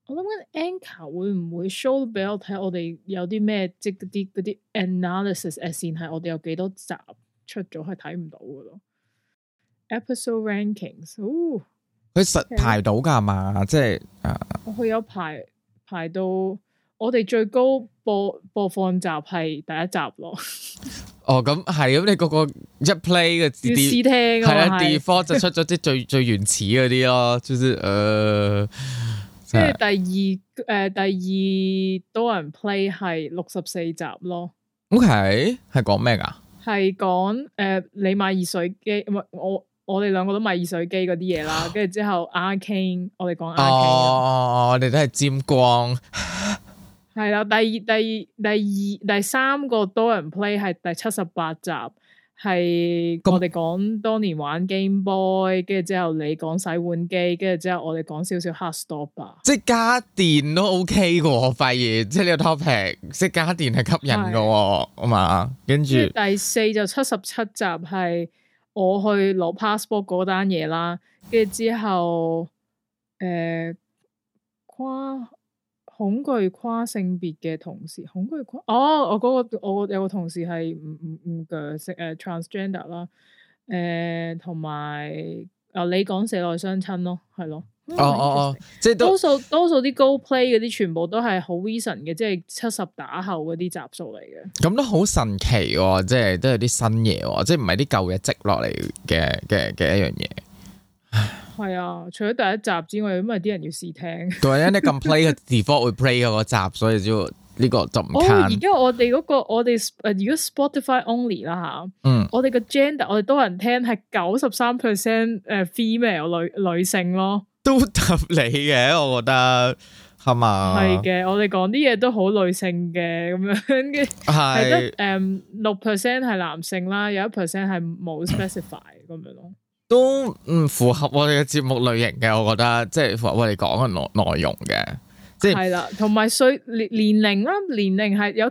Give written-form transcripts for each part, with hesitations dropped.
我諗緊 Anchor 會唔會 show 俾我睇我哋有啲咩即嗰啲 analysis 線係我哋有幾多集出咗係睇唔到嘅咯。Episode rankings， 佢實排到㗎嘛？即係佢有排到我哋最高播放集係第一集咯。 哦，咁係咁，你個一 play 嘅要試聽係啊 default 就出咗啲最原始嗰啲咯，就是跟住第二多人 play 係64集咯。 OK， 係講咩㗎？ 係講你買熱水機，唔係我哋兩個都買熱水機嗰啲嘢啦。跟住之後 Arcane， 我哋講 Arcane。 我哋都係沾光。 係啦，第三個多人 play 係第78集。係我哋講當年玩 Game Boy， 跟住之後你講洗碗機，跟住之後我哋講少少 Hearthstone。即係家電都 OK 嘅，我發現即係呢個 topic， 即係家電係吸引嘅，啊嘛。跟住第四就77集係我去攞 passport 嗰單嘢啦，跟住之後恐懼跨性別嘅同事，我有個同事係唔嘅transgender 啦，同埋你講社內相親咯，係咯， 即係多數啲 Go Play 嗰啲全部都係好 recent 嘅，即係70打後嗰啲集數嚟嘅。咁都好神奇喎，即係都有啲新嘢喎，即係唔係啲舊嘢積落嚟嘅一樣嘢。 係啊，除咗第一集之外，因為啲人要試聽。 對啊，你咁 play 嘅 default 會 play 嗰個集，所以就呢個就唔慳。 而家我哋如果 Spotify only 啦吓，我哋個 gender 我哋多人聽係93% female 女性咯， 都合理嘅，我覺得係嘛？ 係嘅，我哋講啲嘢都好女性嘅咁樣嘅，係得6% 係男性啦，有1% 係冇 specify 咁樣咯。 都唔符合我哋嘅節目類型嘅，我覺得即係符合我哋講嘅內容嘅，即係啦，同埋年齡啦，年齡係有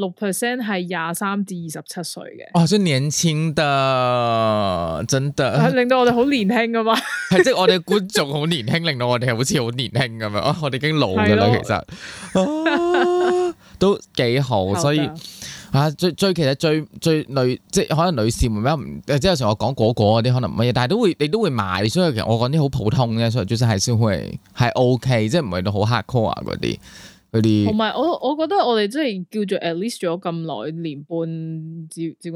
76% 係23至27歲嘅。 哇，真年輕的，真的係令到我哋好年輕噶嘛？ 係即係我哋觀眾好年輕，令到我哋好似好年輕咁樣。我哋已經老噶啦，其實都幾好，所以。其實最女即係可能女士們比較唔即係有時我講嗰啲可能唔乜嘢，但係你都會買，所以其實我講啲好普通嘅，所以就是係先會係 OK，即係唔係到好 hardcore 嗰啲。同埋我覺得我哋即係叫做 at least 咗咁耐年半接近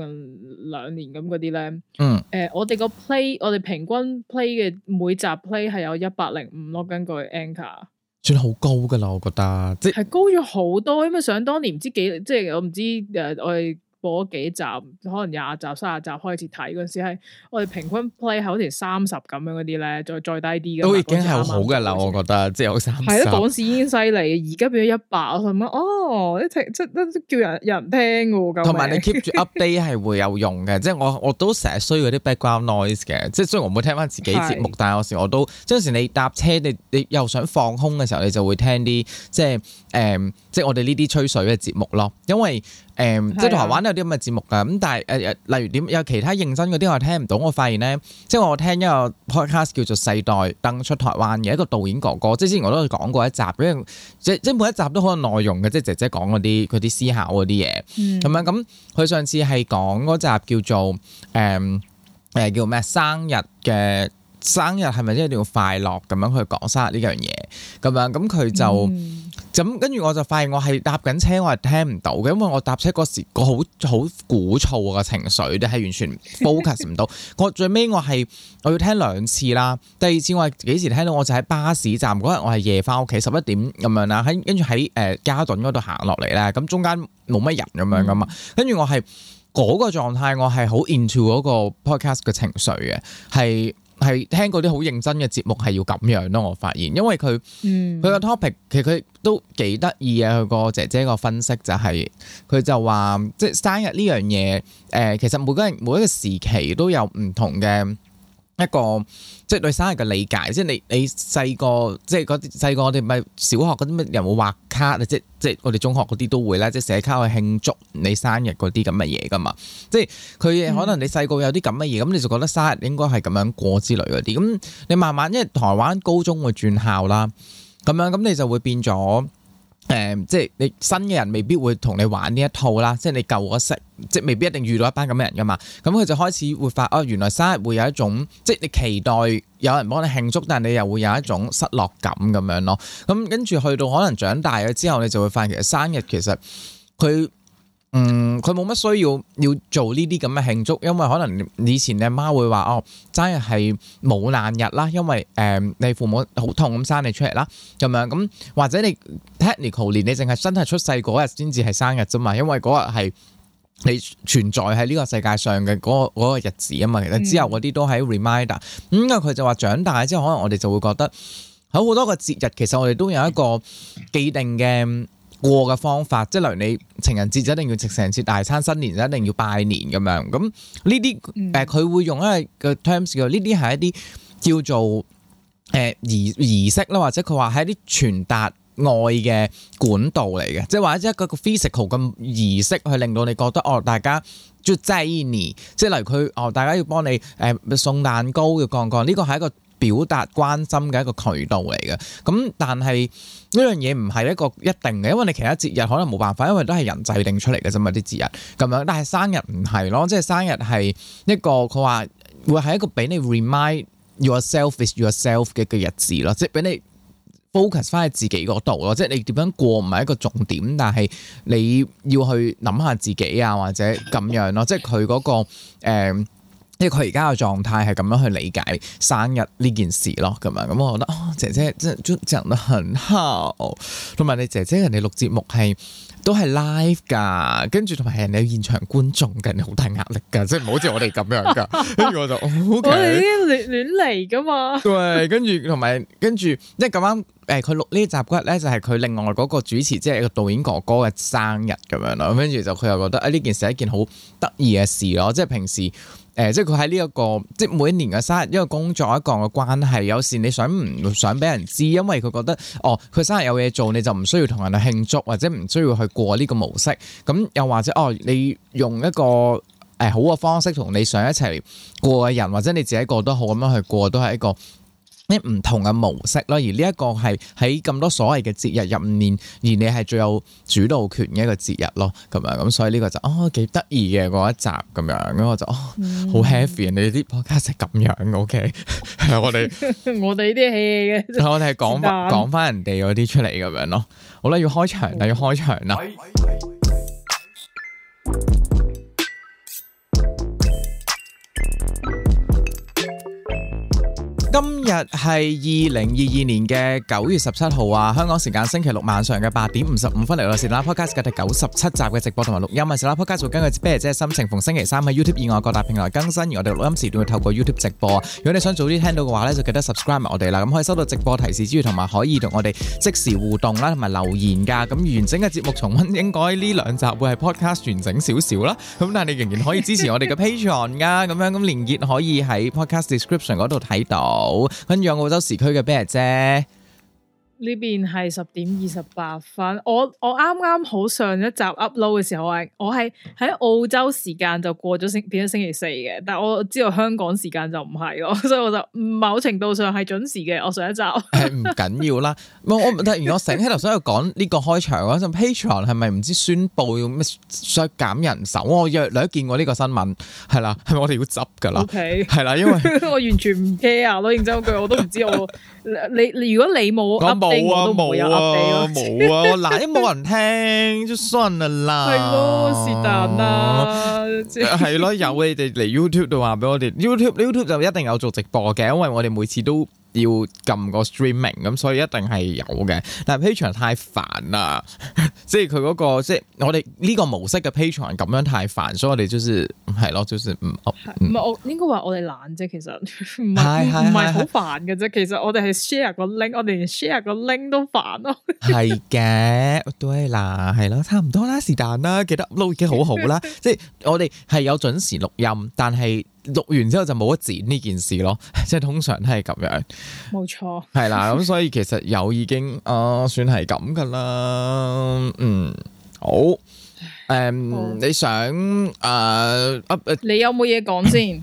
2年咁嗰啲咧，我哋個 play 我哋平均 play 嘅每集 play 係有105咯，根據 Anchor。 算好高噶啦，我覺得即係高咗好多，因為想當年唔知幾，即係我唔知我哋播咗幾集，可能20集、30集開始睇嗰陣時係我哋平均 play 係好似30咁樣嗰啲咧，再低啲嘅都已經係好噶啦，我覺得即係有30。 係啊，嗰時已經犀利，而家變咗100，我諗即叫人聽嘅。 同埋你 keep 住 update 係會有用嘅，即係我都成日需要嗰啲 background noise 嘅，即係雖然我唔會聽翻自己節目，但係有時我都即係有時你搭車你又想放空嘅時候，你就會聽啲即係我哋呢啲吹水嘅節目咯，因為即係台灣有啲咁嘅節目㗎，咁但係例如點有其他認真嗰啲我聽唔到，我發現咧，即係我聽一個 podcast 叫做《世代登出台灣》嘅一個導演哥哥，即係之前我都講過一集，因為即係每一集都好有內容嘅，即係姐姐講嗰啲思考嗰啲嘢，咁樣咁佢上次係講嗰集叫做叫咩生日係咪一定要快樂咁樣去講生日呢樣嘢咁樣，咁佢就咁跟住我就發現我係搭緊車我係聽唔到嘅，因為我搭車嗰時個好鼓噪嘅情緒，你係完全 focus 唔到。我最尾我要聽2次啦，第2次我係幾時聽到？我就喺巴士站嗰日，我係夜翻屋企11點咁樣啦，跟住喺嘉頓嗰度行落嚟咧，咁中間冇乜人咁樣噶嘛，跟住我係嗰個狀態，我係好 into 嗰個 podcast 嘅情緒嘅，係聽嗰啲好認真嘅節目係要咁樣咯，我發現，因為佢個 topic 其實佢都幾得意啊。佢個姐姐個分析就係佢就話，即係生日呢樣嘢，其實每個人每一個時期都有唔同嘅一個即係對生日嘅理解。即係你細個即係嗰啲細個我哋咪小學嗰啲咩人會畫卡啊，即係我哋中學嗰啲都會啦，即係寫卡去慶祝你生日嗰啲咁嘅嘢噶嘛。即係佢可能你細個有啲咁嘅嘢，咁你就覺得生日應該係咁樣過之類嗰啲。咁你慢慢因為台灣高中會轉校啦， 咁樣咁你就會變咗。即係你新嘅人未必會同你玩呢一套啦，即係你舊嗰識，即係未必一定遇到一班咁嘅人噶嘛。咁佢就開始會發原來生日會有一種，即係你期待有人幫你慶祝，但係你又會有一種失落感咁樣咯。咁跟住去到可能長大咗之後，你就會發現其實生日其實佢冇乜需要做呢啲咁嘅慶祝，因為可能以前你阿媽會話生日係冇難日啦，因為你父母好痛咁生你出嚟啦，咁樣咁或者你 technical 年你淨係真係出世嗰日先至係生日啫嘛，因為嗰日係你存在喺呢個世界上嘅嗰個日子啊嘛，其實之後嗰啲都係 reminder。咁佢就話長大之後，可能我哋就會覺得好多個節日，其實我哋都有一個既定嘅過嘅方法，即係例如你情人節就一定要食成節大餐，新年就一定要拜年咁樣。咁呢啲佢會用一個 terms 叫呢啲係一啲叫做儀式啦，或者佢話係一啲傳達愛嘅管道嚟嘅，即係或者一個 physical 嘅儀式去令到你覺得大家就在意你，即係例如佢大家要幫你送蛋糕要講呢個係一個表達關心嘅一個渠道嚟嘅。咁但係呢樣嘢唔係一個一定嘅，因為你其他節日可能冇辦法，因為都係人制定出嚟嘅啫嘛啲節日咁樣。但係生日唔係咯，即係生日係一個佢話會係一個俾你 remind yourself is yourself 嘅日子咯，即係俾你 focus 翻喺自己嗰度咯，即係你點樣過唔係一個重點，但係你要去諗下自己啊，或者咁樣咯，即係佢嗰個即係佢而家嘅狀態係咁樣去理解生日呢件事咯，咁樣咁我覺得姐姐真係講得很好，同埋你姐姐人哋錄節目都係 live 㗎，跟住同埋係人哋現場觀眾嘅，你好大壓力㗎，即係唔好似我哋咁樣㗎。跟住我就我哋呢啲亂嚟㗎嘛。對，跟住同埋跟住，即係咁啱佢錄呢集嗰日咧，就係佢另外嗰個主持，即係一個導演哥哥嘅生日咁樣咯。跟住就佢又覺得呢件事係一件好得意嘅事咯，即係平時。即係佢喺呢一個，即係每一年嘅生日，因為工作一個嘅關係，有時你唔想俾人知，因為佢覺得佢生日有嘢做，你就唔需要同人去慶祝，或者唔需要去過呢個模式。咁又或者你用一個好嘅方式同你想一齊過嘅人，或者你自己過得好咁樣去過，都係一個唔同嘅模式咯，而呢一個係喺咁多所謂嘅節日入面，而你係最有主導權嘅一個節日咯，咁樣咁所以呢個就幾得意嘅嗰一集咁樣，咁我就好 heavy，你哋啲 podcast 係咁樣 ，OK， 我哋呢啲戲嘅，我哋係講翻人哋嗰啲出嚟咁樣咯，好啦，要開場啦。今日係2022年嘅9月17號啊，香港時間星期六晚上嘅8點55分嚟到是啦 Podcast 嘅第97集嘅直播同埋錄音啊，是啦 Podcast 會根據啤姐心情逢星期3喺 YouTube 以外各大平台更新，而我哋錄音時段會透過 YouTube 直播啊。如果你想早啲聽到嘅話咧，就記得 subscribe 埋我哋啦，咁可以收到直播提示之餘，同埋可以同我哋即時互動啦，同埋留言噶。咁完整嘅節目重溫應該呢兩集會係 Podcast 完整少少啦，咁但係你仍然可以支持我哋嘅 Patreon 噶，咁樣咁連結可以喺 Podcast description 嗰度睇到。跟住澳洲時區嘅啤姐呢邊係10點28分，我啱啱好上一集 upload 嘅時候，我係喺澳洲時間就過咗變咗星期4嘅，但係我知道香港時間就唔係咯，所以我就某程度上係準時嘅。我上一集係唔緊要啦，我突然我醒起頭想去講呢個開場嗰陣 Patreon 係咪唔知宣佈要咩削減人手？我約你都見過呢個新聞係啦，係咪我哋要執㗎啦？ OK 係啦，因為我完全唔 care 咯，認真嗰句我都唔知你如果你冇冇啊冇啊，嗱，因為冇人聽，就算啦。係咯，是但啦。係咯，有你哋嚟 YouTube 度話俾我哋 ，YouTube 就一定有做直播嘅，因為我哋每次都要撳個 streaming， 咁所以一定係有嘅。但係 Patreon 太煩啦，即係佢嗰個即係我哋呢個模式嘅 Patreon 咁樣太煩，所以我哋就是係咯，就是唔係我應該話我哋懶啫，其實唔係好煩嘅啫。其實我哋係 share 個 link， 我哋連 share 個 link 都煩咯。係嘅，對啦，係咯，差唔多啦，是但啦，記得 upload 已經好好啦。即係我哋係有準時錄音，但係錄完之後就冇得剪呢件事咯，即係通常都係咁樣。冇錯，係啦，咁所以其實有已經算係咁噶啦。好，你想你有冇嘢講先？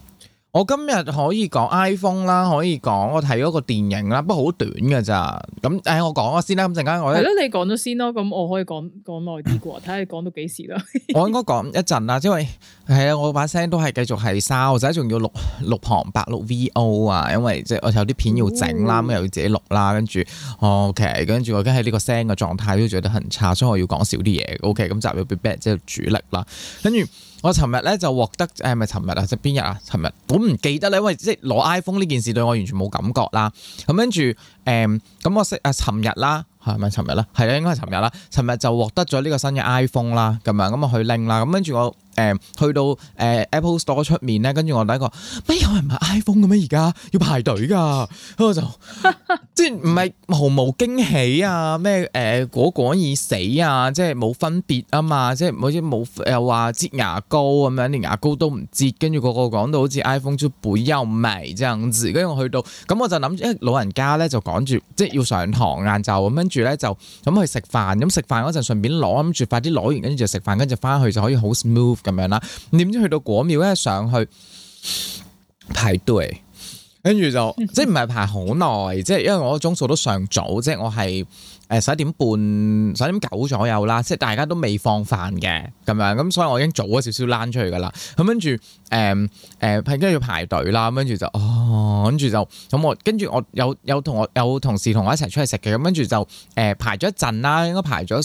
我今日可以講 iPhone 啦，可以講我睇嗰個電影啦，不過好短㗎咋。咁我講咗先啦。咁陣間我係咯， 你講咗先咯。咁我可以講耐啲啩，睇下你講到幾時啦。我應該講一陣啦，因為係啊，我把聲都係繼續係沙，我仔仲要錄旁白錄 VO 啊，因為即係我有啲片要整啦，咁又要自己錄啦，跟住 OK，跟住我而家喺呢個聲嘅狀態都覺得很差，所以我要講少啲嘢。OK，咁集入 Big Bang 即係主力啦，跟住。我尋日咧就獲得係咪尋日啊？即係邊日啊？尋日我唔記得咧，因為即係攞 iPhone 呢件事對我完全冇感覺啦。咁跟住咁我識尋日啦，係咪尋日啦？係啦，應該係尋日啦。尋日就獲得咗呢個新嘅 iPhone 啦，咁樣咁我去拎啦。咁跟住我去到Apple Store 出面咧，跟住我第一個咩有人買 iPhone 嘅咩？而家要排隊㗎，咁我就即係唔係毫無驚喜啊？咩果已死啊？即係冇分別啊嘛？即係好似冇又話擠牙膏咁樣，連牙膏都唔擠，跟住個講到好似 iPhone 就不要買這樣子。跟住我去到咁我就諗住，因為老人家咧就趕住即係要上堂晏晝咁，跟住咧就咁去食飯。咁食飯嗰陣順便攞，諗住快啲攞完，跟住就食飯，跟住翻去就可以好 smooth 咁樣啦。點知去到果廟咧上去排隊，跟住就即係唔係排好耐，即係因為我個鐘數都尚早，即係我係11點半、11點9左右啦，即係大家都未放飯嘅咁樣，咁所以我已經早咗少少躝出去噶啦。咁跟住跟住要排隊啦，跟住就跟住就咁我跟住我有同事同我一齊出去食嘅，咁跟住就排咗一陣啦，應該排咗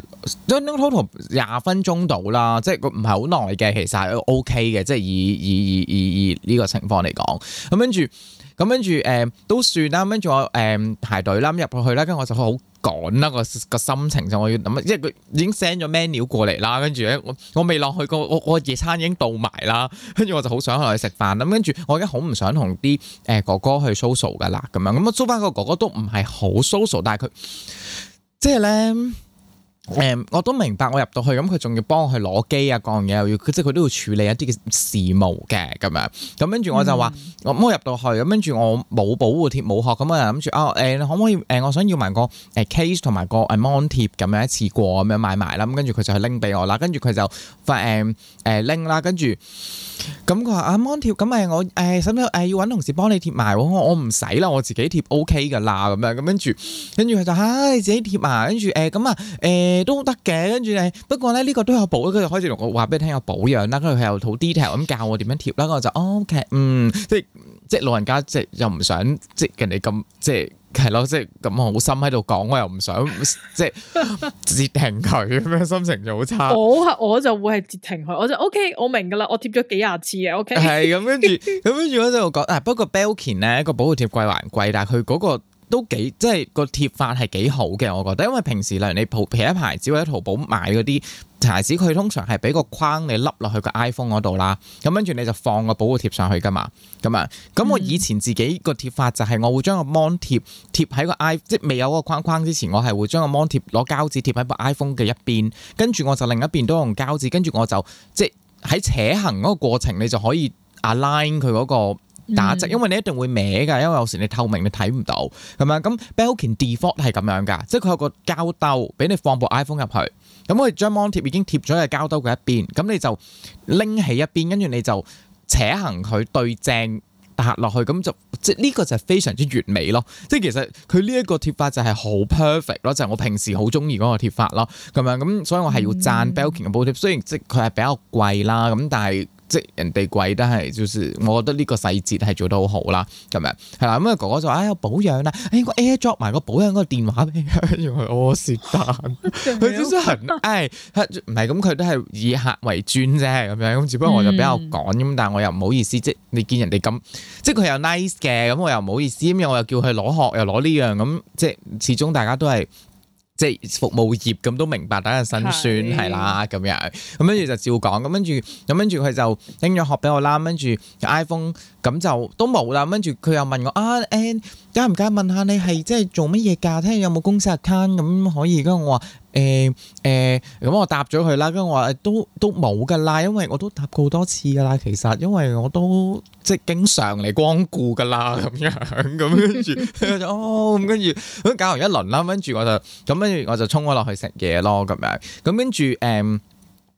total 20分鐘到啦，即係唔係好耐嘅，其實係 OK 嘅，即係以呢個情況嚟講，咁跟住都算啦，跟住我排隊啦，入去啦，跟住我就好趕啦個心情就我要諗，因為佢已經 send 咗 menu 過嚟啦，跟住咧我未落去我夜餐已經到埋啦，跟住我就好想落去食飯啦，跟住我而家好唔想同啲哥哥去 social 噶啦，咁樣咁啊，租翻個哥哥都唔係好 social， 但係佢即係咧。我都明白，我入到去咁佢仲要幫我去攞機啊，各樣嘢又要，即係佢都要處理一啲嘅事務嘅咁樣。咁跟住我就話，我入到去咁跟住我冇保護貼冇殼，咁我就諗住可唔可以我想要埋個case 同埋個mon 貼咁樣一次過咁樣買埋啦。咁跟住佢就去拎俾我啦，跟住佢就拎啦，跟住咁佢話mon 貼咁我使唔使要揾同事幫你貼埋？我唔使啦，我自己貼 OK 噶啦咁樣。咁跟住佢就你自己貼埋，跟住咁啊都得嘅，跟住不過咧呢個都有保，佢就開始同我話俾你聽有保養啦，跟住佢又好 detail 咁教我點樣貼啦，我就 OK， 即係老人家即係又唔想即係人哋咁即係係咯，即係咁好心喺度講，我又唔想即係截停佢咁樣，心情就好差。我就會係截停佢，我就 OK， 我明噶啦，我貼咗幾廿次嘅 OK。係咁跟住我就講不過 Belkin 咧個保護貼貴還貴，但係佢嗰個。都幾即係個貼法係幾好嘅，我覺得，因為平時例如你其他牌子或者淘寶買嗰啲牌子，佢通常係俾個框你笠落去個 iPhone 嗰度啦，咁跟住你就放個保護貼上去噶嘛，咁我以前自己個貼法就係我會將個 mon 貼喺個 iPhone，即係未有個框框之前，我係會將個 mon 貼攞膠紙貼喺部 iPhone 嘅一邊，跟住我就另一邊都用膠紙，跟住我就即係喺扯行嗰個過程，你就可以 align 佢嗰個。打直，因為你一定會歪㗎，因為有時你透明你睇唔到，係咪？咁 Belkin default 係咁樣㗎，即係佢有個膠兜俾你放部 iPhone 入去，咁佢將 mon 貼已經貼咗喺膠兜嘅一邊，咁你就拎起一邊，跟住你就扯行佢對正搭落去，咁就即係呢個就係非常之完美咯。即係其實佢呢一個貼法就係好 perfect 咯，就係我平時好中意嗰個貼法咯，咁樣咁，所以我係要讚 Belkin 嘅保護貼，雖然即係佢係比較貴啦，咁但係。即係人哋貴都係，就是我覺得呢個細節係做得好好啦，咁樣係啦。咁啊哥哥就話有保養啦，我 AirDrop 埋個保養嗰個電話俾佢，跟住我是但，佢真係很唔係咁，佢都係以客為尊啫，咁樣咁。只不過我就比較趕咁，但係我又唔好意思，即係你見人哋咁，即係佢又 nice 嘅，咁我又唔好意思，咁我又叫佢攞殼又攞呢樣，咁即係始終大家都係。即係服務業咁都明白大家嘅辛酸係啦，咁樣咁跟住就照講，咁跟住佢就拎咗殼俾我啦，跟住 iPhone 咁就都冇啦，跟住佢又問我介唔介意問下你係即係做乜嘢㗎？睇下有冇公司 account 咁可以，跟住我話咁我答咗佢啦，跟住我話都冇㗎啦，因為我都答過好多次㗎啦，其實因為我都即係經常嚟光顧㗎啦，咁樣咁跟住咁跟住咁搞完一輪啦，跟住我就衝咗落去食嘢咯，咁樣咁跟住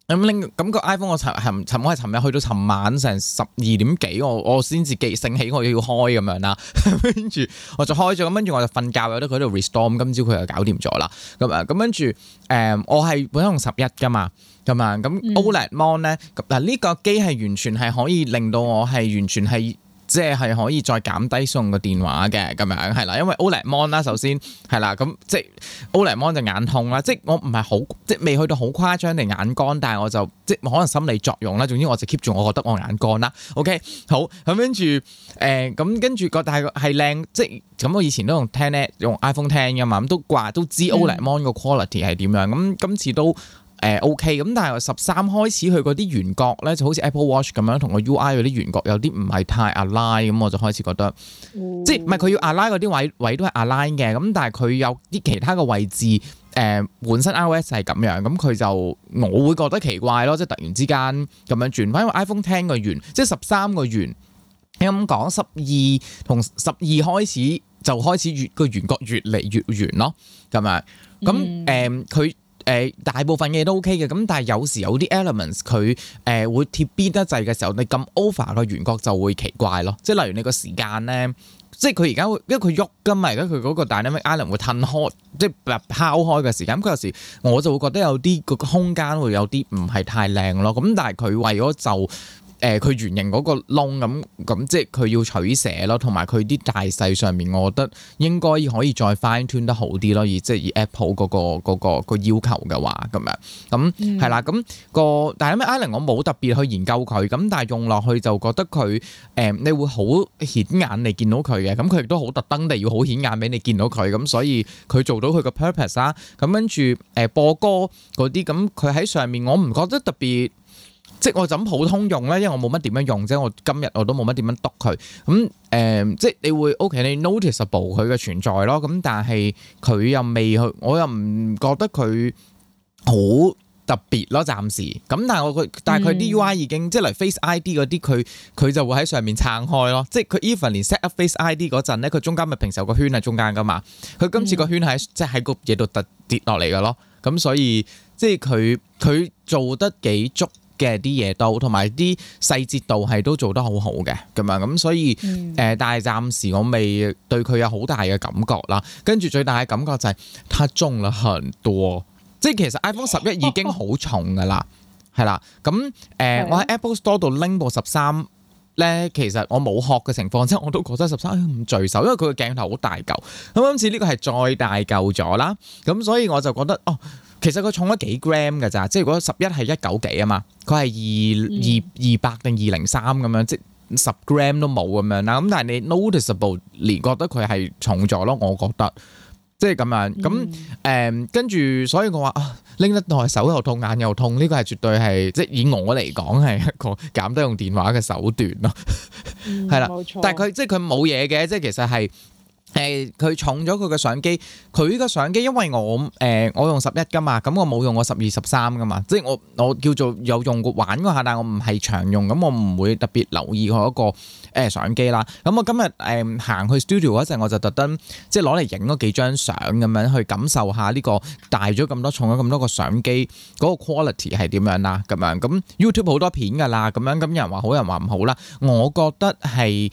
咁個 iPhone 我尋日去到尋晚成12點幾，我先至醒起我要開咁樣啦，跟住我就開咗，咁跟住我就瞓覺，有得佢喺度 restore， 咁今朝佢又搞掂咗啦，咁跟住我係本身用11噶嘛，咁 OLED Mon 咧，嗱呢個機係完全係可以令到我係完全係。即係可以再減低送個電話嘅咁樣係啦，因為 OLED Mon 啦，首先係啦，咁即係 OLED Mon 就眼痛啦，即係我唔係好即係未去到好誇張地眼乾，但係我就即係可能心理作用啦。總之我就 keep 住我覺得我眼乾啦。OK 好咁跟住咁跟住個但係係靚，即係咁我以前都用用 iPhone 10㗎嘛，咁都知 OLED Mon 個 quality 係點樣，咁今次都。OK 咁，但係13開始佢嗰啲圓角咧，就好似 Apple Watch 咁樣，同個 UI 嗰啲圓角有啲唔係太 align，咁我就開始覺得，即係唔係佢要 align 嗰啲位都係 align 嘅，咁但係佢有啲其他嘅位置，本身 iOS 係咁樣，咁佢就我會覺得奇怪咯，即係突然之間咁樣轉翻，因為 iPhone 10個圓，即係13個圓，你咁講12同12開始就開始個圓角越嚟越圓咯，咁樣，咁佢。大部分嘢都 OK 嘅，咁但係有時有啲 elements 佢會貼邊得滯嘅時候，你咁 over 個圓角就會奇怪咯。即係例如你個時間咧，即係佢而家因為佢喐㗎嘛，而家佢嗰個 dynamic island 會褪開，即係拋開嘅時間。咁有時我就會覺得有啲個空間會有啲唔係太靚咯。咁但係佢為咗就佢圓形嗰個窿咁即係佢要取捨咯，同埋佢啲大細上面，我覺得應該可以再 fine tune 得好啲咯。即係以 Apple 嗰個要求嘅話，咁樣咁係啦。咁但係咩 Island 我冇特別去研究佢，咁但係用落去就覺得佢你會好顯眼你見到佢嘅，咁佢亦都好特登地要好顯眼俾你見到佢，咁所以佢做到佢個 purpose 啦。咁跟住播歌嗰啲，咁佢喺上面我唔覺得特別。即係我就咁普通用咧，因為我冇乜點樣用啫。我今日我都冇乜點樣篤佢咁即係你會 OK，你 noticeable 佢嘅存在咯。咁但係佢又未去，我又唔覺得佢好特別咯。暫時咁，但係佢啲 UI 已經即係嚟 Face ID 嗰啲，佢就會喺上面撐開咯。即係佢 even 連 set up Face ID 嗰陣咧，佢中間咪平時有個圈喺中間噶嘛。佢今次個圈即係喺個嘢度突跌落嚟噶咯。咁所以即係佢做得幾足。嘅啲嘢都同埋啲細節度係都做得好好嘅咁樣，咁所以但係暫時我未對佢有好大嘅感覺啦。跟住最大嘅感覺就係它重了很多，即係其實 iPhone 11已經好重噶啦，係啦。咁我喺 Apple Store 度拎部13咧，其實我冇殼嘅情況，即係我都覺得13唔聚手，因為佢個鏡頭好大嚿。咁今次呢個係再大嚿咗啦，咁所以我就覺得其實佢重咗幾 gram 㗎咋，即係如果11係190幾啊嘛，佢係200定203咁樣，即係10 gram 都冇咁樣啦。咁但係你 noticeable 連覺得佢係重咗咯，我覺得即係咁樣。咁跟住，所以我話拎得耐手又痛眼又痛，呢個係絕對係即係以我嚟講係一個減低用電話嘅手段咯。係啦，冇錯。但係佢即係佢冇嘢嘅，即係其實係。佢重咗佢嘅相機，佢呢個相機因為我用11噶嘛，咁我冇用過12、13噶嘛，即係我叫做有用過玩嗰下，但係我唔係常用，咁我唔會特別留意佢嗰個相機啦。咁我今日行去 studio 嗰陣，我就特登即係攞嚟影咗幾張相咁樣去感受下呢個大咗咁多、重咗咁多個相機嗰個 quality 係點樣啦，咁樣咁 YouTube 好多片㗎啦，咁樣咁有人話好，有人話唔好啦，我覺得係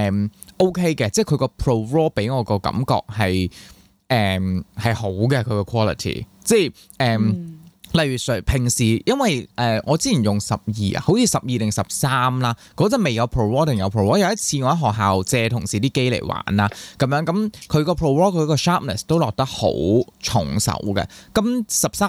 OK 嘅，即係佢個 Pro RAW 俾我個感覺係好嘅，佢個 quality， 即係例如平時因為我之前用12啊，好似12定13啦，嗰陣未有 Pro RAW 定有 Pro RAW。有一次我喺學校借同事啲機嚟玩啦，咁樣咁佢個 Pro RAW 佢個 sharpness 都落得好重手嘅。咁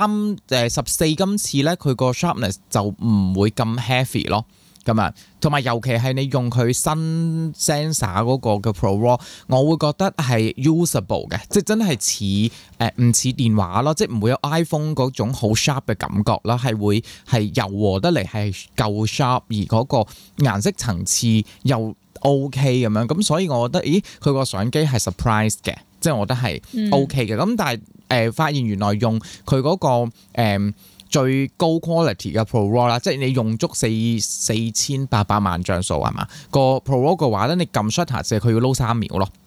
14今次咧，佢個 sharpness 就唔會咁 heavy 咯。咁啊，同埋尤其係你用佢新 sensor 嗰個嘅 Pro RAW， 我會覺得係 usable 嘅，即係真係似唔似電話咯，即係唔會有 iPhone 嗰種好 sharp 嘅感覺啦，係會係柔和得嚟係夠 sharp， 而嗰個顏色層次又 OK 咁樣，咁所以我覺得，佢個相機係 surprise 嘅，即係我覺得係 OK 嘅。咁但係發現原來用佢嗰個最高 quality 嘅 Pro RAW 啦，即係你用足4800萬像素係嘛？個 Pro RAW 嘅話咧，你撳 shutter 佢要撈3秒咯，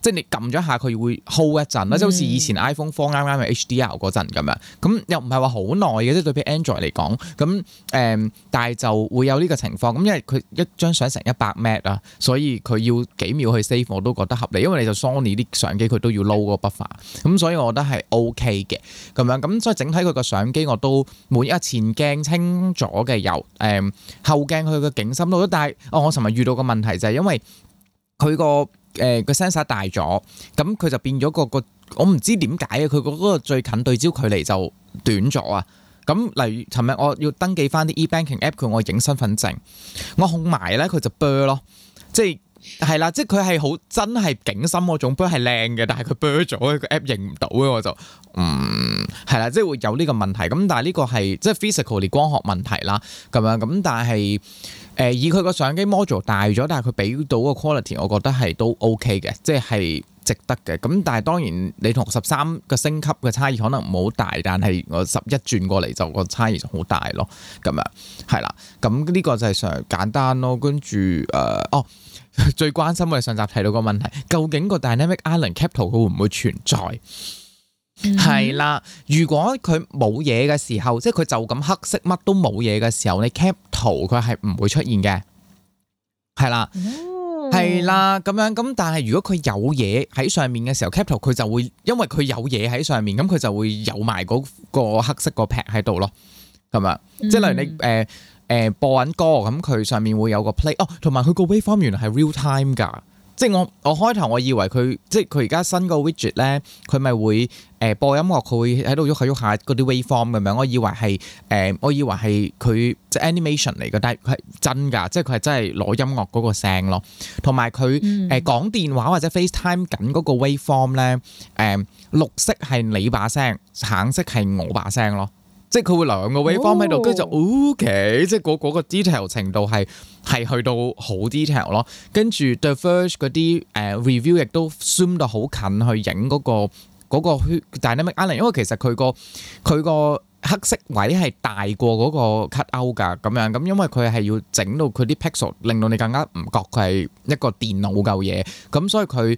即係你撳咗一下佢會 hold 一陣啦，即係好似以前 iPhone 4啱啱係 HDR 嗰陣咁樣，咁又唔係話好耐嘅，即係對比 Android 嚟講，咁但係就會有呢個情況，咁因為佢一張相成100 M 啊，所以佢要幾秒去 save 我都覺得合理，因為你就 Sony 啲相機佢都要 load 嗰個 buffer，咁所以我覺得係 OK 嘅咁樣，咁所以整體佢個相機我都滿意，前鏡清咗嘅有後鏡佢個景深都，但係我尋日遇到個問題就係因為佢個個 sensor 大咗，咁佢就變咗個我唔知點解啊！佢嗰個最近對焦距離就短咗啊！咁例如尋日我要登記翻啲 e-banking app， 佢我影身份證，我控埋咧佢就 blur 咯，即係啦，即係佢係好真係景深嗰種 blur 係靚嘅，但係佢 blur 咗，個 app 認唔到嘅，我就係啦，即係會有呢個問題。咁但係呢個係即係 physically 光學問題啦，咁樣咁但係。以佢個相機 module 大咗，但係佢俾到個 quality， 我覺得係都 OK 嘅，即係值得嘅。咁但係當然你同13個升級嘅差異可能唔好大，但係我11轉過嚟就個差異就好大咯。咁樣係啦，咁呢個就係上簡單咯。跟住最關心我哋上集提到個問題，究竟個 Dynamic Island Cap 圖佢會唔會存在？係啦，如果佢冇嘢嘅時候，即係佢就咁黑色乜都冇嘢嘅時候，你 cap 圖佢係唔會出現嘅，係啦，係啦咁樣咁。但係如果佢有嘢喺上面嘅時候 cap 圖佢就會，因為佢有嘢喺上面，咁佢就會有埋嗰個黑色個 pad 喺度咯，咁樣，即係例如你播緊歌，咁佢上面會有個 play，同埋佢個 waveform 原來係 real time 㗎。即係我開頭我以為佢即係佢而家新個 widget 咧，佢咪會播音樂，佢會喺度喐下喐下嗰啲 waveform 咁樣。我以為係佢即係 animation 嚟嘅，但係佢係真㗎，即係佢係真係攞音樂嗰個聲咯。同埋佢講電話或者 FaceTime 緊嗰個 waveform 咧，綠色係你把聲，橙色係我把聲咯。即係佢會兩個 waveform 喺度，跟住就 OK，即係嗰個 detail 程度係去到好 detail 咯。跟住 The Verge 嗰啲review 亦都 zoom 到好近去影嗰個 Dynamic Island，因為其實佢個黑色位係大過嗰個 cut out 㗎，咁樣咁，因為佢係要整到佢啲 pixel 令到你更加唔覺佢係一個電腦嚿嘢，咁所以佢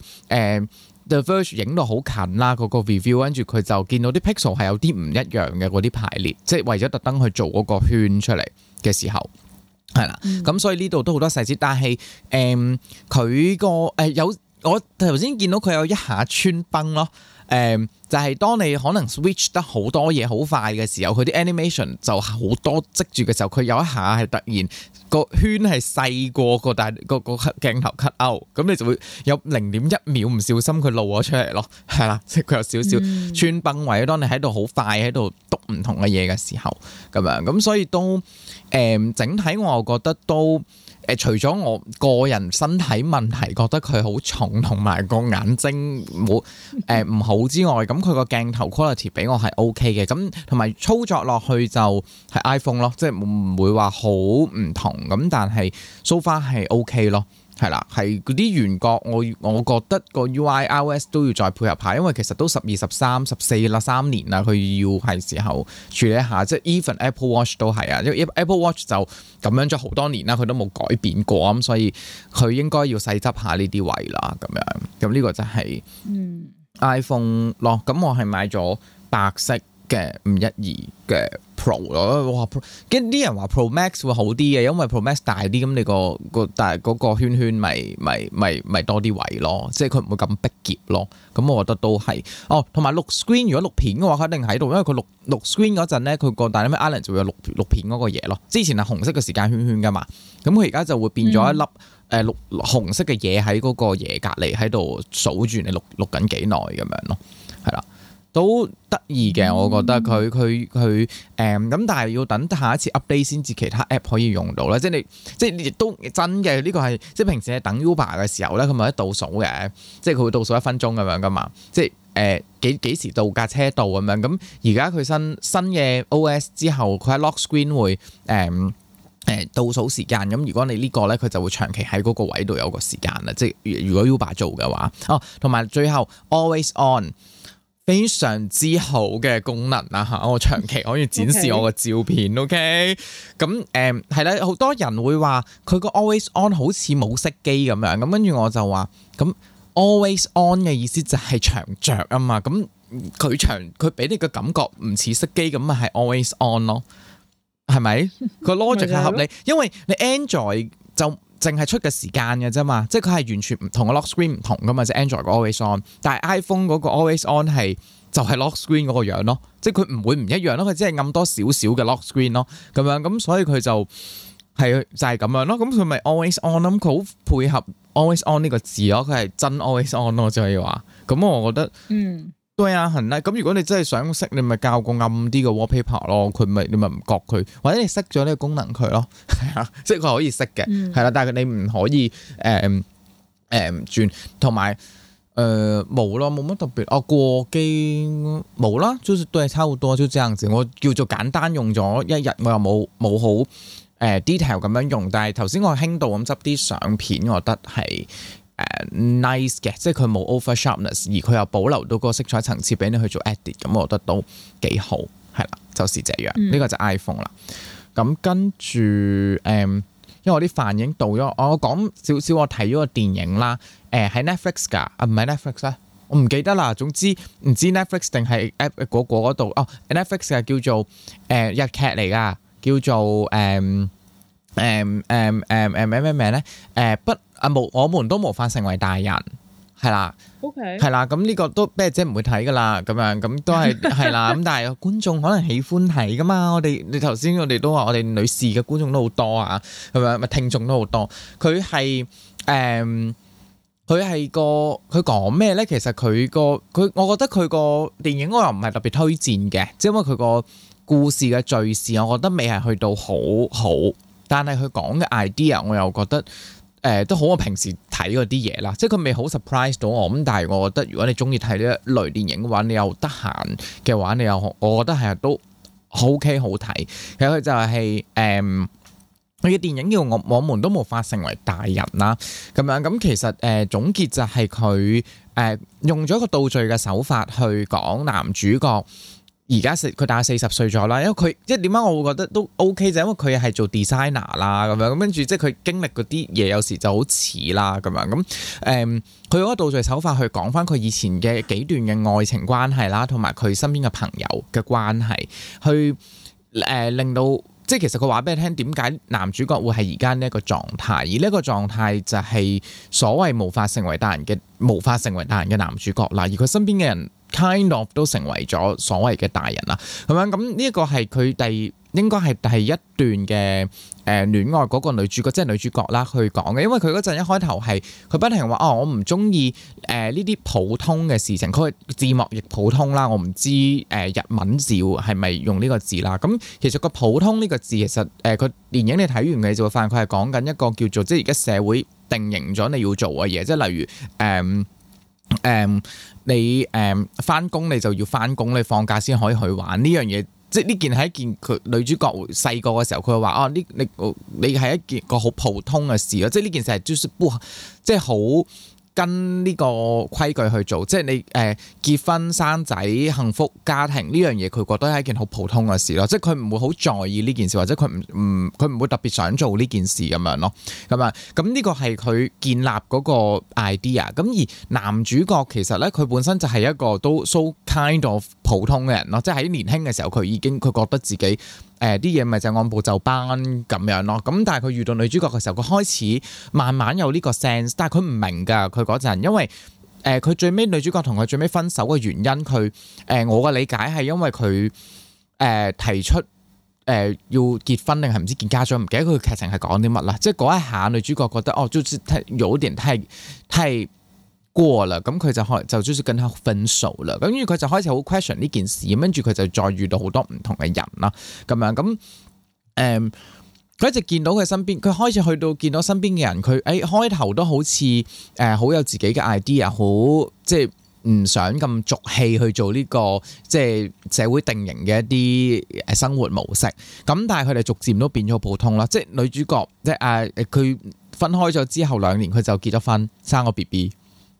The Verge 影到好近啦，嗰個 review， 跟住佢就見到啲 pixel 係有啲唔一樣嘅嗰啲排列，即係為咗特登去做嗰個圈出嚟嘅時候，係啦，咁所以呢度都好多細節，但係佢個有我頭先見到佢有一下穿崩咯。就係當你可能 switch 得好多嘢好快嘅時候，佢啲 animation 就好多積住嘅時候，佢有一下係突然個圈係細過個鏡頭 cut out，咁你就會有0.1秒唔小心佢露咗出嚟咯，係啦，即係佢有少少穿崩位。當你喺度好快喺度篤唔同嘅嘢嘅時候，咁樣咁所以都整體我又覺得都。除咗我個人身體問題覺得佢好重，同埋個眼睛冇唔好之外，咁佢個鏡頭 quality 俾我係 OK 嘅，咁同埋操作落去就係 iPhone 咯，即係唔會話好唔同，咁但係 so far 係 OK 咯。係啦，係嗰啲圓角，我覺得個 UI iOS 都要再配合下，因為其實都12、13、14啦，3年啦，佢要係時候處理一下，即係 even Apple Watch 都係啊，因為 Apple Watch 就咁樣咗好多年啦，佢都冇改變過，咁所以佢應該要細執下呢啲位啦，咁樣，咁呢個就係 iPhone 咯，咁我係買咗白色嘅512嘅 Pro 咯，哇！跟啲人話 Pro Max 會好啲嘅，因為 Pro Max 大啲，咁你但係嗰個圈圈咪多啲位咯，即係佢唔會咁逼夾咯。咁我覺得都係同埋錄 screen 如果錄片嘅話，佢一定喺度，因為佢錄 screen 嗰陣咧，佢個 Dynamic Island 就會有錄片嗰個嘢咯。之前係紅色嘅時間圈圈噶嘛，咁佢而家就會變咗一粒錄紅色嘅嘢喺嗰個嘢隔離喺度數住你錄緊幾耐咁樣咯，係啦。都得意嘅，我覺得佢咁，但係要等下一次 update 先至其他 app 可以用到咧。即係亦都真嘅，呢個係即係平時你等 Uber 嘅時候咧，佢咪喺倒數嘅，即係佢會倒數1分鐘咁樣噶嘛。即係幾時到架車到咁樣。咁而家佢新嘅 OS 之後，佢喺 lock screen 會倒數時間。咁如果你呢個咧，佢就會長期喺嗰個位度有個時間啦。即係如果 Uber 做嘅話，同埋最後 always on。非常之好嘅功能啦嚇，我長期可以展示我個照片 ，OK？咁係啦，好多人會話佢個 Always On 好似冇熄機咁樣，咁跟住我就話咁 always on 嘅意思就係長着啊嘛，咁佢俾你嘅感覺唔似熄機咁啊，係 always on 咯，係咪？個 logic 係合理，因為你 Android 就淨係出嘅時間嘅啫嘛，即係佢係完全唔同嘅 lock screen 唔同噶嘛，即係 Android 個 always on， 但係 iPhone 嗰個 always on 係就係 lock screen 嗰個樣咯，即係佢唔會唔一樣咯，佢只係暗多少少嘅 lock screen 咯，咁樣咁所以佢就係咁樣咯，咁佢咪 always on 咯，佢好配合 always on 呢個字咯，佢係真 always on 咯，就可以話，咁我覺得對啊，係啦，咁如果你真係想識，你咪校個暗啲嘅 wallpaper 咯，你咪唔覺佢，或者你熄咗呢個功能佢咯，係啊，即係佢可以熄嘅，係啦，但係你唔可以轉，同埋冇咯，冇乜特別哦，過機冇啦，就是對，差唔多就這樣子，我叫做簡單用咗一日，我又冇好detail 咁樣用，但係頭先我輕度咁執啲相片，我覺得係nice 嘅，即係佢冇 over sharpness，而佢又保留到個色彩層次俾你去做 edit，咁我覺得都幾好，係啦，就是這樣。呢個就 iPhone 啦。咁跟住因為我啲飯已經到咗，我講少少我睇咗個電影啦。喺 Netflix 㗎，唔係 Netflix 咧，我唔記得啦。總之唔知 Netflix 定係 app 嗰度哦。Netflix 係叫做日劇嚟㗎，叫做咩名咧？我們都無法成為大人，係啦。OK， 係啦。咁呢個都咩姐唔會睇㗎啦，咁樣咁都係啦。咁但係觀眾可能喜歡睇㗎嘛。你頭先我哋都話，我哋女士嘅觀眾都好多啊，係咪？咪聽眾都好多。佢係佢講咩咧？其實我覺得佢個電影我又唔係特別推薦嘅，即係因為佢個故事嘅敘事，我覺得未係去到好好。但係佢講嘅 idea，我又覺得都好我平時睇嗰啲嘢啦，即係佢未好 surprise 到我咁。但係我覺得如果你中意睇呢一類電影嘅話，你又得閒嘅話，我覺得係都 OK 好睇。其實佢就係佢嘅電影叫我們都無法成為大人啦，咁樣咁其實總結就係佢用咗一個倒敘嘅手法去講男主角。而家佢大概40歲咗啦，因為佢即係點解我會覺得都 OK 就因為佢係做 designer 啦咁樣，咁跟住即係佢經歷嗰啲嘢有時就好似啦咁樣咁佢用一個倒敘手法去講翻佢以前嘅幾段嘅愛情關係啦，同埋佢身邊嘅朋友嘅關係，去令到即係其實佢話俾你聽點解男主角會係而家呢一個狀態，而呢一個狀態就係所謂無法成為大人嘅男主角啦，而佢身邊嘅人kind of 都成為咗所謂嘅大人啦，咁樣咁呢一個係佢應該係第一段嘅戀愛嗰個女主角，即係女主角啦去講嘅，因為佢嗰陣一開頭係佢不停話我唔中意呢啲普通嘅事情，佢字幕亦普通啦，我唔知日文字係咪用呢個字啦。咁其實個普通呢個字其實佢電影你睇完嘅就會發現佢係講緊一個叫做即係而家社會定型咗你要做嘅嘢，即係例如你返工你就要返工，你放假先可以去玩呢樣嘢，即係呢件係一件佢女主角細個嘅時候佢話你係一件個好普通嘅事咯，即係呢件事係即係好跟呢個規矩去做，即係你結婚生仔幸福家庭呢樣嘢，佢覺得係一件好普通嘅事咯，即係佢唔會好在意呢件事，或者佢唔會特別想做呢件事咁樣咯，咁呢個係佢建立嗰個 idea。咁而男主角其實咧，佢本身就係一個都 so kind of 普通嘅人咯，即係喺年輕嘅時候佢覺得自己啲嘢咪就按部就班咁樣咯，咁但係佢遇到女主角嘅時候，佢開始慢慢有呢個 sense， 但係佢唔明㗎，佢嗰陣因為佢最尾女主角同佢最尾分手嘅原因，佢我嘅理解係因為佢提出要結婚定係唔知見家長，唔記得佢劇情係講啲乜啦，即係嗰一下女主角覺得就是有點太過啦，咁佢就跟佢分手啦，咁跟住佢就開始好 question 呢件事，跟住佢就再遇到好多唔同嘅人啦，咁樣咁佢一直見到佢身邊，佢開始去到見到身邊嘅人，佢開頭都好似好有自己嘅 idea， 好即係唔想咁俗氣去做呢個即係社會定型嘅一啲生活模式，咁但係佢哋逐漸都變咗普通啦，即係女主角即係佢分開咗之後2年，佢就結咗婚，生個 BB。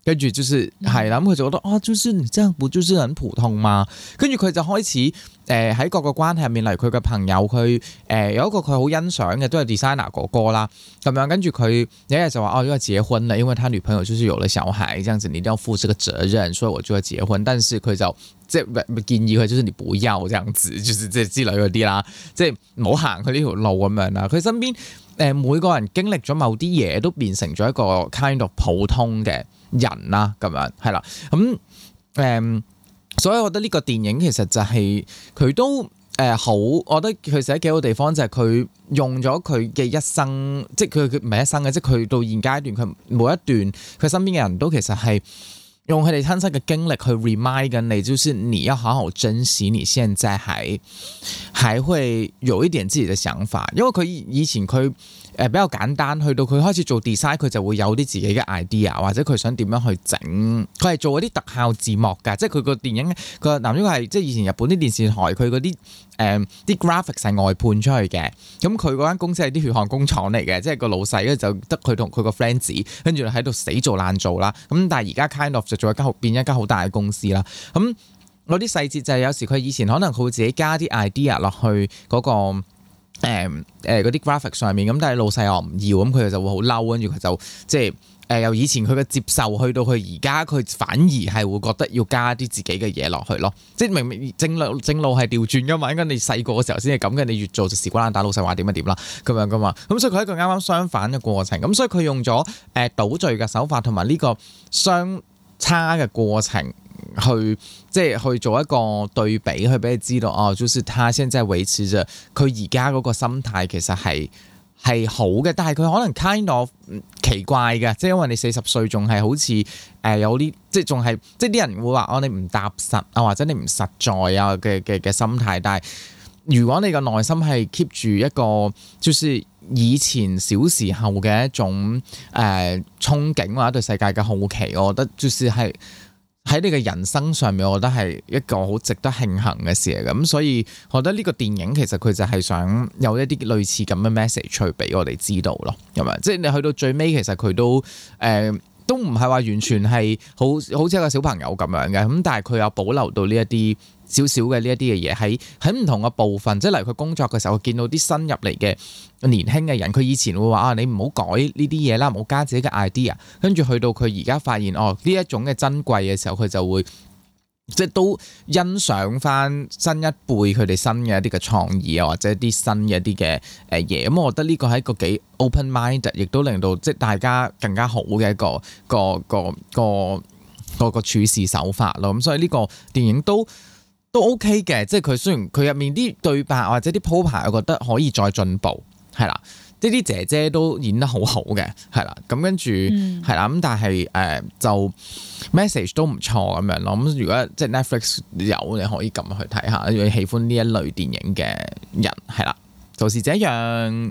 跟住就是係啦，咁佢就覺得啊，就是你這樣不就是很普通嗎？跟住佢就開始喺各個關係入面，例如佢嘅朋友，佢有一個佢好欣賞嘅都係 designer 哥哥啦，咁樣跟住佢有一日就話哦，要結婚啦，因為他女朋友就是有了小孩，這樣子你一定要負這個責任，所以我就要結婚。但是佢就即係建議佢，就是你不要這樣子，就是即係之類嗰啲啦，即係唔好行佢呢條路咁樣啦。佢身邊每個人經歷咗某啲嘢，都變成咗一個 kind of 普通嘅人啦，咁樣係啦，所以我覺得呢個電影其實就係佢都好，我覺得佢寫得幾好地方就係佢用咗佢嘅一生，即係佢唔係一生嘅，即係佢到現階段佢每一段佢身邊嘅人都其實係用佢哋親身嘅經歷去 remind 緊你，就是你要好好珍惜你現在還會有一點自己嘅想法，因為佢以前佢比較簡單，去到佢開始做 design，佢就會有啲自己嘅 idea， 或者佢想點樣去整，佢係做嗰啲特效字幕㗎，即係佢個電影個男主角係即係以前日本啲電視台佢嗰啲啲 graphics 係外判出去嘅，咁佢嗰間公司係啲血汗工廠嚟嘅，即係個老細就得佢同佢個 friend 跟住喺度死做爛做啦，咁但係而家 kind of 就做變一間好大嘅公司啦，咁嗰啲細節就係有時佢以前可能佢會自己加啲 idea 落去嗰個嗰啲 graphic 上面，咁但係老細又唔要，咁佢就會好嬲，跟住佢就即係由以前佢嘅接受去到佢而家，佢反而係會覺得要加啲自己嘅嘢落去咯。即係明明正路係調轉噶嘛，應該你細個嘅時候先係咁嘅，你越做就時瓜爛打老細話點就點啦，咁樣噶嘛。咁所以佢係一個啱啱相反嘅過程。咁所以佢用咗倒敘嘅手法同埋呢個相差嘅過程。即係去做一個對比，去俾你知道哦，就是他現在維持着佢而家嗰個心態，其實係好嘅，但係佢可能 kind of 奇怪嘅，即係因為你40歲仲係好似有啲即係仲係即係啲人會話哦，你唔踏實啊，或者你唔實在啊嘅心態，但係如果你個內心係 keep 住一個就是以前小時候嘅一種憧憬或者對世界嘅好奇，我覺得就是係。喺你嘅人生上面，我覺得係一個好值得慶幸嘅事嚟嘅，咁所以我覺得呢個電影其實佢就係想有一啲類似咁嘅 message 去俾我哋知道咯，係咪？即係你去到最尾，其實佢都唔係話完全係好似一個小朋友咁樣嘅，咁但係佢有保留到呢一啲少少嘅呢一啲嘅嘢喺唔同嘅部分，即係例如佢工作嘅時候，見到啲新入嚟嘅年輕嘅人，佢以前會話啊，你唔好改呢啲嘢啦，唔好加自己嘅 idea， 跟住去到佢而家發現哦呢一種嘅珍貴嘅時候，佢就會即係都欣賞翻新一輩佢哋新嘅一啲嘅創意啊，或者一啲新嘅一啲嘅嘢，咁我覺得呢個係一個幾 open mind， 亦都令到即係大家更加好嘅一個處事手法咯，咁所以呢個電影都 OK 嘅，即係佢雖然佢入面啲對白或者啲鋪排，我覺得可以再進步，係啦，即啲姐姐都演得好好嘅，係啦，咁跟住係啦，咁但係就 message 都唔錯咁樣咯，咁如果即係 Netflix 有，你可以撳去睇下，如果喜歡呢一類電影嘅人，係啦，就是這樣。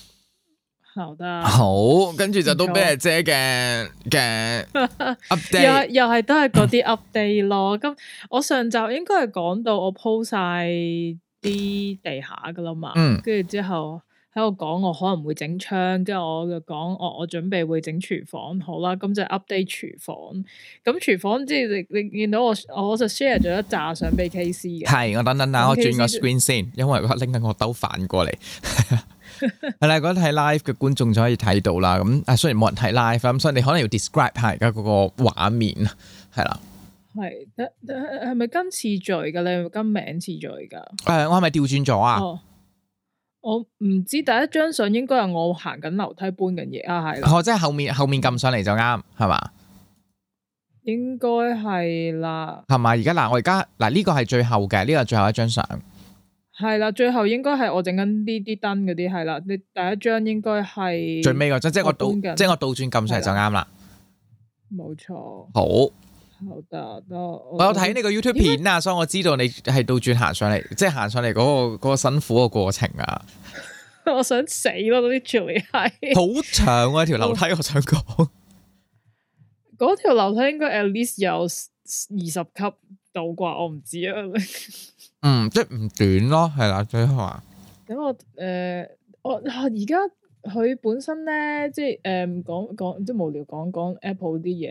好，跟住就都俾阿姐嘅 update， 又係都係嗰啲 update 咯。咁我上集應該係講到我鋪晒啲地下噶啦嘛，跟住之後喺度講我可能會整窗，跟住我就講我準備會整廚房，好啦，咁就 update 廚房。咁廚房即係你見到我就 share 咗一紮相俾 KC 嘅。係， 我等，我轉個 screen 先，因為我拎緊個兜反過嚟。係啦，如果睇 live 嘅觀眾就可以睇到啦。咁雖然冇人睇 live，咁所以你可能要 describe 下而家嗰個畫面，係啦。係咪跟次序㗎？你係咪跟名次序㗎？ 我係咪調轉咗啊？ 我唔知第一張相應該係我行緊樓梯搬緊嘢啊，係啦。 即係後面撳上嚟就啱，係嘛？ 應該係啦。 係嘛？而家我而家呢個係最後嘅，呢個係最後一張相。 係啦，最後應該係我整緊呢啲燈嗰啲，係啦。你第一張應該係最尾嗰張，即係我倒轉撳上嚟就啱啦。 冇錯。好得， 我有睇你個 YouTube 片啊，所以我知道你係倒轉行上嚟，即係行上嚟嗰個辛苦嘅過程啊。 我想死咯，嗰啲條係好長啊條樓梯，我想講。 嗰條樓梯應該 at least 有20級到啩，我唔知啊。 即係唔短咯，係啦，最後啊。 咁我而家佢本身咧，即係講即係無聊講 Apple 啲嘢。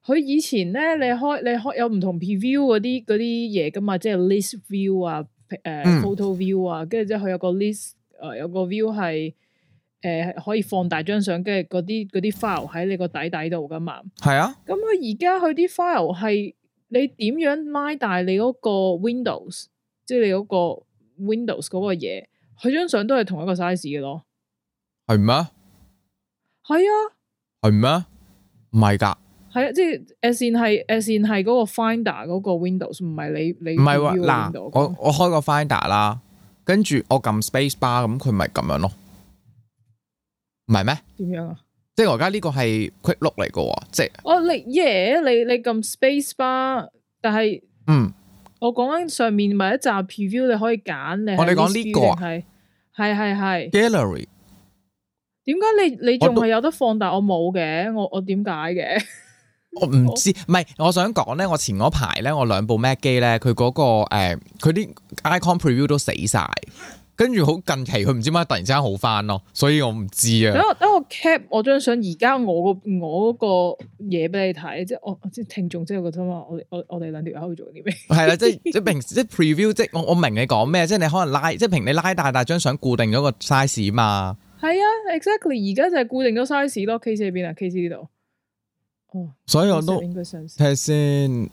佢以前咧，你開有唔同 preview 嗰啲嘢噶嘛，即係 list view 啊，photo view 啊，跟住之後佢有個 list，有個 view 係可以放大張相，跟住嗰啲 file 喺你個底度噶嘛。係啊。咁佢而家佢啲 file 係你點樣拉大你嗰個 Windows， 即係你嗰個 Windows 嗰個嘢，佢張相都係同一個 size 嘅咯。係咩？係啊。係咩？唔係㗎。係啊，即係 as in 係嗰個 Finder 嗰個 Windows， 唔係你唔係喎。嗱，我開個 Finder 啦，跟住我撳 Space Bar， 咁佢咪咁樣咯？唔係咩？點樣啊？即係我而家呢個係 Quick Look 嚟嘅，即係你撳 Space Bar， 但係我講緊上面咪一集 Preview， 你可以揀你。我哋講呢個係 Gallery。點解你仲係有得放大？我冇嘅，我點解嘅？我唔知，唔係我想講咧，我前嗰排咧，我兩部 Mac 機咧，佢嗰個佢啲 Icon Preview 都死晒，跟住好近期佢唔知點解突然之間好翻咯，所以我唔知啊。等我 cap 我張相，而家我嗰個嘢俾你睇，即係我即係聽眾，即係覺得嘛，我哋兩條喺度做啲咩？係啦，即係平時即係 Preview， 即係我明你講咩，即係你可能拉，即係平你拉大張相固定咗個 size 嘛。係啊 ，exactly， 而家就係固定咗 size 咯。case 喺邊啊 ？case 呢度。哦，所以我都睇下先。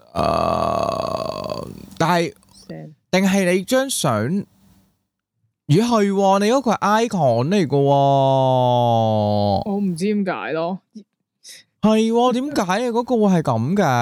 但係定係你張相？咦係，你嗰個係 icon 嚟嘅。我唔知點解咯。係點解你嗰個會係咁嘅？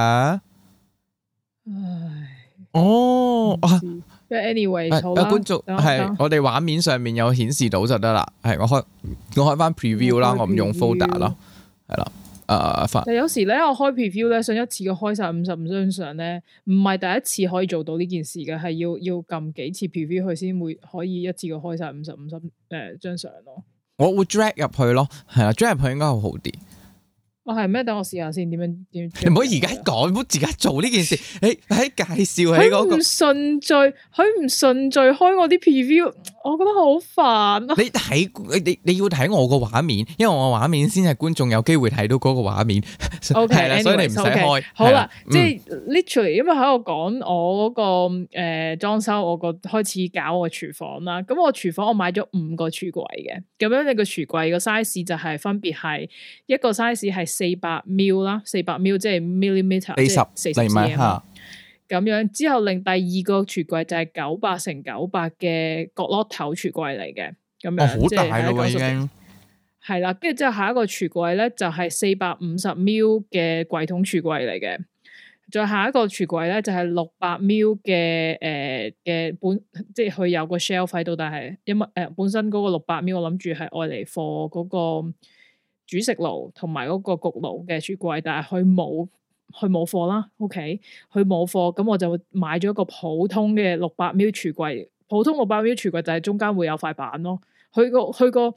唉，哦啊。anyway，好啦，觀眾係我哋畫面上面有顯示到就得啦。係我開翻 preview 啦，我唔用 folder 啦，係啦。但有時咧，我開 preview 咧，想一次過開晒55張相咧，唔係第一次可以做到呢件事嘅，係要撳幾次 preview 佢先會可以一次過開晒55張相咯。我會 drag 入去咯，係啊 ，drag 入去應該會好啲。哦，係咩？等我試下先，點樣？你唔好而家講，唔好而家做呢件事。你喺介紹喺嗰個，佢唔順序開我啲 preview， 我覺得好煩啊！你要睇我個畫面，因為我個畫面先係觀眾有機會睇到嗰個畫面。係啦，所以你唔使開。好啦，即係 literally，因為喺度講我嗰個裝修，我個開始搞我個廚房啦。咁我廚房我買咗5個櫥櫃嘅，咁樣你個櫥櫃個 size 就係分別係一個 size 係400 ml 啦，400 ml 即係 millimeter， 即係40 cm 咁樣。之後另第二個櫥櫃就係900乘900嘅角落頭櫥櫃嚟嘅，咁樣好大咯已經。係啦，跟住之後下一個櫥櫃咧就係450 ml 嘅櫃桶櫥櫃嚟嘅，再下一個櫥櫃咧就係600 ml 嘅即係佢有個 shelf 喺度，但係因為本身嗰個600 ml 我諗住係愛嚟放嗰個煮食爐同埋嗰個焗爐嘅櫥櫃，但係佢冇貨啦。OK， 佢冇貨，咁我就買咗一個普通嘅600 ml 櫥櫃。普通600 ml 櫥櫃就係中間會有塊板咯。佢嗰個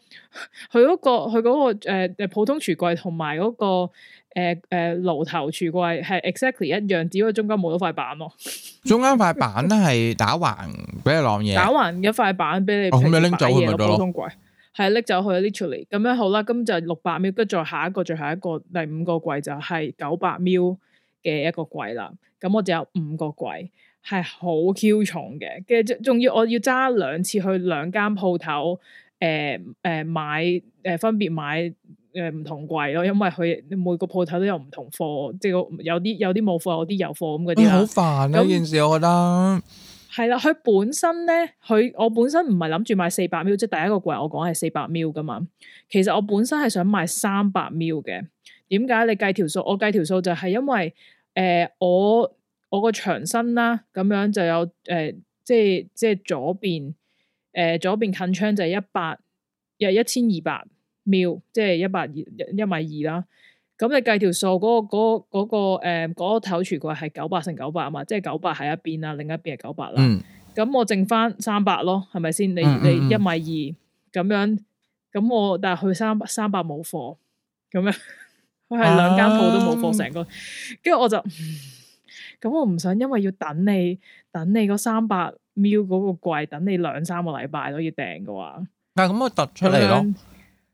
普通櫥櫃同埋嗰個爐頭櫥櫃係 exactly 一樣，只不過中間冇咗塊板咯。中間塊板係打橫俾你晾嘢，打橫一塊板俾你。咁你拎走佢咪得咯？普通櫃係拎走去 literally 咁樣好啦。咁就600 ml，跟住再下一個第5個櫃就係900 ml 嘅一個櫃啦。咁我就有5個櫃，係好 Q 重嘅。跟住仲要我要揸2次去2間鋪頭，買分別買唔同櫃咯，因為佢每個鋪頭都有唔同貨，即係有啲冇貨，有啲有貨咁嗰啲啦。好煩呢件事，我覺得。係啦，佢本身咧，我本身唔係諗住買400 ml，即係第一個櫃我講係400 ml 噶嘛。其實我本身係想買300 ml 嘅。點解？你計條數，我計條數就係因為我個牆身啦，咁樣就有即係左邊近窗就係1200 ml， 即係1.2米啦。咁你計條數，嗰個頭櫥櫃係900乘900啊嘛，即係900喺一邊啦，另一邊係900啦。咁我剩翻300咯，係咪先？你1.2米咁樣，咁但係佢300冇貨，咁樣佢係2間鋪都冇貨成個，跟住我就咁我唔想，因為要等你嗰300 ml 嗰個櫃，等你2-3個禮拜都要訂嘅話，但係咁我突出嚟咯。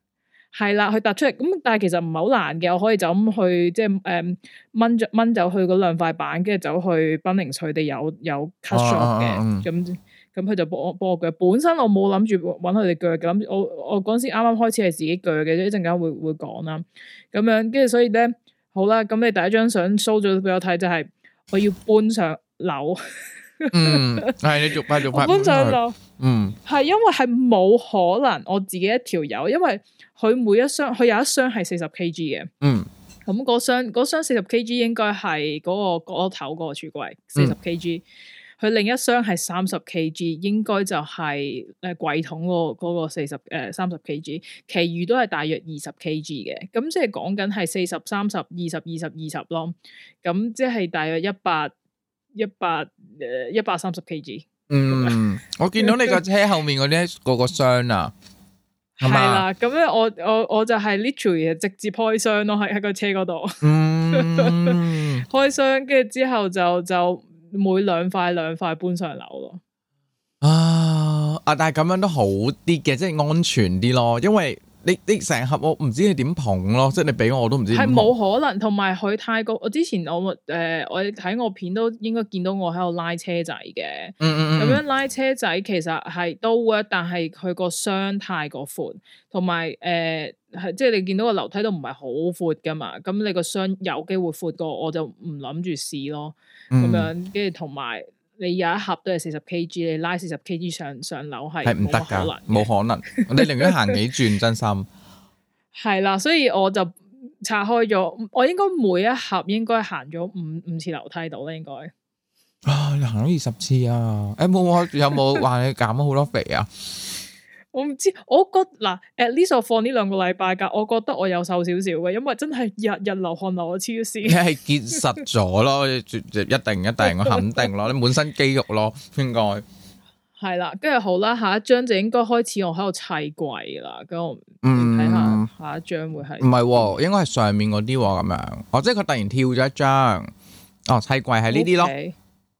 係啦，佢突出嚟咁，但係其實唔係好難嘅，我可以就咁去即係掹走去嗰兩塊板，跟住走去賓寧佢哋有 cut shop 嘅，咁佢就幫我鋸。本身我冇諗住揾佢哋鋸嘅，諗我嗰陣時啱啱開始係自己鋸嘅，一陣間會講啦。咁樣跟住所以咧，好啦，咁你第一張相 show 咗俾我睇，就係我要搬上樓。 係你逐塊搬上樓。係因為係冇可能我自己一條友，因為佢每一箱佢有一箱係40 kg 嘅。咁嗰箱40 kg 應該係嗰個角落頭嗰個櫥櫃40 kg。佢另一箱係30 kg，應該就係櫃桶嗰個30 kg，其餘都係大約20 kg 嘅。咁即係講緊係40、30、20、20、20咯。咁即係大約130 kg。 我見到你個車後面嗰啲個箱啊，係啦。咁咧我就係 literally 直接開箱咯，喺個車嗰度。開箱，跟住之後就每兩塊搬上樓咯。 但係咁樣都好啲嘅，即係安全啲咯。因為你成盒我唔知你點捧咯，即係你俾我都唔知點捧。係冇可能，同埋佢太過。我之前我睇我片都應該見到我喺度拉車仔嘅。咁樣拉車仔其實係都 work，但係佢個箱太過闊，同埋係即係你見到個樓梯都唔係好闊噶嘛。咁你個箱有機會闊過，我就唔諗住試咯。咁樣跟住同埋你有一盒都係40 kg， 你拉40 kg 上樓係唔得㗎， 冇可能。你寧願行幾轉，真心係啦。所以我就拆開咗，我應該每一盒應該行咗五次樓梯度啦，應該。 你行咗20次啊？有冇話你減咗好多肥啊？ 我唔知，我覺嗱，at least 我放呢2個禮拜假，我覺得我有瘦少少嘅，因為真係日日流汗流到黐線。你係結實咗咯，一定，我肯定咯，你滿身肌肉咯，應該係啦。跟住好啦，下一張就應該開始我喺度砌櫃啦。咁我睇下一張會係唔係？應該係上面嗰啲咁樣。即係佢突然跳咗一張。砌櫃係呢啲咯。 Okay.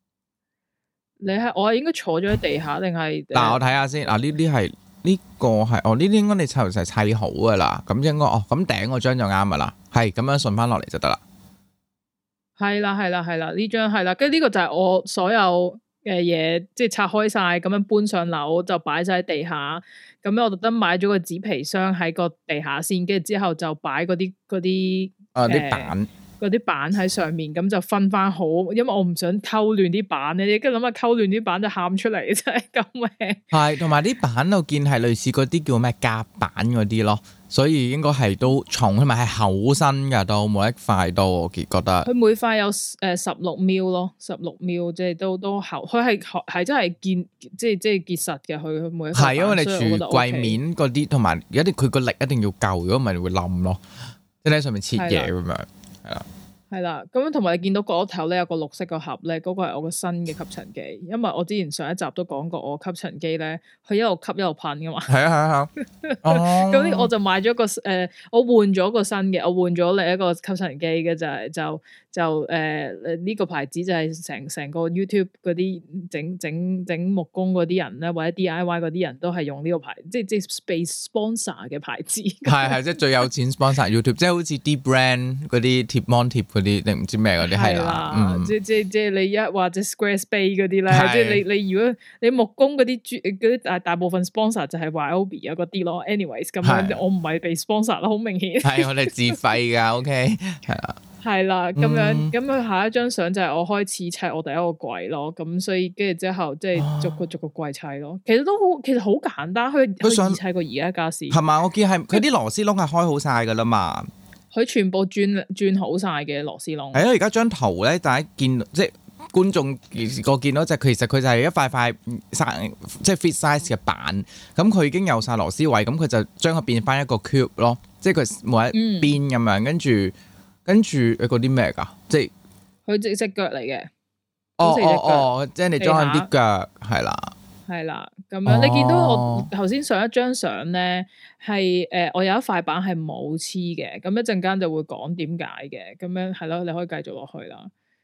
我係應該坐咗喺地下定係？ 嗱，我睇下先。呢啲係。呢個係呢啲應該你砌好噶啦，咁應該咁頂嗰張就啱噶啦，係咁樣順翻落嚟就得啦。係啦， 呢張係啦，跟住呢個就係我所有嘅嘢，即係拆開晒咁樣搬上樓就擺晒喺地下。咁樣我特登買咗個紙皮箱喺個地下先，跟住之後就擺嗰啲啲板。 嗰啲板喺上面，咁就分翻好，因為我唔想溝亂啲板咧，跟住諗下溝亂啲板就喊出嚟，真係咁嘅。係， 同埋啲板我見係類似嗰啲叫咩夾板嗰啲咯，所以應該係都重，同埋係厚身噶，都每一塊都我覺得。 佢每塊有16 ml 咯，16 ml 即係都厚，佢係真係即係結實嘅，佢每一塊。係因為你櫥櫃面嗰啲，同埋佢個力一定要夠，如果唔係會冧咯，即係喺上面切嘢咁樣。 係啦，咁樣同埋你見到角落頭咧有個綠色個盒咧，嗰個係我個新嘅吸塵機，因為我之前上一集都講過，我吸塵機咧佢一路吸一路噴噶嘛。係啊。咁呢我就買咗個我換咗個新嘅，我換咗另一個吸塵機嘅就呢個牌子就係成個 YouTube 嗰啲整木工嗰啲人咧，或者 DIY 嗰啲人都係用呢個牌，即係被 sponsor 嘅牌子。係即係最有錢 sponsor YouTube，即係好似啲 brand 嗰啲貼 mon 貼嗰啲定唔知咩嗰啲係啦。 即係你或者 Squarespace 嗰啲咧，即係你如果你木工嗰啲大部分 sponsor 就係 Ryobi 啊嗰啲咯。anyways 咁樣我唔係被 sponsor 啦，好明顯。係我哋自費噶，OK 係啦。 係啦，咁樣下一張相就係我開始砌我第一個櫃咯，咁所以跟住之後即係逐個櫃砌咯。其實好簡單，佢易砌過而家家私。 係嘛？我見係佢啲螺絲窿係開好晒噶啦嘛。 佢全部轉好晒嘅螺絲窿。 係啊，而家張圖咧，大家見即係觀眾個見到其實佢就係一塊即係 fit size 嘅板，咁佢已經有晒螺絲位，咁佢就將佢變翻一個 cube 咯，即係佢每一邊咁樣，跟住嗰啲咩㗎？即係佢隻腳嚟嘅。 即係你裝緊啲腳係啦。 係啦，咁樣你見到我頭先上一張相咧，係我有一塊板係冇黐嘅，咁一陣間就會講點解嘅，咁樣係咯，你可以繼續落去啦。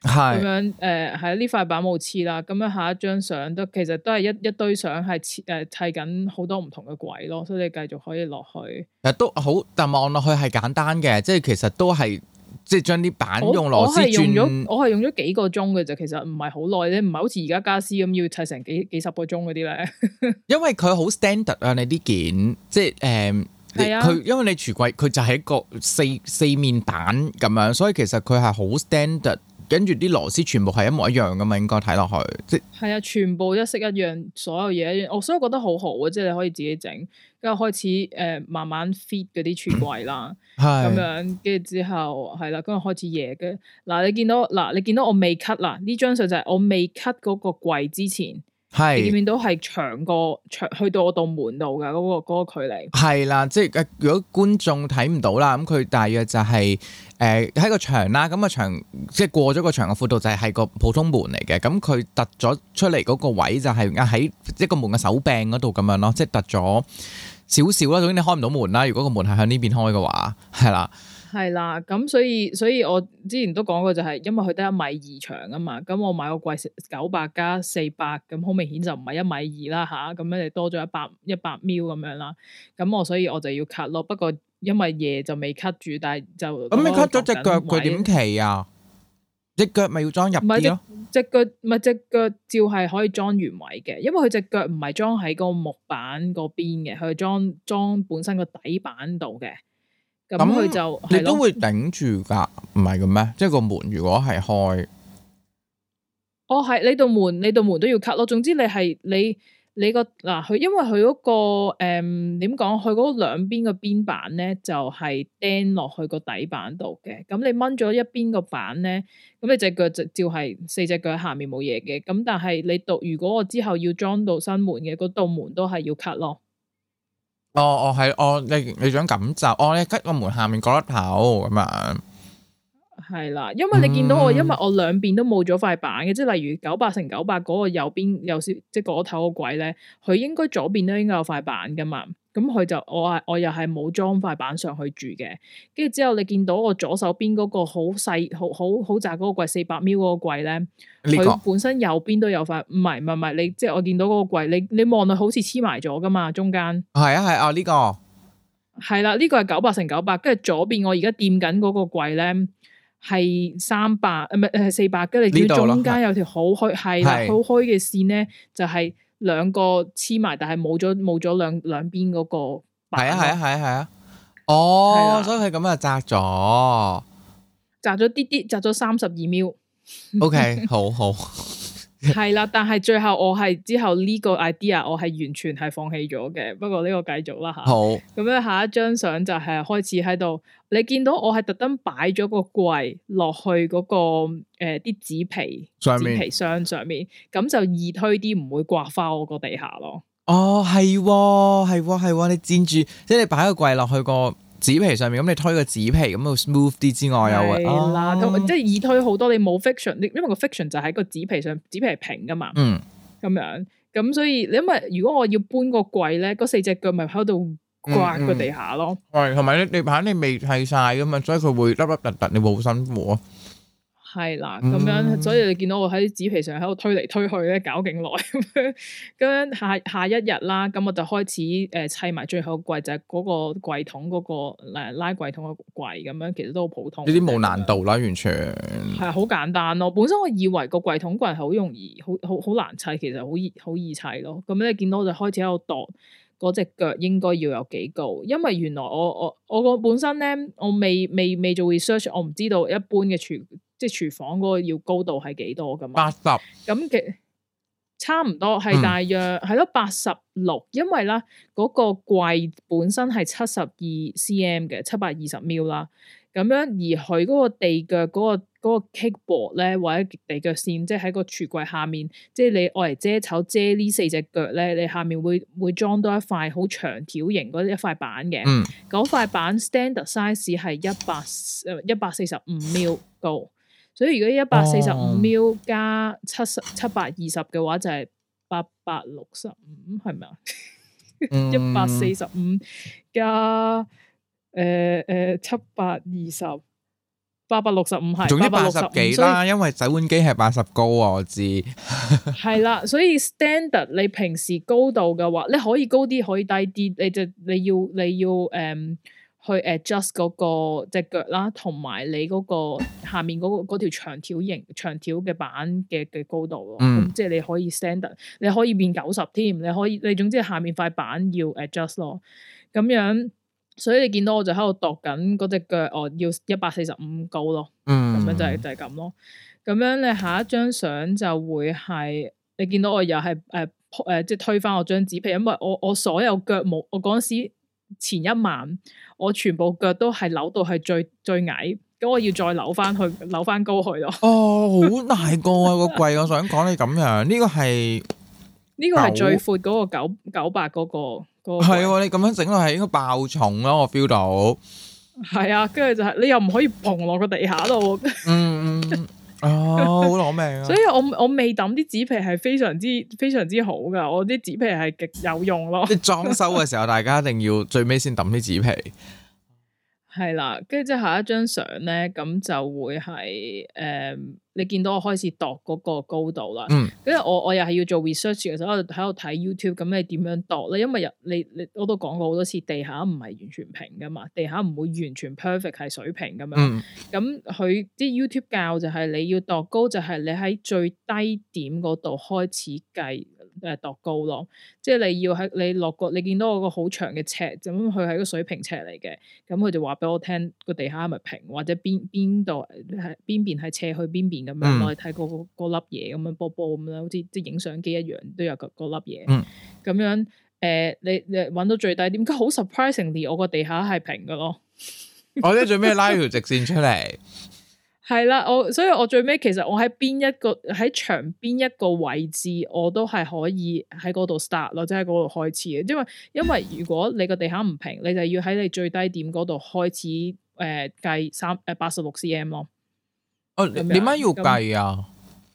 咁樣係呢塊板冇黐啦，咁樣下一張相其實都係一堆相係砌緊好多唔同嘅櫃咯，所以你繼續可以落去。其實都好，但望落去係簡單嘅，即係其實都係即係將啲板用螺絲轉。 我係用咗幾個鐘嘅啫，其實唔係好耐咧，唔係好似而家家私咁要砌成幾十個鐘嗰啲咧。因為佢好 standard 啊，你啲件即係佢因為你櫥櫃佢就係一個四面板咁樣，所以其實佢係好 standard。跟住啲螺絲全部係一模一樣噶嘛，應該睇落去，即係啊，全部一式一樣，所有嘢一樣。所以我覺得好好啊，即係你可以自己整，跟住開始慢慢 fit 嗰啲櫥櫃啦，咁樣跟住之後係啦，跟住開始嘢嘅。嗱，你見到我未 cut 啦，呢張相就係我未 cut 嗰個櫃之前。你見唔見到係長去到我度門度嘅嗰個距離？係啦，即係如果觀眾睇唔到啦，咁佢大約就係喺個牆啦，咁個牆即係過咗個牆嘅闊度就係個普通門嚟嘅，咁佢突咗出嚟嗰個位就係喺一個門嘅手柄嗰度咁樣咯，即係突咗少少啦。總之你開唔到門啦，如果個門係向呢邊開嘅話，係啦。係啦，咁所以我之前都講過就係，因為佢得1.2米長啊嘛，咁我買個櫃900加400，咁好明顯就唔係1.2米啦吓，咁樣你多咗100 ml 咁樣啦，咁所以我就要 cut 咯，不過因為夜就未 cut 住，但係就咁你 cut 咗隻腳佢點企啊？隻腳咪要裝入啲咯？隻腳照係可以裝原位嘅，因為佢隻腳唔係裝喺個木板嗰邊嘅，佢係裝本身個底板度嘅。咁佢就你都會頂住噶，唔係嘅咩？即係個門如果係開，係你度門都要 cut 咯。總之你個嗱佢，因為佢嗰個點講，佢嗰兩邊個邊板咧就係釘落去個底板度嘅。咁你掹咗一邊個板咧，咁你隻腳就照係4隻腳喺下面冇嘢嘅。咁但係如果我之後要裝到新門嘅，嗰道門都係要 cut 咯。你想咁就你 cut 個門下面嗰粒頭咁樣，係啦，因為你見到因為我兩邊都冇咗塊板嘅，即係例如900×900嗰個右邊有少即係嗰頭個櫃咧，佢應該左邊都應該有塊板噶嘛，咁佢就我又係冇裝塊板上去住嘅，跟住之後你見到我左手邊嗰個好細好窄嗰個櫃400ml嗰個櫃咧，佢本身右邊都有塊，唔係你即係我見到嗰個櫃，你望落好似黐埋咗噶嘛，中間係啊呢個係啦，呢個係900×900，跟住左邊我而家掂緊嗰個櫃咧係300，唔係400，跟住你見中間有條好虛係啦，好虛嘅線咧就係兩個黐埋，但係冇咗兩邊嗰個板。係啊，所以佢咁啊窄咗啲，窄咗32ml。OK， 好。係啦，但係最後我係之後呢個 idea 我係完全係放棄咗嘅。不過呢個繼續啦吓。好。咁樣下一張相就係開始喺度，你見到我係特登擺咗個櫃落去嗰個啲紙皮箱上面，咁就易推啲，唔會刮花我個地下咯。係，你墊住，即係你擺個櫃落去個紙皮上面，咁你推個紙皮咁就 smooth 啲之外，又係啦，即係易推好多。你冇 friction，因為個 friction 就喺個紙皮上，紙皮係平噶嘛。咁樣咁所以，因為如果我要搬個櫃咧，嗰4隻腳咪喺度刮個地下咯。同埋你板你未砌晒噶嘛，所以佢會凹凹凸凸，你會好辛苦啊。係啦，咁樣，所以你見到我喺紙皮上喺度推嚟推去咧，搞勁耐咁樣。下一日啦，咁我就開始砌埋最後櫃，就係嗰個櫃桶嗰個拉櫃桶嘅櫃咁樣，其實都好普通。呢啲冇難度啦，完全係好簡單咯。本身我以為個櫃桶櫃係好容易，好難砌，其實好易砌咯。咁你見到我就開始喺度度嗰隻腳應該要有幾高，因為原來我個本身咧，我未做 research， 我唔知道一般嘅廚房嗰個要高度係幾多噶嘛？80咁嘅差唔多係大約係咯86，因為啦嗰個櫃本身係72cm 嘅720ml啦，咁樣而佢嗰個地腳嗰個 kickboard 咧，或者地腳線，即係喺個櫥櫃下面，即係你愛嚟遮醜遮呢4隻腳咧，你下面會裝多一塊好長條形嗰一塊板嘅，嗰塊板 standard size 係145ml高。所以如果145ml 加720嘅話，就係865，係咪啊？145加720 865係， 總之80幾啦，因為洗碗機係80高啊，我知。 係啦，所以 standard 你平時高度嘅話，你可以高啲，可以低啲，你要去 adjust 嗰個隻腳啦，同埋你嗰個下面嗰條長條嘅板嘅高度咯。咁即係你可以 standard，你可以變90添，你總之下面塊板要 adjust 咯。咁樣，所以你見到我就喺度度緊嗰隻腳，要145高咯。咁樣就係咁咯。咁樣你下一張相就會係你見到我又係即係推翻我張紙皮，因為我所有腳冇，我嗰陣時前一晚我全部腳都係扭到係最矮，咁我要再扭翻高去咯。哦， 好大個啊個櫃，我想講你咁樣，呢個係最闊嗰個900嗰個係喎，你咁樣整落係應該爆重咯，我 feel 到。係啊，跟住就係你又唔可以掤落個地下度。 好攞命啊！ 所以我未抌啲紙皮係非常之好噶，我啲紙皮係極有用咯。 即係裝修嘅時候，大家一定要最尾先抌啲紙皮。 係啦，跟住之後下一張相咧，咁就會係你見到我開始度嗰個高度啦。跟住我又係要做 research 嘅時候，我喺度睇 YouTube，咁你點樣度咧？因為你我都講過好多次，地下唔係完全平噶嘛，地下唔會完全 perfect 係水平咁樣。咁佢啲 YouTube 教就係你要度高，就係你喺最低點嗰度開始計度高咯。即係你要喺你落個，你見到我個好長嘅尺，咁佢係個水平尺嚟嘅。咁佢就話俾我聽個地下係咪平，或者邊度係邊邊係斜去邊邊咁樣，我哋睇嗰粒嘢咁樣波波咁樣，好似即係影相機一樣，都有嗰粒嘢。咁樣你揾到最低點，好 surprisingly，我個地下係平嘅咯。 我咧最尾拉條直線出嚟。 係啦，所以我最尾其實我喺牆邊一個位置，我都係可以喺嗰度 start 咯，即係喺嗰度開始嘅。因為如果你個地下唔平，你就要喺你最低點嗰度開始計86 cm 咯。點解要計啊？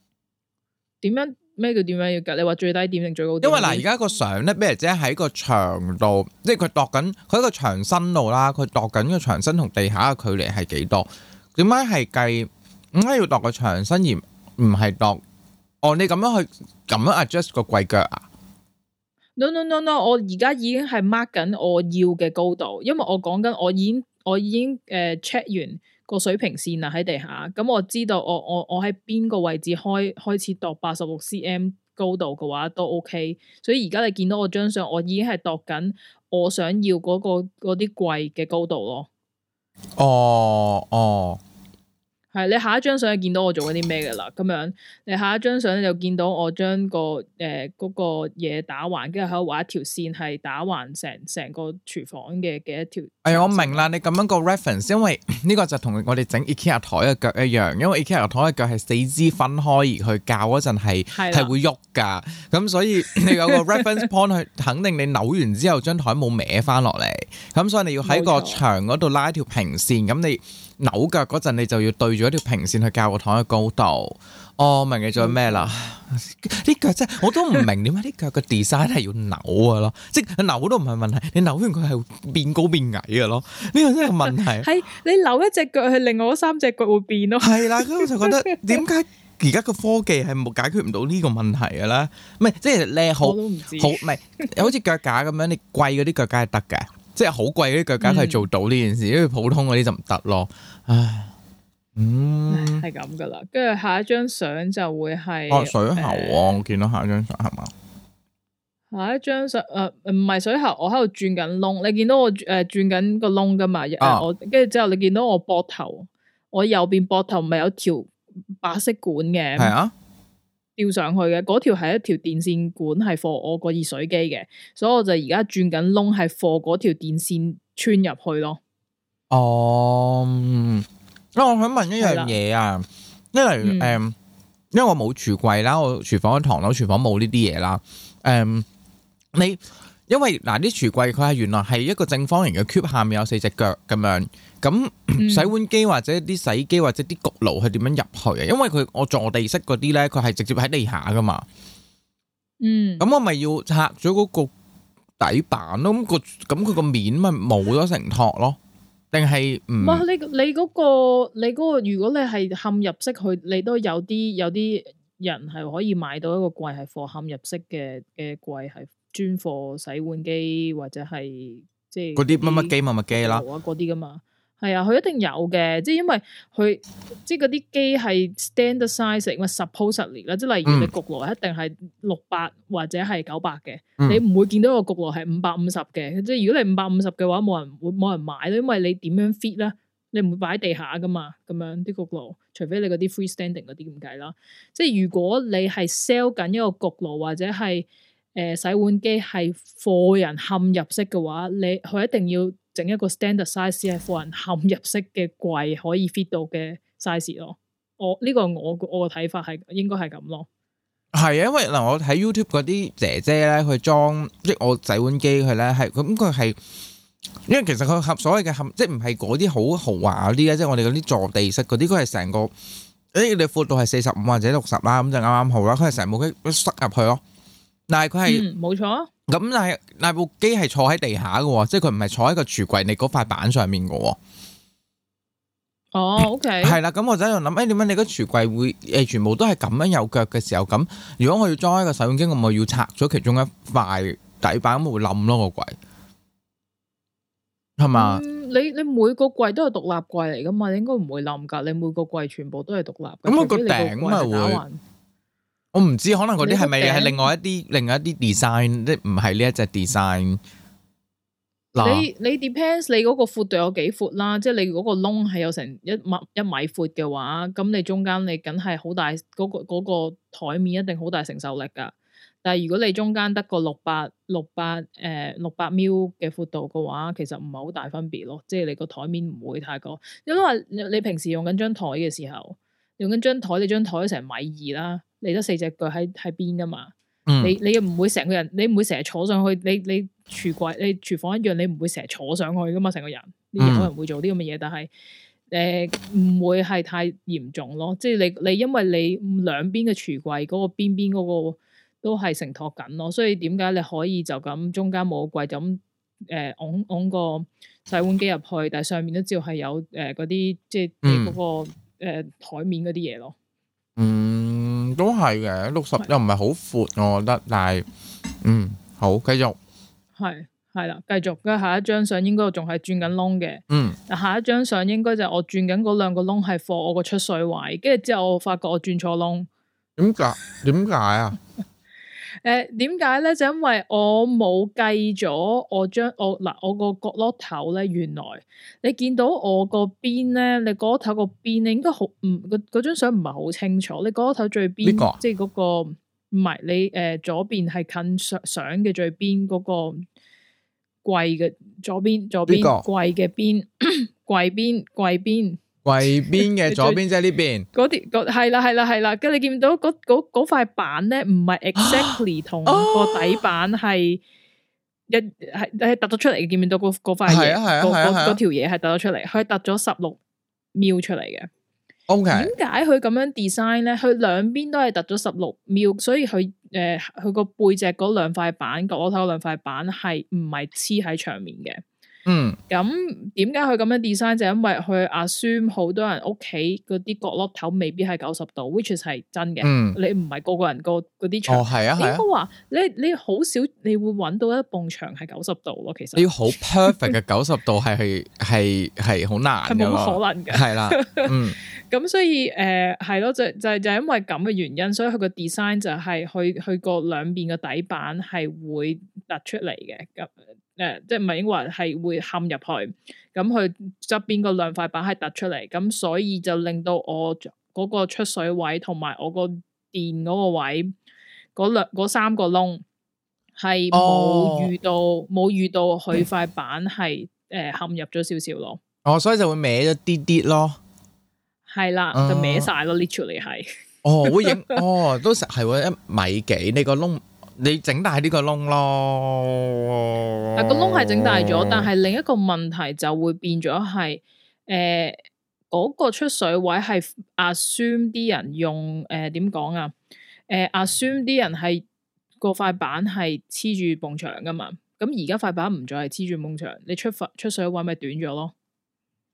咩叫點樣要計？你話最低點定最高點？ 因為嗱，而家個相咧，比如即係喺個牆度，即係佢度緊佢喺個牆身度啦，佢度緊個牆身同地下嘅距離係幾多？點解係計？點解要度個牆身而唔係度？你咁樣去咁樣 adjust 個櫃腳啊 ？No， 我而家已經係 mark 緊我要嘅高度，因為我講緊我已經check 完個水平線啦喺地下，咁我知道我喺邊個位置開始度86 cm 高度嘅話都 OK，所以而家你見到我張相，我已經係度緊我想要嗰啲櫃嘅高度咯。係你下一張相就見到我做緊啲咩嘅啦，咁樣你下一張相咧就見到我將嗰個嘢打橫，跟住喺度畫一條線，係打橫成個廚房嘅一條。 我明啦，你咁樣個 reference，因為呢個就同我哋整 IKEA 台嘅腳一樣，因為 IKEA 台嘅腳係四肢分開而去校嗰陣係會喐噶，咁所以你有個 reference point 去肯定你扭完之後張台冇歪翻落嚟，咁所以你要喺個牆嗰度拉一條平線，咁你扭腳嗰陣你就要對住一條平線去校個台嘅高度。明你做咩啦？啲腳真係我都唔明點解啲腳嘅 design 係要扭嘅咯，即係扭都唔係問題，你扭完佢係變高變矮嘅咯，呢個真係問題。 係你扭一隻腳，係另外嗰3隻腳會變咯。 係啦，咁我就覺得點解而家個科技係冇解決唔到呢個問題嘅咧？唔係即係你好唔係好似腳架咁樣，你貴嗰啲腳架係得嘅，即係好貴嗰啲腳架係做到呢件事，因為普通嗰啲就唔得咯。唉。 係咁噶啦，跟住下一張相就會係水喉我見到下一張相係嘛？ 下一張相唔係水喉，我喺度轉緊窿，你見到我轉緊個窿噶嘛？我跟住之後你見到我膊頭，我右邊膊頭唔係有條白色管嘅，係啊，吊上去嘅嗰條係一條電線管，係放我個熱水機嘅，所以我就而家轉緊窿，係放嗰條電線穿入去咯。 我想問一樣嘢啊，因為因為我冇櫥櫃啦，我廚房嘅唐樓廚房冇呢啲嘢啦。你因為啲櫥櫃佢係原來係一個正方形嘅 cube， 下面有4隻腳咁樣，咁洗碗機或者啲洗衣機或者啲焗爐係點樣入去啊？因為我坐地式嗰啲咧，佢係直接喺地下噶嘛。咁我咪要拆咗嗰個底板咯，咁佢個面咪冇咗承托咯。 定係唔？ 唔係你嗰個，如果你係嵌入式，佢你都有啲人係可以買到一個櫃係放嵌入式嘅櫃，係專貨洗碗機或者係即係嗰啲乜乜機啦， 嗰啲噶嘛。係啊，佢一定有嘅，即係因為佢即係嗰啲機係 standard size，咪 supposedly 啦，即係例如你焗爐一定係600或者係900嘅，你唔會見到個焗爐係550嘅，即係如果你550嘅話，冇人買咯，因為你點樣 fit 咧？你唔會擺喺地下噶嘛，咁樣啲焗爐，除非你嗰啲 freestanding 嗰啲咁計啦。即係如果你係 sell 緊一個焗爐或者係洗碗機係貨人嵌入式嘅話，佢一定要整一個 standard size 係貨人嵌入式嘅櫃可以 fit 到嘅 size 咯。呢個我個睇法係應該係咁咯。 係啊，因為嗱我睇 YouTube 嗰啲姐姐咧，佢裝即係我洗碗機佢咧係咁佢係。因為其實佢所謂嘅嵌，即係唔係嗰啲好豪華嗰啲咧，即係我哋嗰啲坐地式嗰啲，佢係成個你闊度係45或者60啦，咁就啱啱好啦。佢係成部機塞入去咯，但係佢係冇錯。 咁但係部機係坐喺地下嘅，即係佢唔係坐喺個櫥櫃你嗰塊板上面嘅。 哦，OK， 係啦，咁我就喺度諗，點解你個櫥櫃會全部都係咁樣有腳嘅時候，咁如果我要裝一個洗碗機，我咪要拆咗其中一塊底板，咁會冧咯個櫃。係嘛？你每個櫃都係獨立櫃嚟噶嘛？你應該唔會冧噶。你每個櫃全部都係獨立。 咁佢個頂咪會？我唔知，可能嗰啲係咪係另外一啲 design， 即係唔係呢一隻 design。 你 depends 你嗰個闊度有幾闊啦，即係你嗰個窿係有成1米闊嘅話，咁你中間你梗係好大嗰個台面一定好大承受力噶。但係如果你中間得個600 mil 嘅闊度嘅話，其實唔係好大分別咯，即係你個台面唔會太過，因為你平時用緊張台嘅時候，用緊張台，你張台成1.2米啦，你得4隻腳喺邊噶嘛，你又唔會成個人，你唔會成日坐上去，你櫥櫃你廚房一樣，你唔會成日坐上去噶嘛，成個人，有人會做啲咁嘅嘢，但係唔會係太嚴重咯，即係你因為你兩邊嘅櫥櫃嗰個邊嗰個。都係承托緊咯，所以點解你可以就咁中間冇櫃就咁㧬個洗碗機入去，但係上面都照係有嗰啲即係嗰個台面嗰啲嘢咯。 都係嘅，60又唔係好闊，我覺得，但係好繼續係啦，繼續。跟下一張相應該仲係轉緊窿嘅。下一張相應該就係我轉緊嗰兩個窿係放我個出水位，跟住之後我發覺我轉錯窿。 點解啊？ 點解咧？就因為我冇計咗我個角落頭咧，原來你見到我個邊咧，你角落頭個邊你應該好嗰張相唔係好清楚。你角落頭最邊，即係嗰個唔係你左邊係近相嘅最邊嗰個櫃嘅左邊櫃嘅邊櫃邊。 櫃邊嘅左邊即係呢邊， 嗰啲係啦，跟住你見到嗰塊板咧，唔係 exactly 同個底板係突咗出嚟嘅，見唔見到嗰塊嘢？嗰條嘢係突咗出嚟，佢突咗16 mil 出嚟嘅。 OK， 點解佢咁樣 design 咧？佢兩邊都係突咗16 mil，所以佢個背脊嗰兩塊板，角落頭嗰兩塊板係唔係黐喺牆面嘅？咁點解佢咁樣 design 就因為佢 assume 好多人屋企嗰啲角落頭未必係90度 ，which is 係真嘅。你唔係個個人嗰啲牆，應該話你好少你會揾到一埲牆係90度咯。其實你要好 perfect 嘅90度係好難，係冇可能嘅。 係啦， 咁所以係咯，就因為咁嘅原因，所以佢個 design 就係佢個兩邊嘅底板係會突出嚟嘅。咁即係唔係應該話係會嵌入去，咁佢側邊嗰兩塊板係突出嚟，咁所以就令到我嗰個出水位同埋我個電嗰個位嗰3個窿係冇遇到佢塊板係嵌入咗少少咯。 所以就會歪咗啲啲咯。 係啦，就歪晒咯 literally 係。 會影都實係喎，1米幾你個窿。你整大呢個窿咯， 個窿係整大咗，但係另一個問題就會變咗係，嗰個出水位係 assume 啲人用點講啊？assume 啲人係個塊板係黐住埲牆噶嘛，咁而家塊板唔再係黐住埲牆，你出水位咪短咗咯。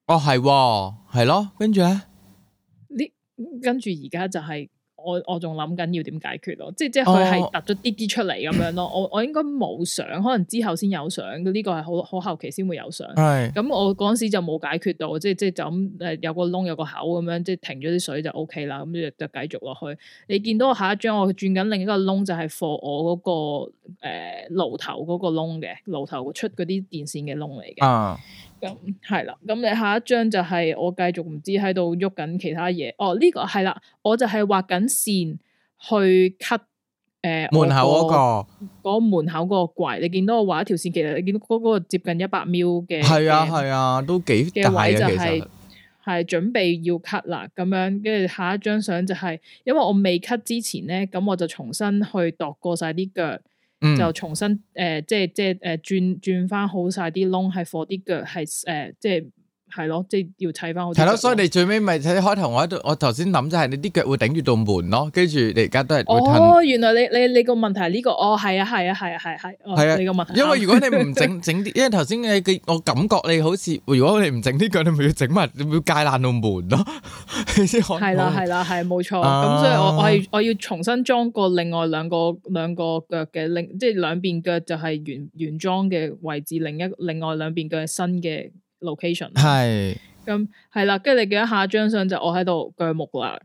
哦，係喎，係咯，跟住咧， 跟住而家就係我仲諗緊要點解決咯，即係佢係突咗啲出嚟咁樣咯。我應該冇相，可能之後先有相。呢個係好後期先會有相。係咁，我嗰陣時就冇解決到，即係就咁有個窿有個口咁樣，即係停咗啲水就 OK 啦。咁就繼續落去。你見到我下一張我轉緊另一個窿，就係 for 我嗰個爐頭嗰個窿嘅爐頭出嗰啲電線嘅窿嚟嘅。咁係啦，咁你下一張就係我繼續唔知喺度喐緊其他嘢。哦，呢個係啦，我就係畫緊線去 cut 門口嗰個門口嗰個櫃。你見到我畫一條線，其實你見到嗰個接近100 ml 嘅， 係啊，都幾大嘅其實。 係準備要 cut 啦，咁樣跟住下一張相就係，因為我未 cut 之前咧，咁我就重新去度過晒啲腳。就重新即係轉翻好晒啲窿，係放啲腳係即係咯，即係要砌翻好。係咯， 所以你最尾咪睇開頭我頭先諗就係你啲腳會頂住道門咯，跟住你而家都係哦，原來你個問題係呢個，哦係啊，你個問題。 因為如果你唔整啲，因為頭先我感覺你好似，如果你唔整啲腳，你咪要整埋，你要戒爛道門咯。 係啦，係冇錯。咁所以我要重新裝過另外兩個腳嘅即係兩邊腳就係原裝嘅位置，另外兩邊腳係新嘅location。係咁係啦，跟住你記得下一張相就我喺度鋸木啦。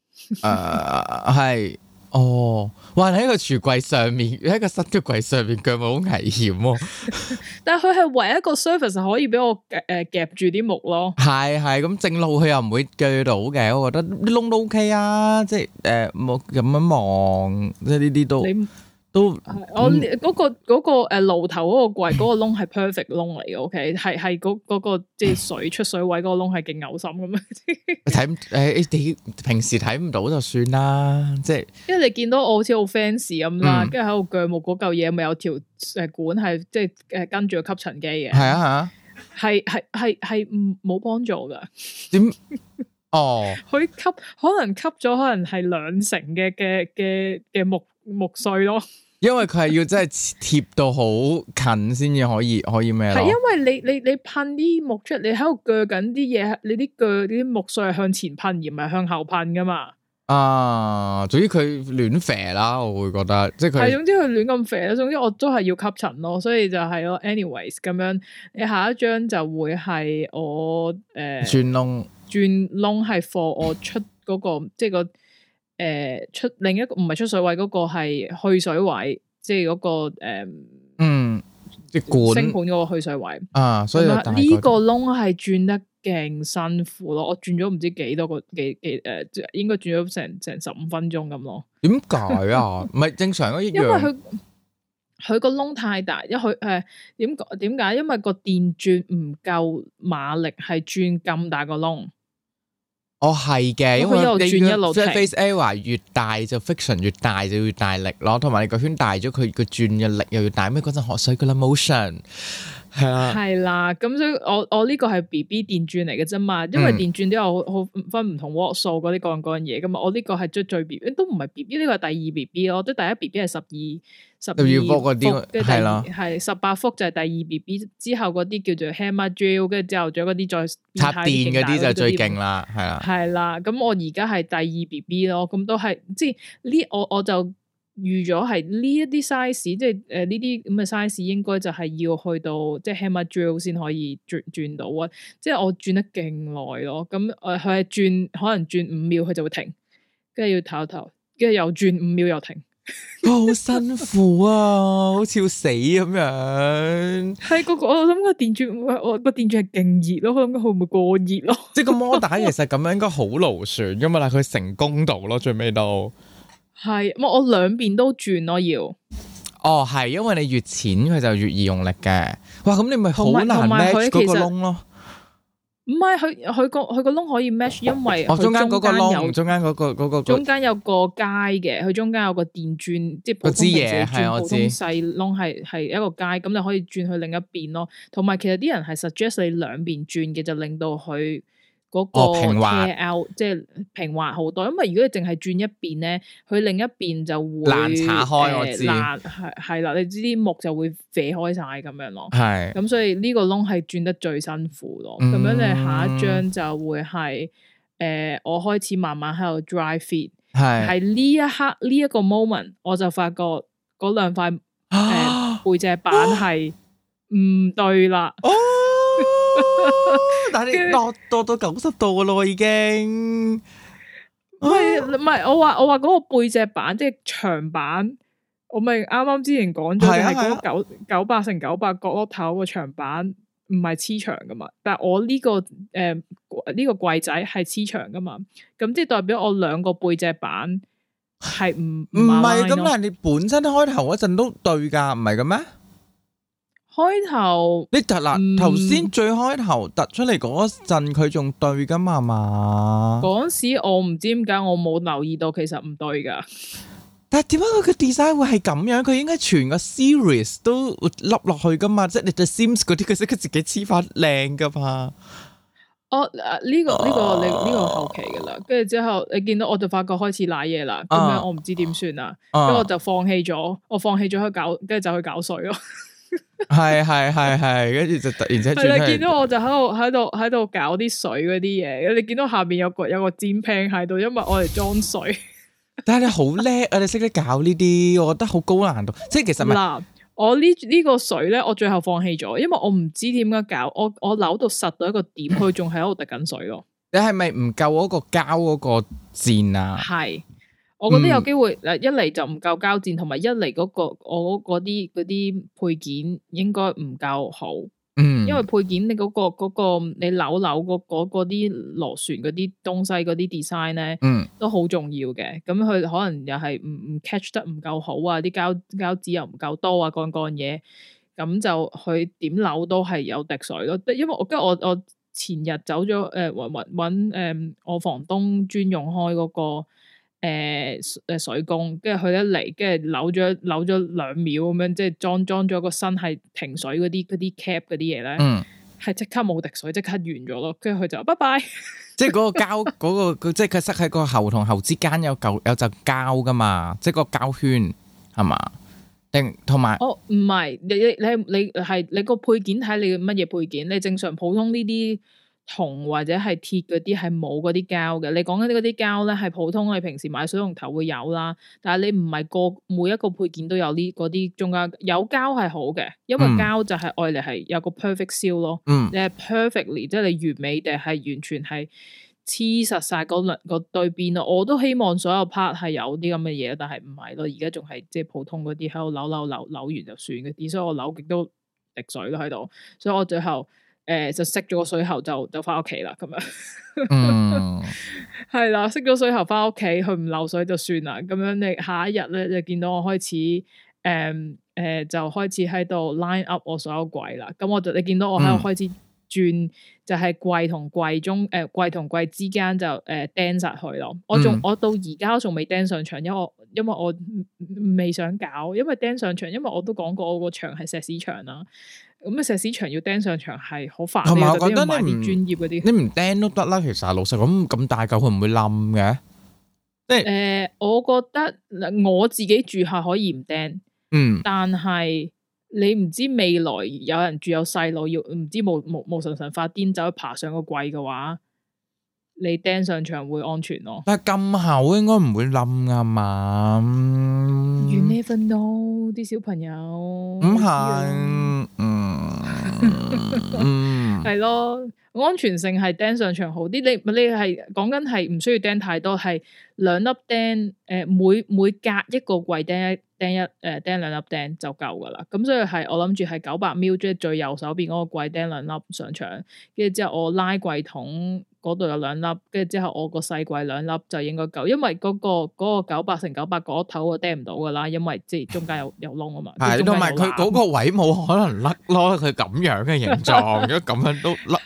係哦，哇！喺個櫥櫃上面，喺個新嘅櫃上面鋸木好危險喎。 但係佢係唯一一個 surface 可以俾我夾住啲木咯。係咁正路佢又唔會鋸到嘅，我覺得啲窿都 OK 啊，即係冇咁樣望，即係呢啲都我嗰個爐頭嗰個櫃嗰個窿係 perfect 窿嚟嘅，OK 係嗰個即係水出水位嗰個窿係勁嘔心咁樣。 你平時睇唔到就算啦，即係因為你見到我好似好 fancy 咁啦，跟住喺度鋸木嗰嚿嘢，咪有條管係即係跟住個吸塵機嘅。係啊，係冇幫助噶。點？哦，佢可能吸咗可能係2成嘅木碎咯，因為佢係要真係貼到好近先至可以咩咯？ 係因為你噴啲木出嚟，你喺度鋸緊啲嘢，你啲木碎係向前噴而唔係向後噴噶嘛？ 總之佢亂肥啦，我會覺得即係佢係總之佢亂咁肥啦。總之我都係要吸塵咯，所以就係咯。anyways 咁樣，你下一張就會係我轉窿係 for 我出嗰個即係個。出另一個唔係出水位嗰個係去水位，即係嗰個即管星盤嗰個去水位所以呢個窿係轉得勁辛苦咯，我轉咗唔知幾多個應該轉咗成15分鐘咁咯。 點解啊？唔係正常一樣，因為佢個窿太大，因為佢點解？因為個電轉唔夠馬力，係轉咁大個窿。 係嘅，因為一路轉一路停， 即係 face area 越大就 friction 越大就越大力咯，同埋你個圈大咗，佢個轉嘅力又要大。咩嗰陣學水嘅啦 motion 係啊，係啦， 咁所以我呢個係 BB 電轉嚟嘅啫嘛，因為電轉都有好分唔同 watt 數嗰啲各樣嘢噶嘛。我呢個係最 BB 都唔係 BB，呢個係第2 BB 咯，即係第1 BB 係12伏嗰啲，係啦，係18伏就係第2 BB， 之後嗰啲叫做 hammer drill， 跟住之後仲有嗰啲再插電嗰啲就最勁啦，係啦， 係啦。咁我而家係第2 BB 咯，咁都係即係呢，我就預咗係呢一啲 size，即係呢啲咁嘅 size 應該就係要去到即係 hammer drill 先可以轉到啊！即係我轉得勁耐咯，咁佢係轉可能轉5秒佢就會停，跟住要唞一唞，跟住又轉5秒又停。 好辛苦啊，好似要死咁樣。 係我諗個電鑽，我個電鑽係勁熱咯，我諗佢會唔會過熱咯？ 即係個摩打其實咁樣應該好勞損噶嘛，但係佢成功到咯，最尾都係我兩邊都轉咯要。 係因為你越淺佢就越易用力嘅。哇，咁你咪好難 match 嗰個窿咯。 唔係佢個窿可以 match， 因為中間嗰個窿，中間嗰個中間有個階嘅，佢中間有個電鑽，即係普通嘢係我知細窿係一個階，咁你可以轉去另一邊咯。同埋其實啲人係 suggest 你兩邊轉嘅，就令到佢嗰個 tear out 即係平滑好多，因為如果你淨係轉一邊咧，佢另一邊就會爛岔開，我知係啦，你知啲木就會飛開晒咁樣咯。 係咁所以呢個窿係轉得最辛苦咯。咁樣你下一張就會係我開始慢慢喺度 dry fit， 係呢一刻呢一個 moment， 我就發覺嗰兩塊背脊板係唔對啦。 但係你落到90度噶咯，已經唔係我話嗰個背脊板即係長板，我咪啱啱之前講咗，係嗰個900x900角落頭個長板唔係黐牆噶嘛，但係我呢個呢個櫃仔係黐牆噶嘛，咁即係代表我兩個背脊板係唔係咁，但係你本身開頭嗰陣都對噶，唔係嘅咩？ 開頭你突嗱頭先最開頭突出嚟嗰陣，佢仲對噶嘛？嗰時我唔知點解我冇留意到，其實唔對噶。 但係點解佢嘅 design 會係咁樣？佢應該全個 series 都笠落去噶嘛？即係你 The Sims 嗰啲，佢識佢自己黐翻靚噶嘛？ 呢個後期噶啦，跟住之後你見到我就發覺開始瀨嘢啦，咁樣我唔知點算啦，咁我就放棄咗去搞，跟住就去搞水咯。 係，跟住就突然之間係啦， 見到我就喺度搞啲水嗰啲嘢，你見到下邊有個煎 pan 喺度，因為我嚟裝水。但係你好叻啊！你識得搞呢啲，我覺得好高難度。即係其實嗱，我呢個水咧，我最後放棄咗，因為我唔知點解搞，我扭到實到一個點，佢仲喺度滴緊水咯。 你係咪唔夠嗰個膠嗰個墊啊？係。 我覺得有機會，一嚟就唔夠膠墊，同埋一嚟我嗰啲配件應該唔夠好。因為配件你嗰個你扭嗰啲螺旋嗰啲東西嗰啲 design 咧，都好重要嘅。咁佢可能又係唔 catch 得唔夠好啊，啲膠紙又唔夠多啊，乾嘢，咁就佢點扭都係有滴水咯。因為我前日走咗搵我房東專用開嗰個。水工，跟住佢一嚟，跟住扭咗2秒咁樣，即係裝咗個身係停水嗰啲 cap 嗰啲嘢咧，係即刻冇滴水，即刻完咗咯。跟住佢就拜拜。即係嗰個膠嗰個，即係佢塞喺個喉同喉之間有陣膠噶嘛，即係個膠圈係嘛？定同埋唔係你係你個配件睇你乜嘢配件？你正常普通呢啲。銅或者係鐵嗰啲係冇嗰啲膠嘅，你講緊嗰啲膠咧係普通，你平時買水龍頭會有啦，但係你唔係每一個配件都有呢嗰啲中間有膠係好嘅，因為膠就係愛嚟係有個 perfect seal 咯，你係 perfectly 即係你完美地係完全係黐實晒嗰對邊咯，我都希望所有 part 係有啲咁嘅嘢，但係唔係咯，而家仲係即係普通嗰啲喺度扭完就算嘅啲，所以我扭極都滴水咯喺度，所以我最後。就熄咗個水喉就翻屋企啦，咁樣，係啦，熄咗水喉翻屋企，佢唔漏水就算啦。咁樣你下一日咧就見到我開始，就開始喺度 line up 我所有櫃啦。咁你見到我喺度開始轉，就係櫃同櫃中，櫃同櫃之間就釘實去咯。我到而家仲未釘上牆，因為我未想搞，因為釘上牆，因為我都講過我個牆係石屎牆啦。咁啊，石屎牆要釘上牆係好煩，同埋我覺得買啲專業嗰啲，你唔釘都得啦。其實老實咁大嚿，佢唔會冧嘅。即係我覺得我自己住下可以唔釘，但係你唔知未來有人住有細路要唔知無神發癲走去爬上個櫃嘅話，你釘上牆會安全咯。但係咁厚應該唔會冧噶嘛。You never know，啲小朋友唔係，係咯，安全性係釘上牆好啲。你係講緊係唔需要釘太多，係2粒釘，每隔一個櫃釘2粒釘就夠噶啦。咁所以係我諗住係900ml，即係最右手邊嗰個櫃釘2粒上牆，跟住之後我拉櫃桶嗰度有2粒，跟住之後我個細櫃2粒就應該夠，因為嗰個900x900嗰頭我釘唔到噶啦，因為即係中間有窿啊嘛。係，同埋佢嗰個位冇可能甩咯，佢咁樣嘅形狀，如果咁樣都甩，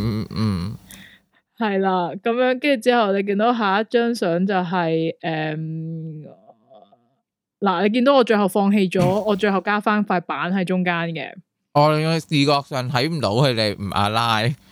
係啦，咁樣跟住之後你見到下一張相就係嗱，你見到我最後放棄咗，我最後加翻塊板喺中間嘅。我視覺上睇唔到佢哋唔 align。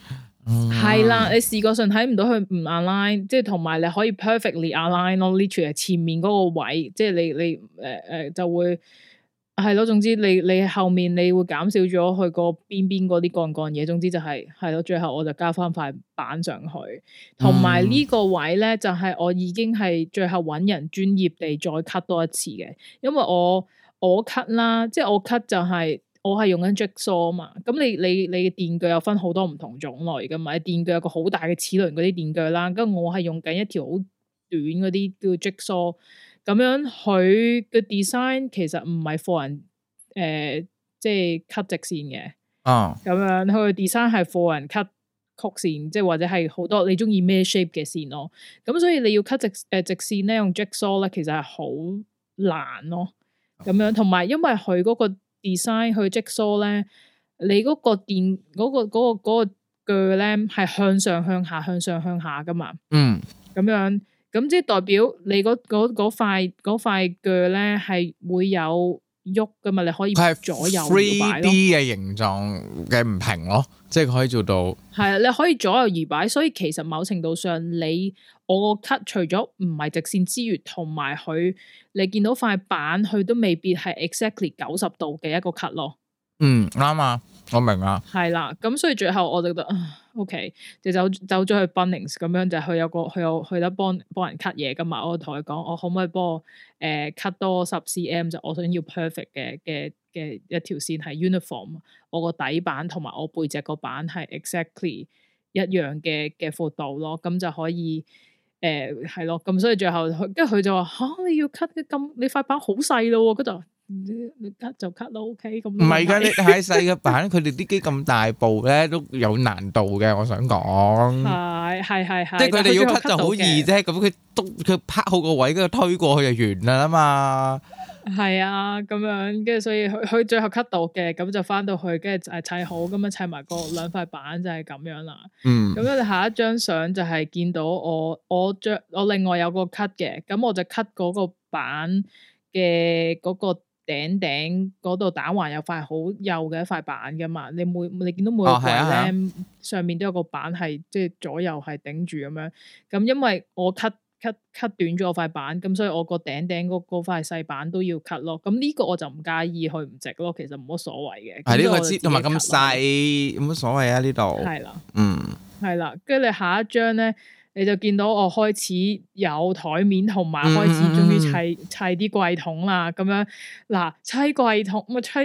係啦，你視覺上睇唔到佢唔 align，即係同埋你可以 perfectly align 咯，literally 係前面嗰個位，即係你就會係咯。總之你後面你會減少咗佢個邊嗰啲幹嘢。總之就係咯，最後我就加翻塊板上去，同埋呢個位咧就係我已經係最後揾人專業地再 cut 多一次嘅，因為我 cut 啦，即係我 cut 就係。我係用緊 Jigsaw 嘛，咁你嘅電鋸有分好多唔同種類噶嘛，電鋸有個好大嘅齒輪嗰啲電鋸啦，跟住我係用緊一條好短嗰啲叫 Jigsaw，咁樣佢嘅 design 其實唔係 for 人即係 cut 直線嘅，咁樣佢嘅 design 係 for 人 cut 曲線，即係或者係好多你中意咩 shape 嘅線咯，咁所以你要 cut 直線咧用 Jigsaw 咧其實係好難咯，咁樣同埋因為佢嗰個design 去 Jigsaw 咧，你嗰個電嗰個鋸咧係向上向下向上向下噶嘛，咁樣咁即係代表你嗰塊鋸咧係會有喐噶嘛，你可以左右搖擺咯。3D 嘅形狀嘅唔平咯，即係可以做到。係啊， 你可以左右搖擺，所以其實某程度上我個 cut 除咗唔係直線之餘，同埋佢你見到塊板佢都未必係 exactly 90度嘅一個 cut 咯。 啱啊，我明啊。 係啦，咁所以最後我就覺得OK， 就走咗去 Bunnings 咁樣，就佢得幫人 cut 嘢噶嘛。我同佢講，我可唔可以幫我cut 多10 cm， 就我想要 perfect 嘅一條線係 uniform， 我個底板同埋我背脊個板係 exactly 一樣嘅闊度咯，咁就可以。係咯，咁所以最後跟住佢就話你要 cut 咁，你塊板好細咯，跟住你 cut 就 cut 咯 ，OK 咁。唔係噶， 你太細嘅板，佢哋啲機咁大部咧都有難度嘅。我想講係，即係佢哋要 cut 就好易啫。咁佢拍好個位，跟住推過去就完啦嘛。 係啊，咁樣跟住所以佢最後 cut 到嘅，咁就翻到去跟住砌好，咁樣砌埋個兩塊板就係咁樣啦。咁樣下一張相就係見到我另外有個 cut 嘅，咁我就 cut 嗰個板嘅嗰個頂嗰度打橫有塊好幼嘅一塊板噶嘛。你見到每個櫃咧上面都有個板係即係左右係頂住咁樣。咁因為我 cut 短咗塊板，咁所以我個頂嗰塊細板都要 cut 咯。咁呢個我就唔介意佢唔直咯，其實冇乜所謂嘅。係呢個同埋咁細， 冇乜所謂啊呢度。 係啦，係啦，跟住你下一張咧，你就見到我開始有台面，同埋開始終於砌啲櫃桶啦。咁樣嗱，砌櫃桶咪砌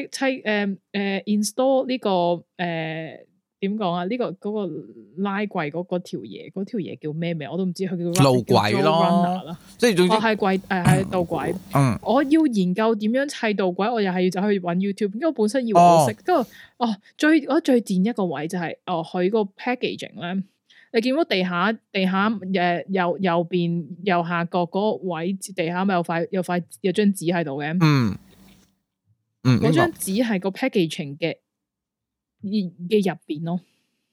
install 呢個點講啊？呢個嗰個拉櫃嗰條嘢叫咩名？我都唔知佢叫路軌咯，即係總之係櫃係導軌。我要研究點樣砌導軌，我又係要走去揾 YouTube，因為我本身以為我識。跟住我最賤一個位就係佢個 packaging 咧，你見到地下右邊右下角嗰個位地下咪有張紙喺度嘅。嗰張紙係個 packaging 嘅入邊咯，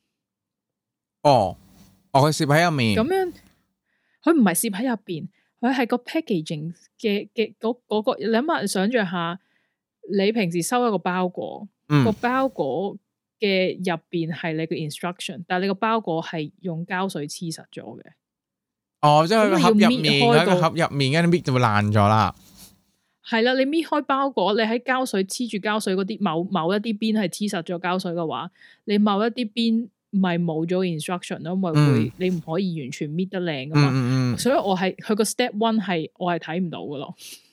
佢攝喺入面。 咁樣，佢唔係攝喺入邊，佢係個 packaging 嘅嗰個。你諗下，想象下，你平時收一個包裹，個包裹嘅入邊係你嘅 instruction， 但係你個包裹係用膠水黐實咗嘅。 即係佢個盒入面，喺個盒入面，跟住搣就會爛咗啦。 係啦，你搣開包裹，你喺膠水黐住膠水嗰啲某一啲邊係黐實咗膠水嘅話，你某一啲邊咪冇咗 instruction 咯，因為會你唔可以完全搣得靚噶嘛。所以我係佢個 step one 係我係睇唔到噶咯。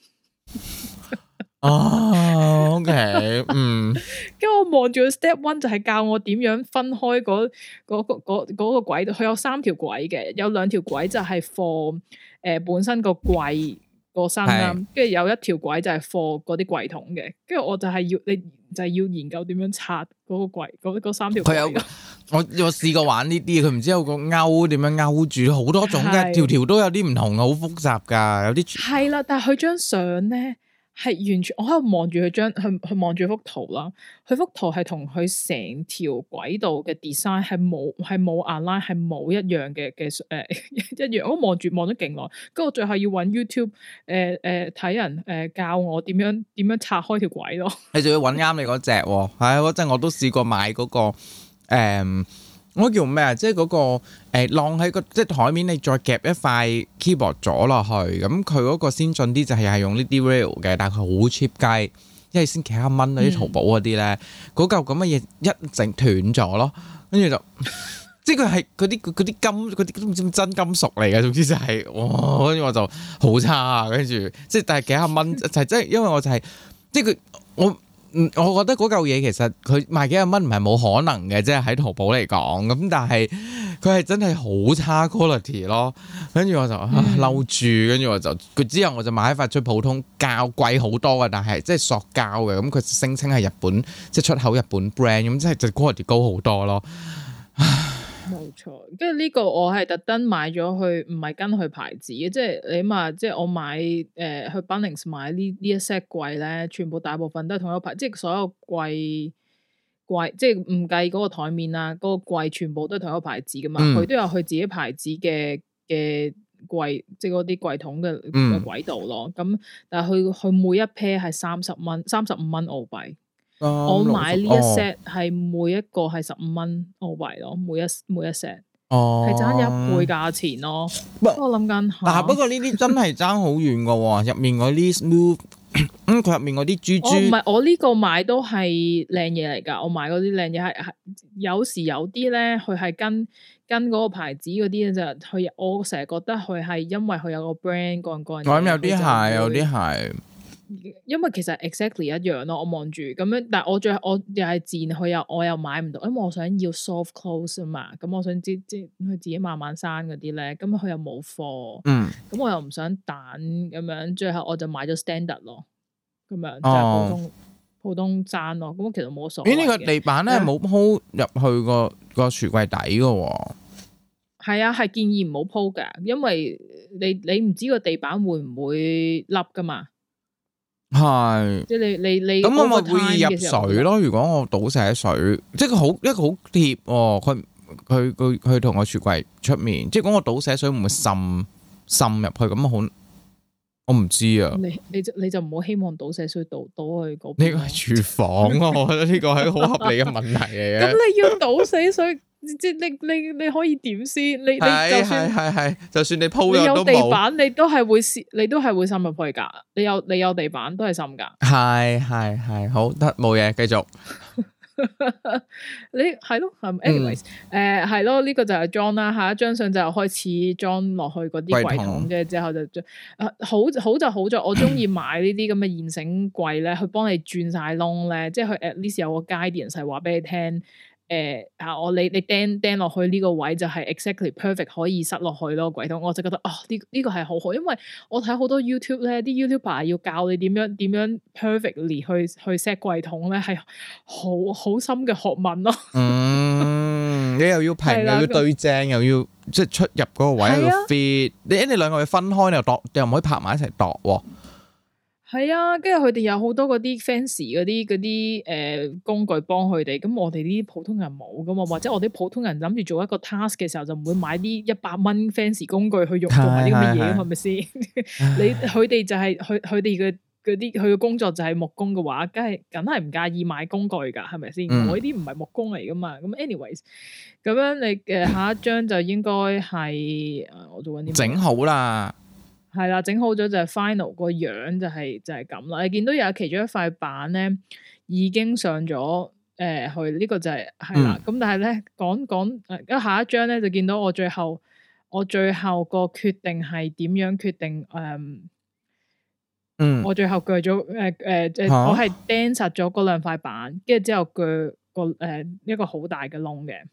OK， 跟住我望住個 step one 就係教我點樣分開嗰個軌道，佢有3條軌嘅，有2條軌就係 for 本身個櫃個身啦，跟住有一條軌就係貨嗰啲櫃桶嘅，跟住我就係要研究點樣拆嗰個櫃嗰3條軌。 我試過玩呢啲，佢唔知有個勾點樣勾住，好多種嘅，條都有啲唔同，好複雜噶，有啲係啦。但係佢張相咧係完全，我喺度望住佢望住幅圖啦。佢幅圖係同佢成條軌道嘅 design 係冇 align， 係冇一樣嘅一樣。我望咗勁耐，跟住我最後要揾 YouTube 睇人教我點樣拆開條軌咯。 你仲要揾啱你嗰隻喎，係嗰陣我都試過買嗰個我叫咩啊？即係嗰個晾喺個即係台面，你再夾一塊 keyboard 咗落去，咁佢嗰個先進啲就係用呢啲 rail 嘅，但係佢好 cheap 雞，因為先幾廿蚊嗰啲淘寶嗰啲咧，嗰嚿咁嘅嘢一整斷咗咯，跟住就即係佢係嗰啲金嗰啲都唔知真金屬嚟嘅，總之就係哇，跟住我就好差啊，跟住即係但係幾廿蚊就係即係因為我就係即係佢我覺得嗰嚿嘢其實佢賣幾廿蚊唔係冇可能嘅，即係喺淘寶嚟講咁，但係佢係真係好差 quality 咯。跟住我就嬲住，跟住我就佢之後我就買一塊最普通膠，貴好多嘅，但係即係塑膠嘅，咁佢聲稱係日本即係出口日本 brand，咁即係就 quality 高好多咯。 冇錯，跟住呢個我係特登買咗去，唔係跟佢牌子嘅，即係你話即係我買去 Bunnings 買呢一 set 櫃咧，全部大部分都係同一個牌，即係所有櫃即係唔計嗰個台面啊，嗰個櫃全部都係同一個牌子噶嘛，佢都有佢自己牌子嘅櫃，即係嗰啲櫃桶嘅軌道咯。咁但係佢每一 pair 係35蚊澳幣。我買呢一 set 係每一個係15蚊澳幣咯，每一 set 係爭一倍價錢咯。我諗緊， 嗱不過呢啲真係爭好遠噶喎，入面嗰啲 smooth，佢入面嗰啲珠珠。唔係， 我呢個買都係靚嘢嚟噶，我買嗰啲靚嘢係有時有啲咧，佢係跟嗰個牌子嗰啲就佢，我成日覺得佢係因為佢有個 brand 個人。 我諗有啲係，有啲係。 因為其實 exactly 一樣咯，我望住咁樣，但係我又係賤，我又買唔到，因為我想要 soft close 啊嘛，咁我想知佢自己慢慢生嗰啲咧，咁佢又冇貨，咁我又唔想等咁樣，最後我就買咗 standard 咯，咁樣就係普通爭咯，咁其實冇所謂嘅。呢個地板咧冇鋪入去個櫥櫃底噶喎。 係啊，係建議唔好鋪噶，因為你唔知個地板會唔會凹噶嘛。 係， 即係你咁我咪會入水咯。如果我倒瀉水，即係佢一個好貼喎。佢同我櫥櫃出面，即係講我倒瀉水唔會滲入去咁好。我唔知啊。 你就唔好希望倒瀉水倒去嗰邊。 呢個係廚房啊，我覺得呢個係好合理嘅問題嚟嘅。 咁你要倒瀉水？即係你可以點先？你就算係，就算你鋪咗都冇。 你有地板，你都係會滲入去㗎。你有地板都係滲㗎。 係，好得冇嘢，繼續。 你係咯，anyways，係咯，呢個就係裝啦。下一張相就開始裝落去嗰啲櫃桶嘅，之後就好就好在我中意買呢啲咁嘅現成櫃咧，去幫你轉晒窿咧，即係佢 at least 有個 guidance 係話俾你聽。你釘落去呢個位就係 exactly perfect 可以塞落去咯櫃桶，我就覺得呢個係好好，因為我睇好多 YouTube 咧，啲 YouTuber 要教你點樣 perfectly 去 set 櫃桶咧，係好深嘅學問咯。你又要平，又要對正，又要即係出入嗰個位要 fit，你兩個要分開，你又唔可以拍埋一齊度喎。 係啊，跟住佢哋有好多嗰啲 fancy 嗰啲工具幫佢哋，咁我哋呢啲普通人冇噶嘛，或者我哋普通人諗住做一個 task 嘅時候，就唔會買啲100蚊 fancy 工具去用做埋啲咁嘅嘢，係咪先？佢哋就係佢哋嘅嗰啲，佢嘅工作就係木工嘅話，梗係唔介意買工具噶，係咪先？我呢啲唔係木工嚟噶嘛。咁 anyways， 咁樣你下一張就應該係我做緊啲整好啦。 係啦，整好咗就係 final 個樣就係咁啦。你見到有其中一塊板咧已經上咗去，呢個就係啦。咁但係咧講下一張咧就見到我最後個決定係點樣決定我最後鋸咗我係釘實咗嗰兩塊板，跟住之後鋸一個好大嘅窿嘅。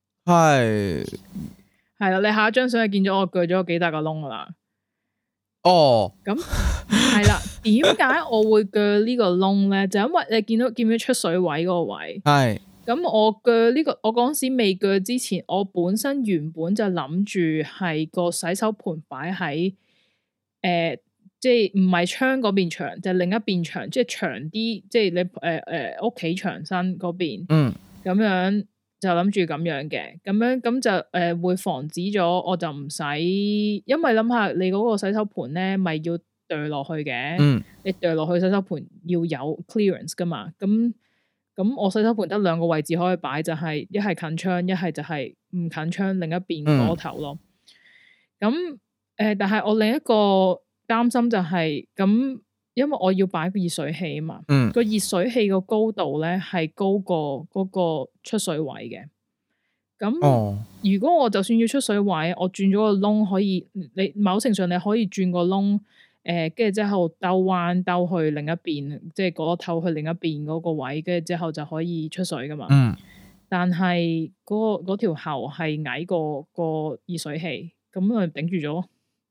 係啦，你下一張相係見咗我鋸咗幾大個窿噶啦。咁係啦，點解我會鋸呢個窿咧？就因為你見唔見出水位嗰個位？係。咁我鋸呢個，我嗰時未鋸之前，我原本就諗住係個洗手盤擺喺即係唔係窗嗰邊牆，就係另一邊牆，即係長啲，即係你屋企牆身嗰邊。咁樣。就諗住咁樣嘅，咁就會防止咗，我就唔使，因為諗下你嗰個洗手盤咧，咪要墜落去嘅，你墜落去洗手盤要有 clearance 噶嘛，咁咁我洗手盆得兩個位置可以擺，就係一係近窗，一係就係唔近窗另一邊嗰頭咯。咁但係我另一個擔心就係咁，因為我要擺個熱水器啊嘛。個熱水器個高度咧係高過嗰個出水位嘅。咁如果我就算要出水位，我轉咗個窿，可以你某程度上你可以轉個窿，跟住之後兜彎兜去另一邊，即係嗰頭去另一邊嗰個位，跟住之後就可以出水噶嘛。但係嗰條喉係矮過個熱水器，咁咪頂住咗。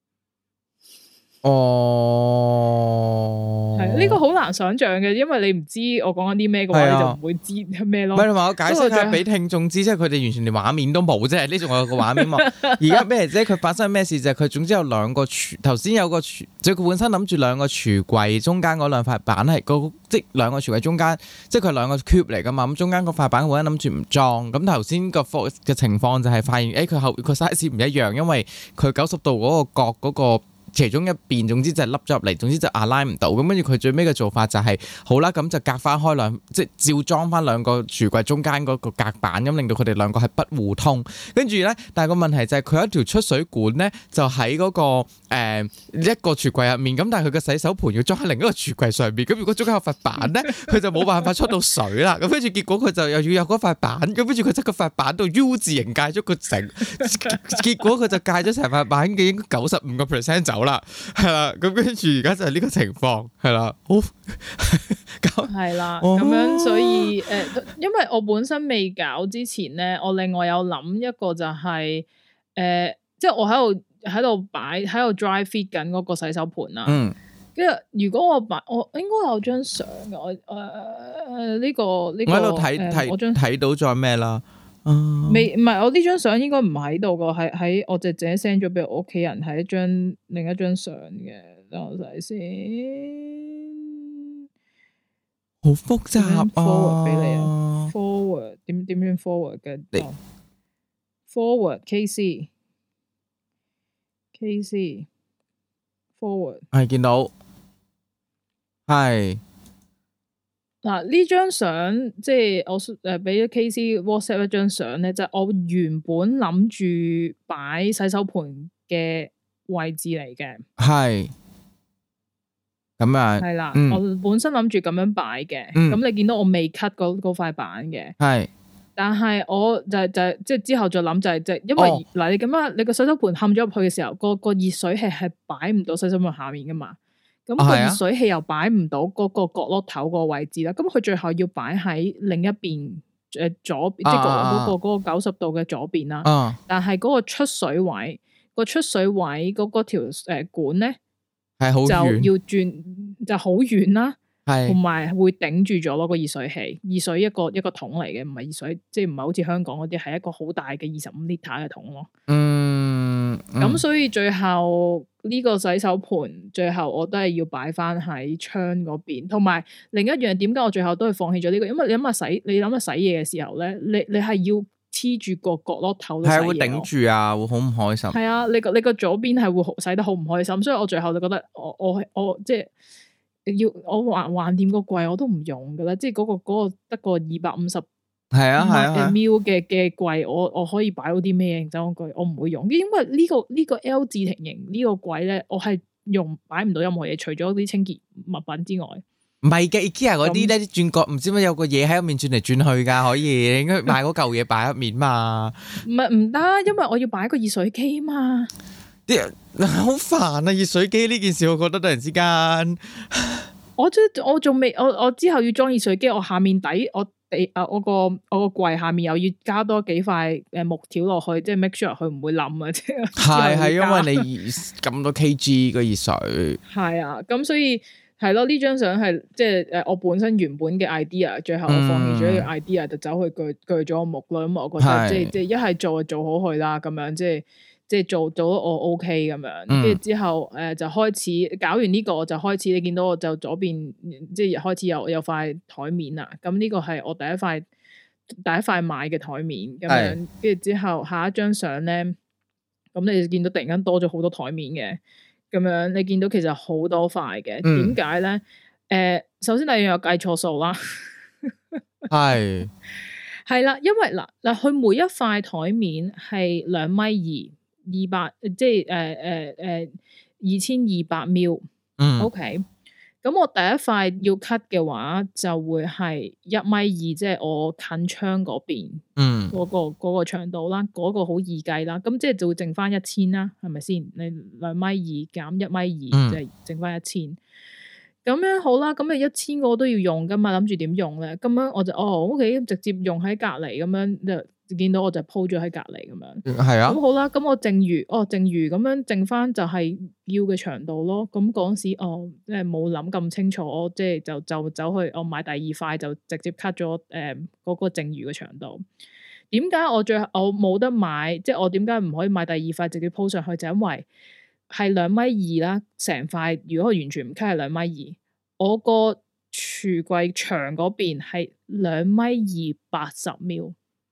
係呢個好難想象嘅，因為你唔知我講緊啲咩嘅話，你就唔會知咩咯。唔係，同埋我解釋下俾聽眾知，即係佢哋完全連畫面都冇啫。呢仲有個畫面嘛？而家咩啫？佢發生咩事就係佢總之有兩個頭先有個即係佢本身諗住兩個櫥櫃中間嗰兩塊板係即係兩個櫥櫃中間，即係佢兩個 cube 嚟噶嘛。咁中間嗰塊板佢本身諗住唔裝，咁頭先個嘅情況就係發現佢 size 唔一樣，因為佢90度嗰個角嗰個。其中一邊，總之就係凹咗入嚟，總之就align唔到。咁跟住佢最尾嘅做法就係、好啦，咁就隔翻開兩，即係照裝翻兩個櫥櫃中間嗰個隔板，咁令到佢哋兩個係不互通。跟住咧，但係個問題就係佢有一條出水管咧，就喺嗰、個、一個櫥櫃入面。咁但係佢嘅洗手盆要裝喺另一個櫥櫃上邊。咁如果中間有塊板咧，佢就冇辦法出到水啦。咁跟住結果佢就又要有嗰塊板。咁跟住佢喺個塊板度 U 字形界咗個整，結果佢就界咗成塊板嘅應該95%走啦，係啦，咁跟住而家就係呢個情況，係啦，好，係啦，咁樣所以因為我本身未搞之前咧，我另外有諗一個就係即係我喺度擺喺度 dry fit 緊嗰個洗手盆啦，跟住如果我應該有張相嘅，我呢個我喺度睇到咗咩啦？唔係我呢張相應該唔喺度噶，喺我姐姐 send 咗俾我屋企人，係另一張相嘅。等我睇先，好複雜啊 ！forward 俾你啊 ，forward 點樣 forward 嘅？forward KC forward 係見到係。嗱呢張相即係我俾咗 KC WhatsApp 一張相咧，就係我原本諗住擺洗手盆嘅位置嚟嘅，係咁啊，係啦，我本身諗住咁樣擺嘅，咁你見到我未 cut 嗰塊板嘅，係，但係我就即係之後再諗就係因為嗱你咁樣你個洗手盆冚咗入去嘅時候，個熱水器係擺唔到洗手盆下面噶嘛。咁個熱水器又擺唔到嗰個角落頭個位置啦，咁佢最後要擺喺另一邊左邊，即係嗰個90度嘅左邊啦。但係嗰個出水位嗰條管咧，係好遠，就要轉就好遠啦，同埋會頂住咗咯個熱水器。熱水一個桶嚟嘅，唔係熱水，即係唔係好似香港嗰啲係一個好大嘅25 litre 嘅桶咯。咁所以最後呢個洗手盆，最後我都係要擺翻喺窗嗰邊。同埋另一樣，點解我最後都係放棄咗呢個？因為你諗下洗嘢嘅時候咧，你係要黐住個角落頭，係會頂住啊，會好唔開心。係啊，你個左邊係會洗得好唔開心，所以我最後就覺得我即係要我橫掂個櫃我都唔用噶啦，即係嗰個得個250。係啊，ml 嘅櫃，我可以擺到啲咩？認真講句，我唔會用，因為呢個 L 字型呢個櫃咧，我係擺唔到任何嘢，除咗啲清潔物品之外。唔係嘅 IKEA 嗰啲咧，轉角唔知乜有個嘢喺入面轉嚟轉去噶，可以你應該買嗰嚿嘢擺入面嘛。唔得，因為我要擺個熱水機嘛。啲好煩啊！熱水機呢件事，我覺得突然之間，我仲未，我之後要裝熱水機，我下面底我個櫃下面又要加多幾塊木條落去，即係 make sure 佢唔會冧啊！即係因為你咁多 kg 個熱水。係啊，咁所以係咯，呢張相係即係我本身原本嘅 idea， 最後我放棄咗呢個 idea，就走去鋸咗個木咯。咁我覺得即係一係做就做好佢啦，咁樣即係做到我 OK 咁樣，跟住之後就開始搞完呢個，我就開始你見到我就左邊即係開始有塊台面啦。咁呢個係我第一塊買嘅台面咁樣，跟住之後下一張相咧，咁你見到突然間多咗好多台面嘅，咁樣你見到其實好多塊嘅，點解咧？首先第一樣有計錯數啦。 係啦，因為嗱，佢每一塊台面係2.2米，200，即係2200 ml。OK， 咁我第一塊要 cut 嘅話，就會係1.2米，即係我近窗嗰邊，嗰個長度啦，嗰個好易計啦。咁即係就會剩翻1000啦，係咪先？你2.2米減1.2米，就係剩翻1000。咁樣好啦，咁你1000個都要用噶嘛，諗住點用咧？咁樣我就OK，直接用喺隔離咁樣，就見到我就鋪咗喺隔離咁樣。係啊。咁好啦，咁我剩餘咁樣剩翻就係要嘅長度咯。咁嗰時即係冇諗咁清楚，我即係就走去我買第二塊就直接 cut 咗嗰個剩餘嘅長度。點解我冇得買？即係我點解唔可以買第二塊直接鋪上去？就因為係2.2米啦，成塊如果我完全唔 cut 係2.2米，我個櫥櫃牆嗰邊係2.2米80 ml，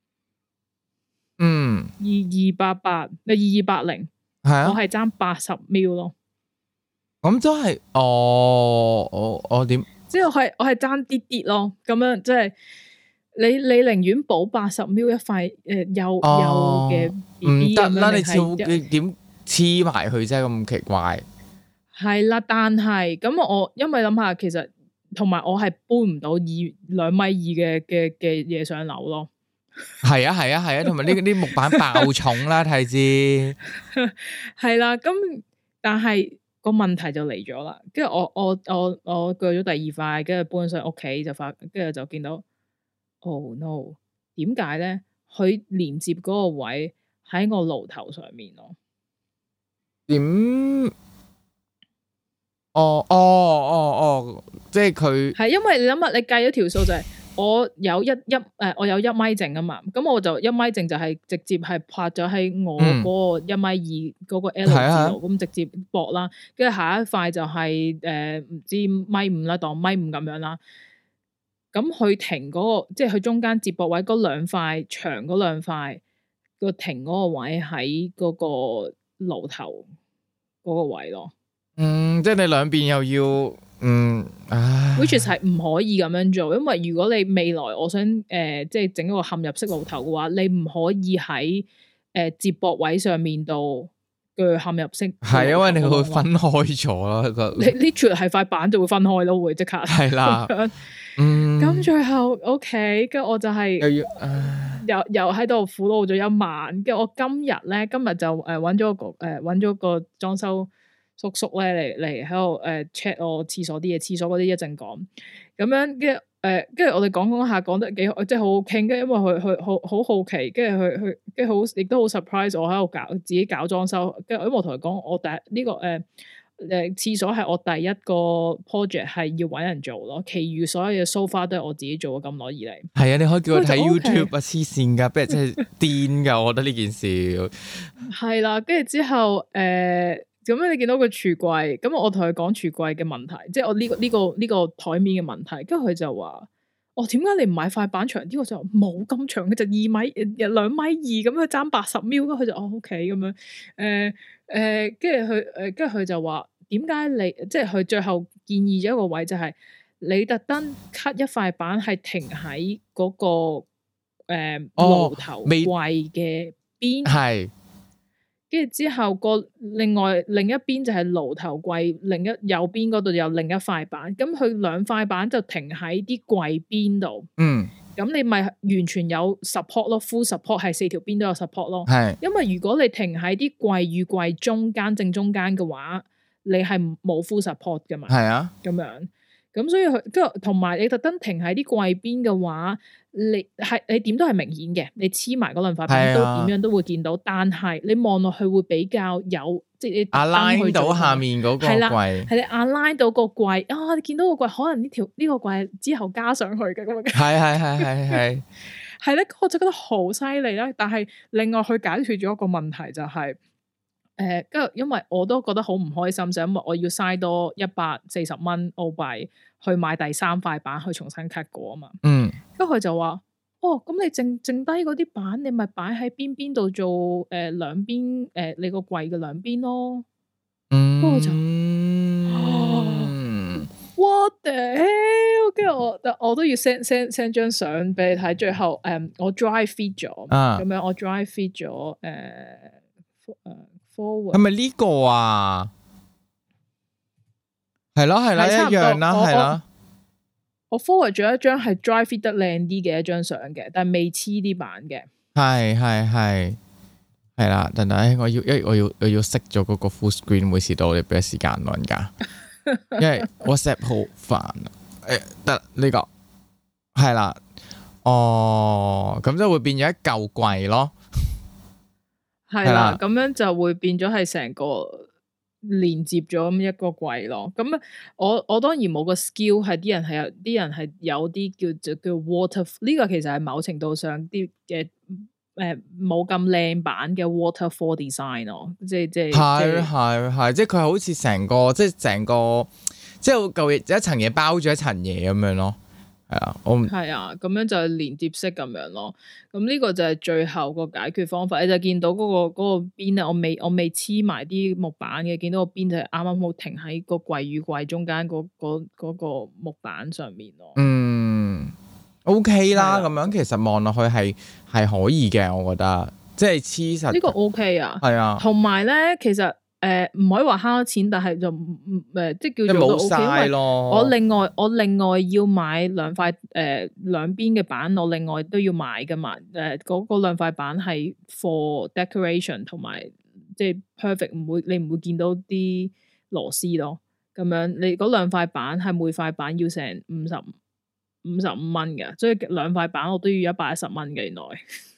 280，我係爭80 ml 咯。 咁都係我點？ 即係我係爭啲咯，咁樣即係你寧願補80 ml 一塊幼嘅 BB 咁樣， 你點黐埋佢啫？咁奇怪。 係啦，但係咁我因為諗下，其實同埋我係搬唔到2.2米嘅嘢上樓咯。 係啊，同埋呢啲木板爆重啦，睇知。 係啦，咁但係個問題就嚟咗啦。跟住我鋸咗第二塊，跟住搬上屋企跟住就見到 ，Oh no！ 點解咧？佢連接嗰個位喺我爐頭上面咯。 點？即係佢係因為你諗下，你計咗條數就係我有我有1米剩啊嘛，咁我就1米剩就係直接係拍咗喺我嗰個1.2米嗰個 L 字度，咁直接駁啦，跟住下一塊就係唔知1.5米啦，當1.5米咁樣啦。咁佢停嗰個，即係佢中間接駁位嗰兩塊長嗰兩塊個停嗰個位喺嗰個爐頭嗰個位咯。 即係你兩邊又要 which is 係唔可以咁樣做，因為如果你未來我想即係整一個嵌入式爐頭嘅話，你唔可以喺接駁位上面度嘅嵌入式。係因為你會分開咗咯， 你 literally 係塊板就會分開咯，會即刻係啦。 咁最後 OK，跟住我就係又喺度苦惱咗1晚，跟住我今日就揾咗個裝修叔叔咧嚟喺度check 我廁所啲嘢，廁所嗰啲一陣講咁樣，跟住我哋講下講得幾好，即係好好傾。跟住因為佢好好奇，跟住佢好亦都好 surprise 我喺度自己搞裝修。跟住因為我同佢講，我呢個廁所係我第一個 project 係要搵人做咯，其餘所有嘢 so far 都係我自己做咗咁耐以嚟。係啊，你可以叫我睇 YouTube 啊，黐線噶，不如真係癲噶，我覺得呢件事係啦。跟住之後咁樣你見到個櫥櫃，咁我同佢講櫥櫃嘅問題，即係我呢個台面嘅問題，跟住佢就話：點解你唔買塊板長啲？我就冇咁長，佢就2.2米咁，佢爭80 ml，咁佢就OK 咁樣，跟住佢就話：點解你即係佢最後建議咗一個位，就係你特登 cut 一塊板係停喺嗰個爐頭櫃嘅邊係。跟住之後另一邊就係爐頭櫃，右邊嗰度有另一塊板，咁佢2塊板就停喺啲櫃邊度。咁你咪完全有 support 咯，full support 係4條邊都有 support 咯。因為如果你停喺啲櫃與櫃中間正中間嘅話，你係冇 full support 噶嘛。咁樣。咁所以跟住同埋你特登停喺啲櫃邊嘅話，你點都係明顯嘅，你黐埋嗰兩塊板都點樣都會見到，但係你望落去會比較有即係你 align 到下面嗰個櫃， 係你 align 到個櫃你見到個櫃可能呢個櫃之後加上去嘅咁樣。 係係咧，我就覺得好犀利啦。但係另外佢解決咗一個問題就係跟住因為我都覺得好唔開心，就因為我要嘥多140蚊澳幣去買第3塊板去重新 cut 過啊嘛。跟住佢就話：咁你剩低嗰啲板，你咪擺喺邊度做兩邊你個櫃嘅兩邊咯。跟住我就What the hell？ 跟住我都要 send 張相俾你睇。最後我 dry fit 咗，咁樣我 dry fit 咗forward 係咪呢個啊？係咯，一樣啦，係啦。 我 forward 咗一張係 dry fit 得靚啲嘅一張相嘅，但係未黐啲版嘅。係啦，等等，我要熄咗嗰個 full screen，每次到我哋俾時間老人家，因為 WhatsApp 好煩。得呢個係啦，咁就會變咗一嚿櫃咯。係啦， 咁樣就會變咗係成個連接咗咁一個櫃咯。咁我當然冇個 skill， 係啲人係有啲叫 water， 呢個其實係某程度上啲嘅冇咁靚版嘅 waterfall design 咯，即係係，即係佢好似成個即係舊嘢一層嘢包住一層嘢咁樣咯。係啊，咁樣就係連接式咁樣咯。咁呢個就係最後個解決方法。你就見到嗰個邊咧，我未黐埋啲木板嘅，見到個邊就係啱啱好停喺個櫃與櫃中間嗰個木板上面咯。 OK 啦，咁樣其實望落去係可以嘅，我覺得即係黐實。呢個 OK 啊， 係啊。同埋咧，其實唔可以話慳錢，但係就即係叫做都 OK。因為我另外要買兩塊兩邊嘅板，我另外都要買噶嘛。嗰兩塊板係 for decoration 同埋即係 perfect，你唔會見到啲螺絲咯。咁樣你嗰兩塊板係每塊板要成55蚊嘅，所以兩塊板我都要110蚊嘅原來。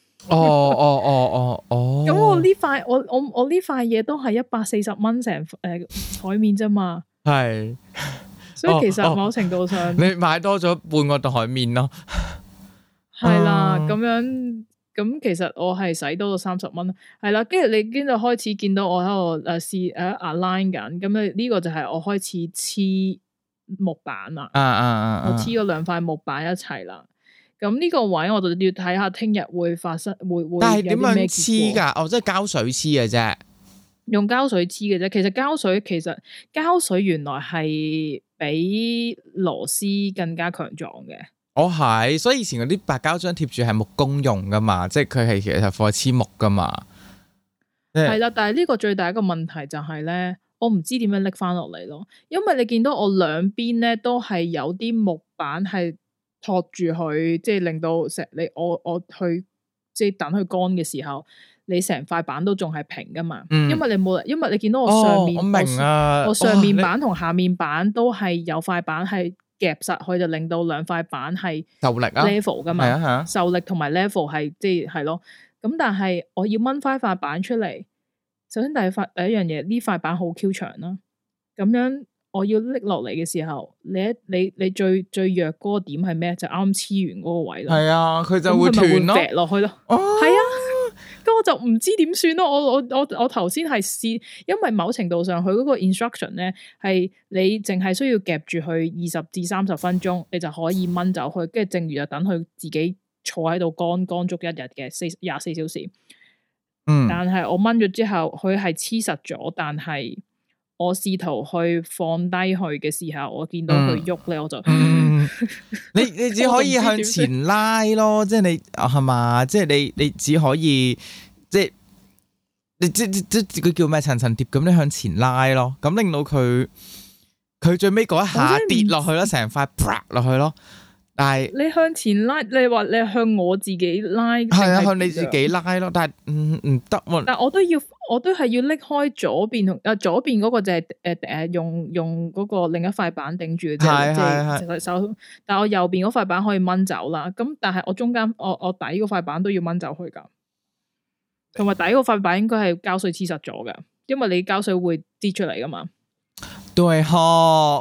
咁我呢塊我呢塊嘢都係140蚊成台面啫嘛。 係， 所以其實某程度上你買多咗半個台面咯。 係啦，咁樣咁其實我係使多咗30蚊。係啦，跟住開始見到我喺度試align 緊，咁呢個就係我開始黐木板啦。我黐咗兩塊木板一齊啦。咁呢個位我就要睇下聽日會發生會但係點樣黐㗎？即係膠水黐嘅啫。 用膠水黐嘅啫。其實膠水原來係比螺絲更加強壯嘅。 係，所以以前嗰啲白膠漿貼住係木工用㗎嘛，即係佢係其實放黐木㗎嘛。 係啦，但係呢個最大一個問題就係咧，我唔知點樣拎翻落嚟咯。因為你見到我兩邊咧都係有啲木板係托住佢，即係令到我去即係等佢乾嘅時候，你成塊板都仲係平噶嘛。因為你見到我上面， 我明啊， 我上面板同下面板都係有塊板係夾實佢，就令到兩塊板係受力啊 level 噶嘛。受力同埋 level 係即係咯。咁但係我要掹翻塊板出嚟，首先第一樣嘢，呢塊板好 Q 長啦，咁樣。我要拎落嚟嘅時候，你最弱嗰個點係咩？就啱黐完嗰個位咯。係啊，佢就會斷咯， 落去咯。係啊，咁我就唔知點算咯。我頭先係試，因為某程度上佢嗰個 instruction 咧係你淨係需要夾住佢20至30分鐘，你就可以掹走佢，跟住剩餘就等佢自己坐喺度乾足一日嘅24小時。但係我掹咗之後，佢係黐實咗，但係。我試圖去放低佢嘅時候，我見到佢喐咧，我就你只可以向前拉咯，即係你係嘛？即係你只可以即係你即佢叫咩層層疊咁，你向前拉咯，咁令到佢最尾嗰一下跌落去咯，成塊啪落去咯。但係你向前拉，你話你向我自己拉， 係啊，向你自己拉咯。但係唔得喎。 但我都係要拎開左邊同左邊嗰個就係用嗰個另一塊板頂住嘅啫，即係手。但係我右邊嗰塊板可以掹走啦。咁但係我中間我底嗰塊板都要掹走去噶，同埋底嗰塊板應該係膠水黐實咗噶，因為你膠水會跌出嚟噶嘛。 對哈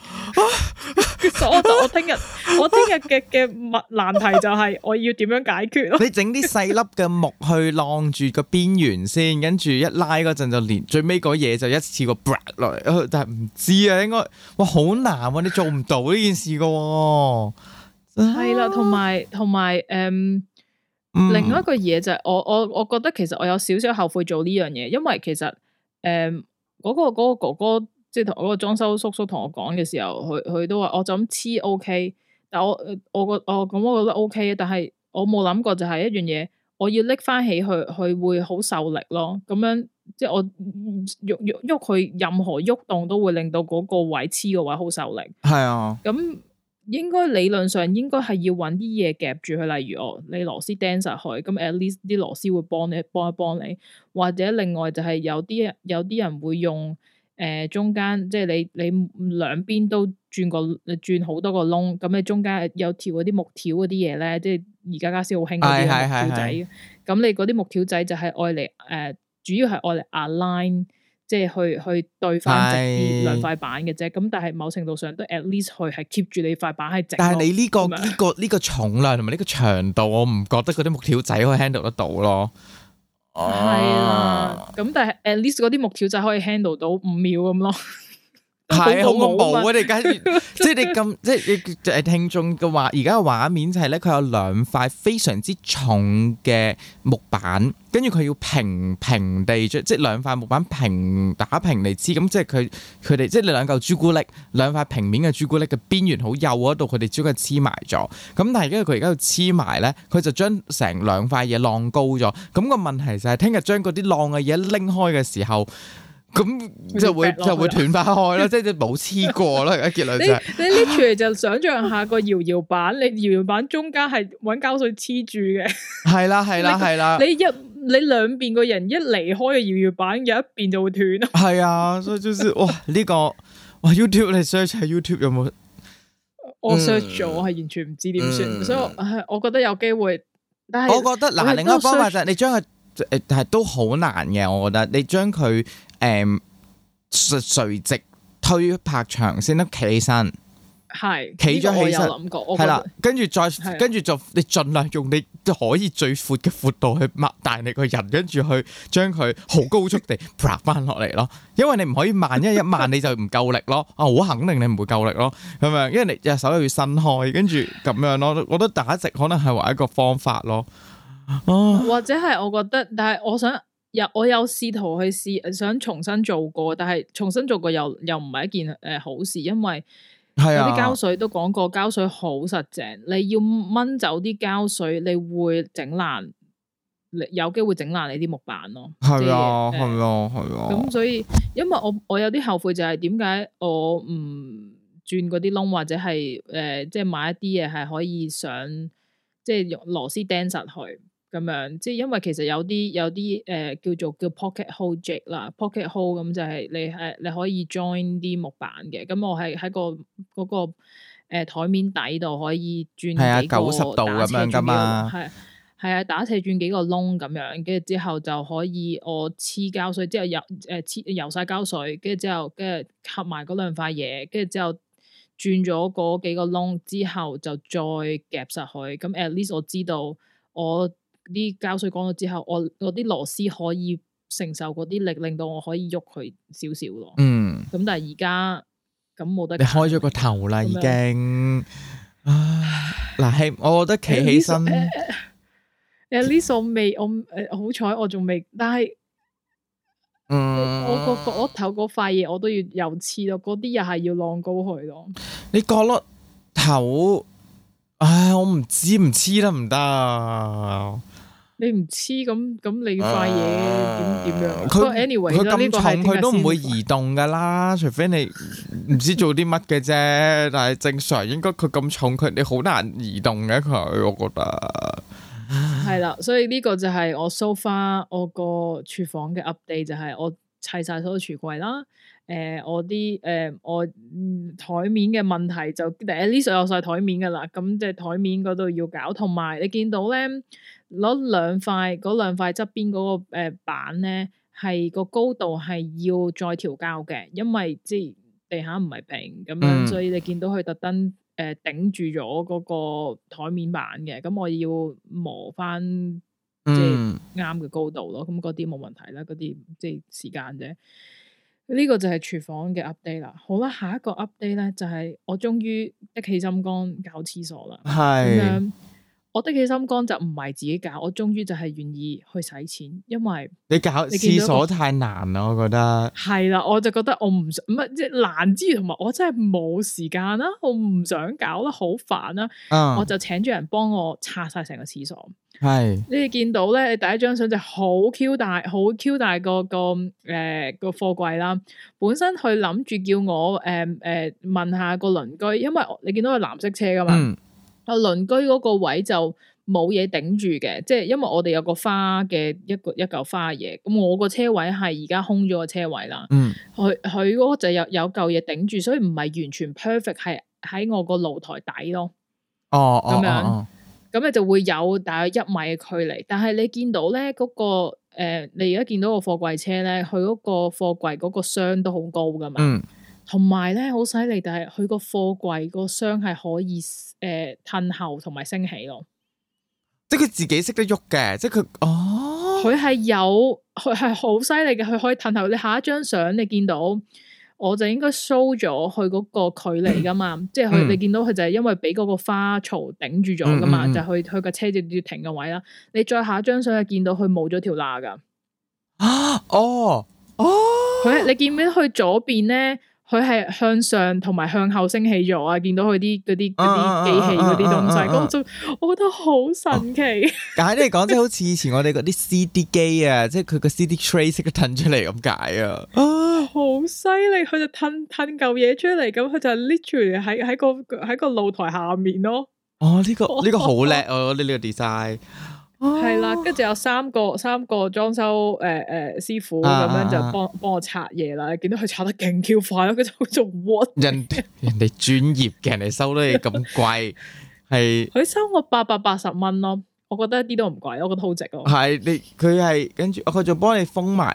我聽日嘅難題就係我要點樣解決咯？ 你整啲細粒嘅木去晾住個邊緣先，跟住一拉嗰陣就連最尾嗰嘢就一次過 break 落嚟。但係唔知啊，應該哇好難啊，你做唔到呢件事噶。係啦， 同埋另外一個嘢就係我覺得其實我有少少後悔做呢樣嘢，因為其實嗰個哥哥即係同嗰個裝修叔叔同我講嘅時候，佢都話我就咁黐 OK， 但我覺得 OK， 但係我冇諗過就係一樣嘢，我要拎翻起佢會好受力咯。咁樣即係我喐佢任何喐動都會令到嗰個位黐個位好受力。係啊，咁應該理論上應該係要揾啲嘢夾住佢，例如你螺絲釘實佢，咁 at least 啲螺絲會幫一幫你，或者另外就係有啲人會用。中間即係你兩邊都轉好多個窿，咁你中間有條嗰啲木條嗰啲嘢咧，即係而家家先好興嗰啲木條仔。咁你嗰啲木條仔就係愛嚟主要係愛嚟 align，即係去對翻直啲兩塊板嘅啫。咁但係某程度上都 at least 佢係 keep 住你塊板係直。但係你呢個重量同埋呢個長度，我唔覺得嗰啲木條仔可以 handle 得到咯。係啦，咁但係 at least 嗰啲木條仔可以 handle 到5秒咁咯，係好恐怖啊！你而家即係你咁，即係你聽眾嘅話，而家嘅畫面就係咧，佢有兩塊非常之重嘅木板，跟住佢要平地即係兩塊木板打平嚟黐，咁即係佢哋即係你兩嚿朱古力，兩塊平面嘅朱古力嘅邊緣好幼嗰度，佢哋將佢黐埋咗。咁但係因為佢而家要黐埋咧，佢就將成兩塊嘢晾高咗。咁個問題就係聽日將嗰啲晾嘅嘢拎開嘅時候。咁就會斷翻開咯，即係冇黐過咯。而家結論就係你拎出嚟就想象下個搖板，你搖板中間係搵膠水黐住嘅，係啦。你兩邊個人一離開嘅搖板，有一邊就會斷咯。係啊，所以就是哇呢個哇 YouTube 你 search 下 YouTube 有冇？我 search 咗，我係完全唔知點算，所以我覺得有機會。但係我覺得嗱，另一個方法就係你將佢。但係都好難嘅，我覺得你將佢垂直推拍長先得企起身，係企咗起身，係啦，跟住就你盡量用你可以最闊嘅闊度去擘大你個人，跟住去將佢好高速地拍翻落嚟咯。因為你唔可以慢，因為一慢你就唔夠力咯。好肯定你唔會夠力咯，咁樣，因為你隻手又要伸開，跟住咁樣咯。我覺得打直可能係唯一一個方法咯。或者係我覺得，但係我有試圖去試，想重新做過，但係重新做過又唔係一件好事，因為有啲膠水都講過，膠水好實淨，你要掹走啲膠水，你會整爛，有機會整爛你啲木板咯。係啊，係啊，係啊。咁所以，因為我有啲後悔就係點解我唔轉嗰啲窿，或者係即係買一啲嘢係可以上，即係用螺絲釘實去。咁樣，即係因為其實有啲叫 pocket hole jig 啦 ，pocket hole 咁就係你可以 join 啲木板嘅。咁我係喺嗰個台面底度可以轉幾個90度咁樣噶嘛，係啊，打斜轉幾個窿咁樣，跟住之後就可以我黐膠水之後油晒膠水，跟住之後跟住合埋嗰兩塊嘢，跟住之後轉咗嗰幾個窿之後就再夾實佢。咁 at least 我知道我啲膠水乾咗之後，我啲螺絲可以承受嗰啲力，令到我可以喐佢少少咯。咁但係而家咁冇得。你開咗個頭啦，已經。嗱，我覺得企起身。At least 我好彩我仲未，但係，我個角落頭嗰塊嘢我都要又黐咯，嗰啲又係要晾高佢咯。你角落頭，我唔知唔黐得唔得？你唔黐咁你塊嘢點樣？佢 anyway 佢咁重佢都唔會移動噶啦，除非你唔知做啲乜嘅啫。但係正常應該佢咁重，你好難移動嘅佢，我覺得係啦。所以呢個就係我 so far 我個廚房嘅 update，就係我砌晒所有櫥櫃啦。我台面嘅問題就第一呢，有晒台面噶啦，咁即係台面嗰度要搞，同埋你見到咧攞兩塊側邊嗰個板咧，係個高度係要再調校嘅，因為即係地下唔係平咁樣，所以你見到佢特登頂住咗嗰個台面板嘅，咁我要磨翻即係啱嘅高度咯，咁嗰啲冇問題啦，嗰啲即係時間啫。呢個就係廚房嘅 update 啦。好啦，下一個 update 咧就係我終於一起心肝搞廁所啦。係咁樣， 我的起心肝就唔係自己搞，我終於就係願意去使錢，因為你搞廁所太難啦，我覺得係啦，我就覺得我唔想，唔係即係難之餘，同埋我真係冇時間啦，我唔想搞啦，好煩啦，我就請咗人幫我拆晒成個廁所。係你哋見到咧，你第一張相就好 Q 大，好 Q 大個貨櫃啦。本身佢諗住叫我問下個鄰居，因為你見到係藍色車噶嘛。鄰居嗰個位就冇嘢頂住嘅，即係因為我哋有個花嘅一嚿花嘢，咁我個車位係而家空咗個車位啦。佢嗰個就有嚿嘢頂住，所以唔係完全 perfect，係喺我個露台底咯。咁樣，咁你就會有大約1米嘅距離。但係你見到咧嗰個你而家見到個貨櫃車咧，佢嗰個貨櫃嗰個箱都好高噶嘛。同埋咧好犀利，但係佢個貨櫃個箱係可以褪後同埋升起咯， 即係佢自己識得喐嘅，即係佢佢係好犀利嘅，佢可以褪後。你下一張相你見到，我就應該 show 咗佢嗰個距離噶嘛，即係佢你見到佢就係因為俾嗰個花槽頂住咗噶嘛，就佢個車就要停個位啦。你再下一張相就見到佢冇咗條罅噶。佢你見唔見到佢左邊咧？佢係向上同埋向後升起咗啊！見到佢啲嗰啲機器嗰啲東西，我覺得好神奇。 簡單嚟講，即係好似以前我哋嗰啲 CD 機啊，即係佢個 CD tray 識得褪出嚟咁解啊！ 好犀利，佢就褪嚿嘢出嚟，咁佢就 literally 喺個露台下面咯。 呢個好叻啊！呢個 design。 係啦，跟住有三個裝修師傅咁樣就幫我拆嘢啦。見到佢拆得勁 Q 快咯，佢就做 what？人哋專業嘅，人哋收得你咁貴，係佢收我880蚊咯。我覺得一啲都唔貴，我覺得好值咯。 係佢係跟住佢就幫你封埋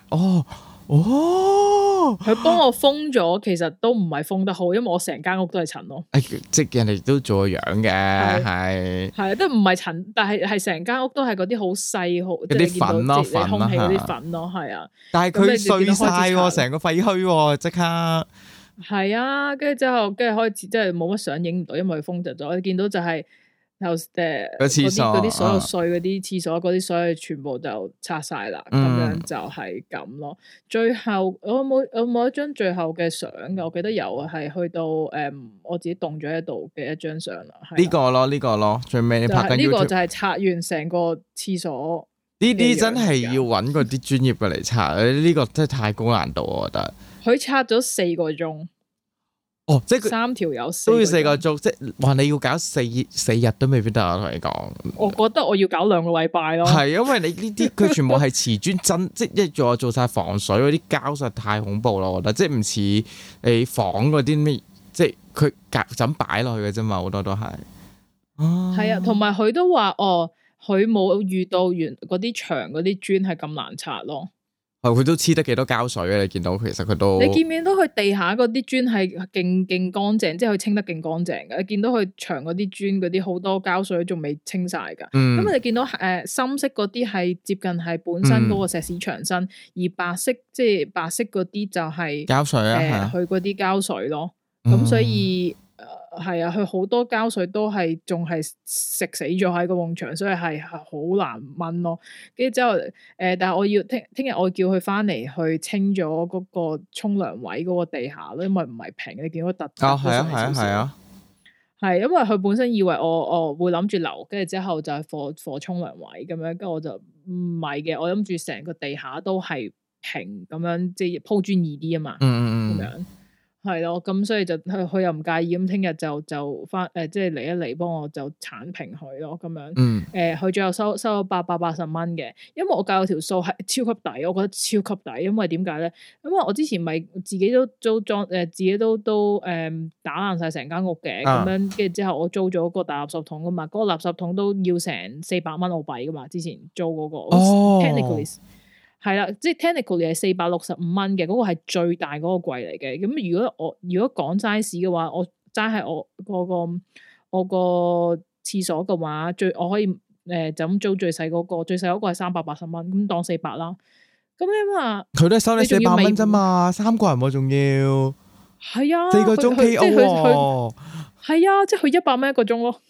佢幫我封咗，其實都唔係封得好，因為我成間屋都係塵咯。 即係人哋都做個樣嘅，係都唔係塵，但係成間屋都係嗰啲好細好嗰啲粉咯， 空氣嗰啲粉咯，係啊。 但係佢碎晒，成個廢墟，即刻係啊！跟住開始即係冇乜相影唔到，因為佢封着咗。你見到就係。嗰啲所有碎嗰啲廁所嗰啲所有全部就拆晒啦，咁樣就係咁咯。最後我冇一張最後嘅相嘅，我記得有係去到我自己凍咗喺度嘅一張相啦。 呢個咯，最尾你拍緊呢個就係拆完成個廁所。 呢啲真係要揾嗰啲專業嘅嚟拆，呢個真係太高難度，我覺得。 佢拆咗4個鐘。 即係 3條友都要4個鐘，即係話你要搞4日都未必得。我同你講， 我覺得我要搞2個禮拜咯。 係因為你呢啲佢全部係瓷磚真，即係做晒防水嗰啲膠，實在太恐怖咯。我覺得即係唔似你房嗰啲咩，即係佢就咁擺落去嘅啫嘛，好多都係。 係啊，同埋佢都話佢冇遇到完嗰啲牆嗰啲磚係咁難拆咯。 佢都黐得幾多膠水啊！你見到其實佢都， 你見唔見到佢地下嗰啲磚係勁乾淨，即係佢清得勁乾淨嘅。你見到佢牆嗰啲磚嗰啲好多膠水仲未清晒噶。咁你見到深色嗰啲係接近係本身嗰個石屎牆身，而白色即係白色嗰啲就係膠水啊， 佢嗰啲膠水咯。咁所以。係啊，佢好多膠水都係仲係食死咗喺個埲牆，所以係好難掹咯。跟住之後，但係我要聽日我叫佢翻嚟去清咗嗰個沖涼位嗰個地下咯，因為唔係平，你見到突係啊，係因為佢本身以為我會諗住留，跟住之後就係貨沖涼位咁樣，跟住我就唔係嘅，我諗住成個地下都係平咁樣，即係鋪磚易啲啊嘛，咁樣。係咯，咁所以就佢又唔介意，咁聽日就翻即係嚟一嚟幫我就剷平佢咯，咁樣。佢最後收咗880蚊嘅，因為我計咗條數係超級抵，我覺得超級抵，因為點解咧？因為我之前咪自己都租裝自己都打爛晒成間屋嘅，咁樣跟住之後我租咗個大垃圾桶噶嘛，嗰個垃圾桶都要成400蚊澳幣噶嘛，之前租嗰個。Technically 係啦，即係 technically 係465蚊嘅，嗰個係最大嗰個櫃嚟嘅。咁如果講 size 嘅話，我齋係我個廁所嘅話，我可以就咁租最細嗰個，最細嗰個係380蚊，咁當400啦。咁你話佢都係收你400蚊啫嘛，3個人喎仲要。 係啊， 4個鐘 KO 喎。 係啊，即係佢100蚊一個鐘咯。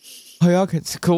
係啊，其實佢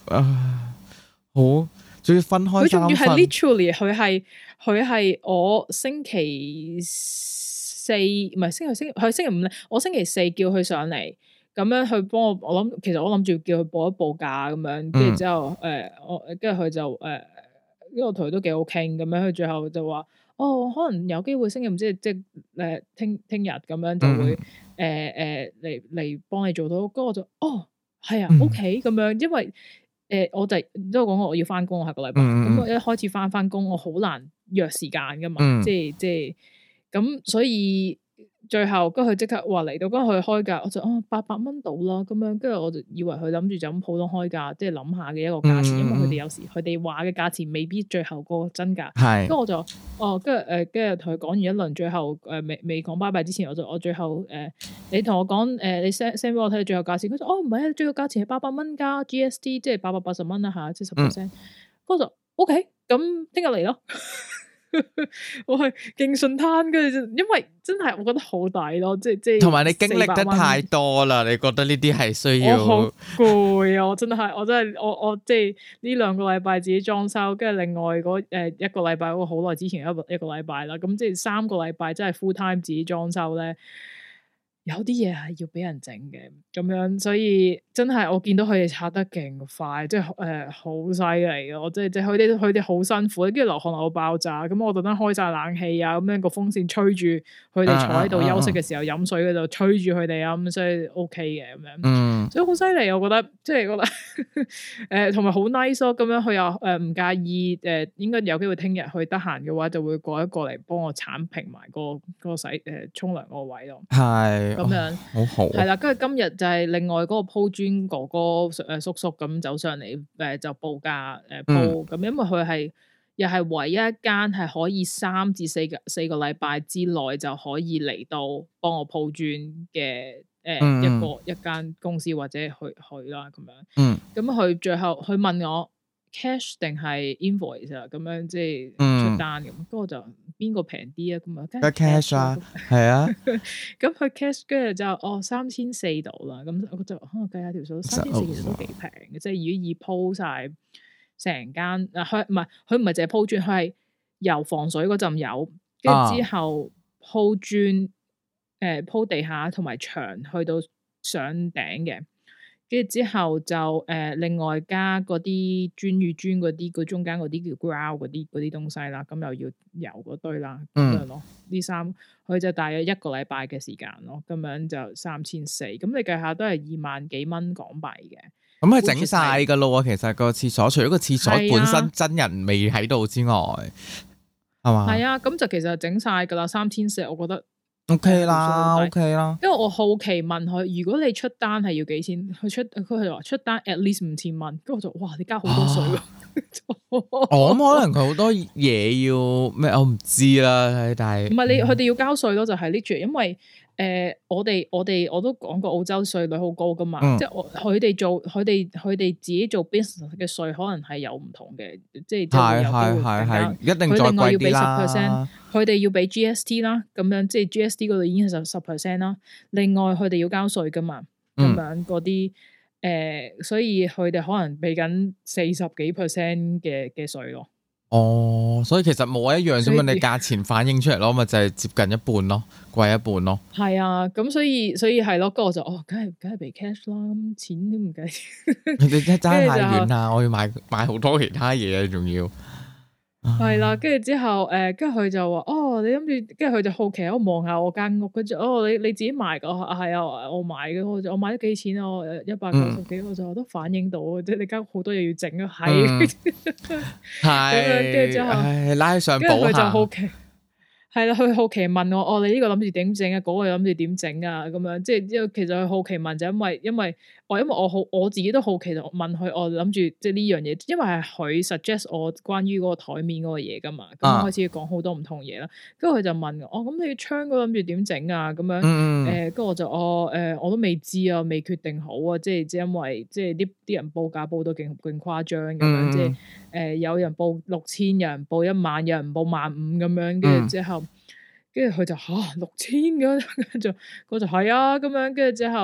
好仲要分開三份， 佢仲要係 literally 佢係我星期四唔係星期五咧，我星期四叫佢上嚟。咁樣去幫我諗，其實我諗住叫佢報一報價咁樣，跟住之後我跟住佢就因為我同佢都幾好傾，咁樣佢最後就話可能有機會星期五即係聽日咁樣就會嚟幫你做到，跟住我就係啊 OK 咁樣，因為我就都講過我要翻工，我下個禮拜咁我一開始翻工，我好難約時間噶嘛，即係咁，所以。最後，跟住佢即刻話嚟到，跟住佢開價，我就800蚊到啦，咁樣，跟住我就以為佢諗住就咁普通開價，即係諗下嘅一個價錢，因為佢哋有時佢哋話嘅價錢未必最後個真價。係。跟住我就跟住同佢講完一輪，最後未講拜拜之前，我最後你同我講你 send 俾我睇最後價錢，佢就唔係啊，最後價錢係800蚊加 GST，即係880蚊啦嚇，即係10%。跟住就 OK，咁聽日嚟咯。我係勁順攤，跟住因為真係我覺得好抵咯，即係同埋你經歷得太多啦，你覺得呢啲係需要？我好攰啊！我真係我即係呢2個禮拜自己裝修，跟住另外嗰一個禮拜我好耐之前一個禮拜啦，咁即係3個禮拜真係 full time 自己裝修咧。有啲嘢係要俾人整嘅，咁樣，所以真係我見到佢哋拆得勁快，即係好犀利嘅。我即係佢哋好辛苦，跟住流汗流到爆炸。咁我特登開晒冷氣啊，咁樣個風扇吹住佢哋坐喺度休息嘅時候飲水嗰度吹住佢哋啊，咁所以 OK 嘅咁樣。所以好犀利，我覺得即係覺得同埋好 nice 咯。咁樣佢又唔介意應該有機會聽日去得閒嘅話，就會過嚟幫我剷平埋個洗沖涼嗰個位咯。係。咁樣好好係啦，跟住今日就係另外嗰個鋪磚哥哥叔叔咁走上嚟就報價鋪咁，因為佢係又係唯一一間係可以3至4個禮拜之內就可以嚟到幫我鋪磚嘅一間公司或者去啦咁樣。咁佢最後佢問我 cash 定係 invoice 啊，咁樣即係出單咁，跟住我就。邊個平啲啊？咁啊，梗係 cash 啦，係啊。咁佢 cash 跟住就3400度啦。咁我就計下條數，3400其實都幾平嘅。即係如果以鋪晒成間佢唔係淨係鋪磚，佢係油防水嗰陣油，跟住之後鋪磚鋪地下同埋牆去到上頂嘅。跟住之後就另外加嗰啲磚與磚嗰啲，佢中間嗰啲叫 ground 嗰啲東西啦，咁又要油嗰堆啦，咁樣咯。呢3佢就大約1個禮拜嘅時間咯，咁樣就3400，咁你計下都係2萬幾蚊港幣嘅。咁係整晒噶咯，其實個廁所除咗個廁所本身真人未喺度之外，係嘛？係啊，咁就其實整晒噶啦，3400，我覺得。OK 啦，OK 啦。因為我好奇問佢，如果你出單係要幾錢？佢話出單 at least 5000蚊，跟住我就哇，你交好多稅喎。我諗可能佢好多嘢要咩，我唔知啦。但係唔係佢哋要交稅咯，就係 literally 因為我都講過澳洲稅率好高噶嘛，即係佢哋自己做 business 嘅稅可能係有唔同嘅，即係係一定再貴啲啦。佢哋要俾 GST 啦，咁樣即係 GST 嗰度已經係10%啦。另外佢哋要交稅噶嘛，咁樣嗰啲所以佢哋可能俾緊40幾%嘅稅咯。所以其實冇一樣啫嘛，你價錢反映出嚟咯，咪就係接近一半咯，貴一半咯。係啊，咁所以係咯，咁我就梗係俾 cash 啦，咁錢都唔計。你真係爭太遠啦，我要買好多其他嘢啊，仲要。係啦，跟住之後，跟住佢就話，你諗住，跟住佢就好奇，我望下我間屋，跟住，你自己買噶，係啊，我買嘅，我買咗幾錢啊？190幾，我就都反映到，即係你間屋好多嘢要整啊，係，係，跟住之後，拉上補下，跟住佢就好奇。係啦，佢好奇問我，你呢個諗住點整啊？嗰個諗住點整啊？咁樣，即係其實佢好奇問就因為我自己都好奇，就問佢，我諗住即係呢樣嘢，因為係佢 suggest 我關於嗰個台面嗰個嘢噶嘛，咁我開始講好多唔同嘢啦。跟住佢就問我，咁你窗嗰諗住點整啊？咁樣，跟住我就我都未知啊，未決定好啊，即係因為即係啲人報價報到勁誇張咁樣，即係有人報6000，有人報10000，有人報15000咁樣，跟住之後。跟住佢就6000咁，跟住我就係啊咁樣，跟住之後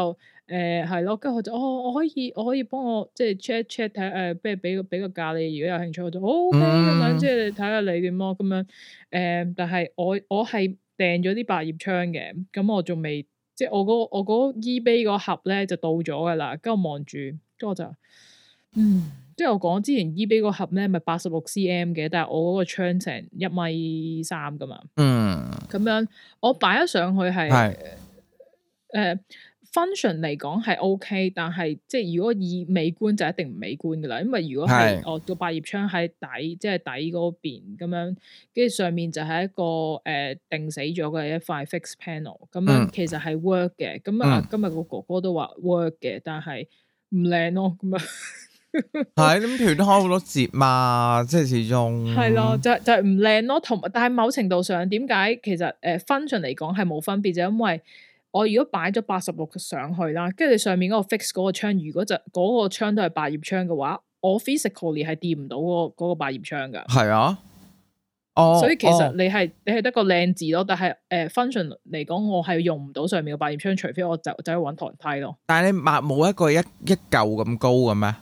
係咯，跟住佢就我可以幫我即係 check 睇下不如俾個價你，如果有興趣我就 OK 咁樣，即係睇下你點咯咁樣。但係我係訂咗啲百葉窗嘅，咁我仲未即係我嗰 eBay 嗰盒咧就到咗噶啦，跟住我望住，跟住我就即係我講之前 eBay 嗰盒咧咪86 cm 嘅，但係我嗰個窗成1.3米噶嘛，咁樣我擺咗上去係function 嚟講係 OK， 但係即係如果以美觀就一定唔美觀噶啦，因為如果係我個百葉窗喺底，即係底嗰邊咁樣，跟住上面就係一個定死咗嘅一塊 fixed panel， 咁樣其實係 work 嘅。咁今日個哥哥都話 work 嘅，但係唔靚咯，咁樣係咁斷開好多節嘛，即係始終係咯，就係唔靚咯。同但係某程度上，點解其實function 嚟講係冇分別，就因為我如果擺咗86上去啦，跟住你上面嗰個 fix 嗰個窗，如果就嗰個窗都係百葉窗嘅話，我 physically 係掂唔到嗰個百葉窗噶。係啊，所以其實你係得個靚字咯，但係function 嚟講，我係用唔到上面嘅百葉窗，除非我就去揾台梯咯。但係你冇一個一嚿咁高嘅咩？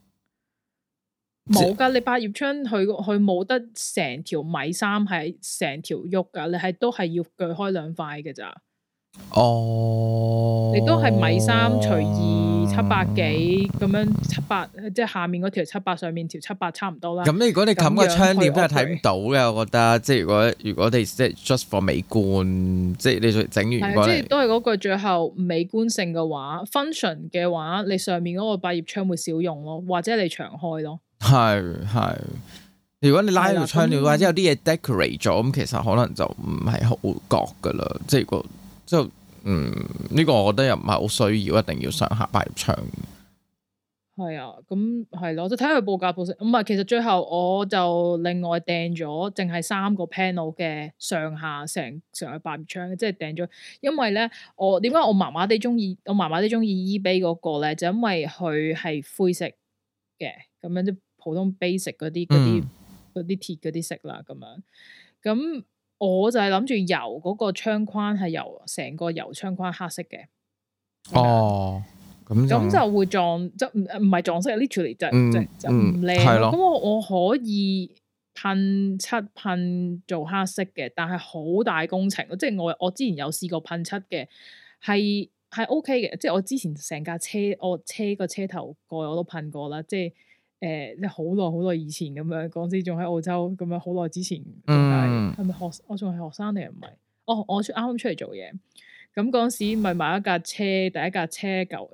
冇噶，你百葉窗佢冇得成條1.3米係成條喐噶，你係都係要鋸開2塊嘅咋。你都係1.3米除2 700幾咁樣700，即係下面嗰條700，上面條700差唔多啦。咁如果你冚個窗簾都係睇唔到嘅，我覺得即係如果你即係 just for 美觀，即係你整完即係都係嗰句，最後美觀性嘅話 function 嘅話，你上面嗰個百葉窗會少用咯，或者你長開咯。係，如果你拉條窗簾或者有啲嘢 decorate 咗，咁其實可能就唔係好覺噶啦，即係個。就呢個我覺得又唔係好需要，一定要上下百葉窗。係啊，咁係咯，就睇佢報價報成。唔係，其實最後我就另外訂咗，淨係3個 panel 嘅上下成個百葉窗，即係訂咗。因為咧，點解我麻麻地中意 eBay 嗰個咧？就因為佢係灰色嘅，咁樣即普通 basic 嗰啲鐵嗰啲色啦，咁樣咁。我就係諗住油嗰個窗框係由成個油窗框黑色嘅。咁就會撞，即唔係撞色 literally 就唔靚咯。咁我可以噴漆噴做黑色嘅，但係好大工程。即係我之前有試過噴漆嘅，係 OK 嘅。即係我之前成架車，我車個車頭蓋我都噴過啦。即係好耐以前咁樣，嗰時仲喺澳洲咁樣，好耐之前，係咪我仲係學生定係唔係？我啱啱出嚟做嘢，咁嗰時咪買一架車，第一架車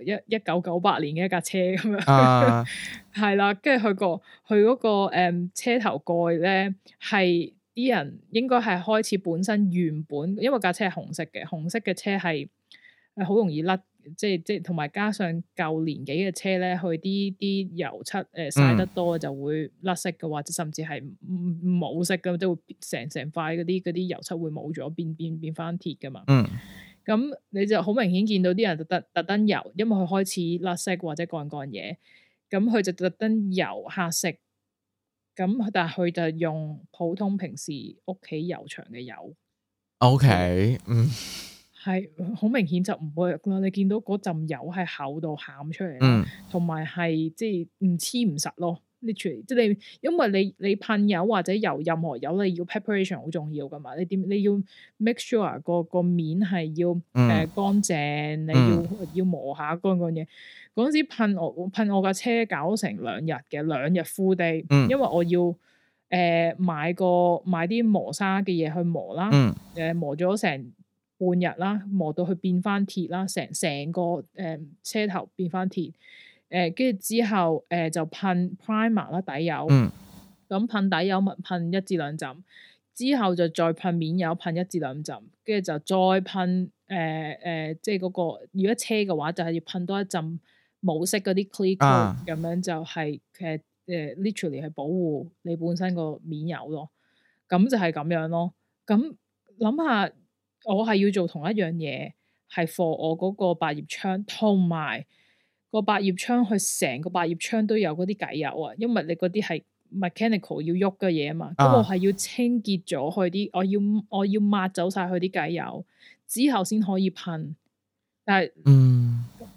1998年嘅一架車咁樣，係啦，跟住佢嗰個車頭蓋咧，係啲人應該係開始本身原本，因為架車係紅色嘅車係好容易甩。即係同埋加上舊年紀嘅車咧，佢啲油漆曬得多就會甩色嘅，或者甚至係冇色嘅，即係會成塊嗰啲油漆會冇咗，變翻鐵噶嘛。咁你就好明顯見到啲人特登油，因為佢開始甩色或者乾嘢，咁佢就特登油黑色。咁但係佢就用普通平時屋企油牆嘅油。OK，係好明顯就唔 work 啦！你見到嗰陣油係厚到喊出嚟啦，同埋係即係唔黐唔實咯。literally 即係因為你噴油或者油任何油，你要 preparation 好重要噶嘛。你要 make sure 個面係要乾淨，你要磨下乾嘢。嗰陣時噴我架車搞成2日嘅，2日 full day，因為我要買啲磨砂嘅嘢去磨啦，磨咗成半日啦，磨到佢變翻鐵啦，成個車頭變翻鐵，跟住之後就噴 primer 啦，底油，咁噴底油咪噴1至2浸，之後就再噴面油噴1至2浸，跟住就再噴即係嗰個如果車嘅話就係要噴多1浸冇色嗰啲 clear coat，咁樣就係literally 係保護你本身個面油咯，咁就係咁樣咯，咁諗下。我係要做同一樣嘢，係 for 我嗰個百葉窗，同埋個百葉窗，佢成個百葉窗都有嗰啲偈油啊，因為你嗰啲係 mechanical 要喐嘅嘢啊嘛，咁我係要清潔咗佢啲，我要抹走晒佢啲偈油之後先可以噴，但係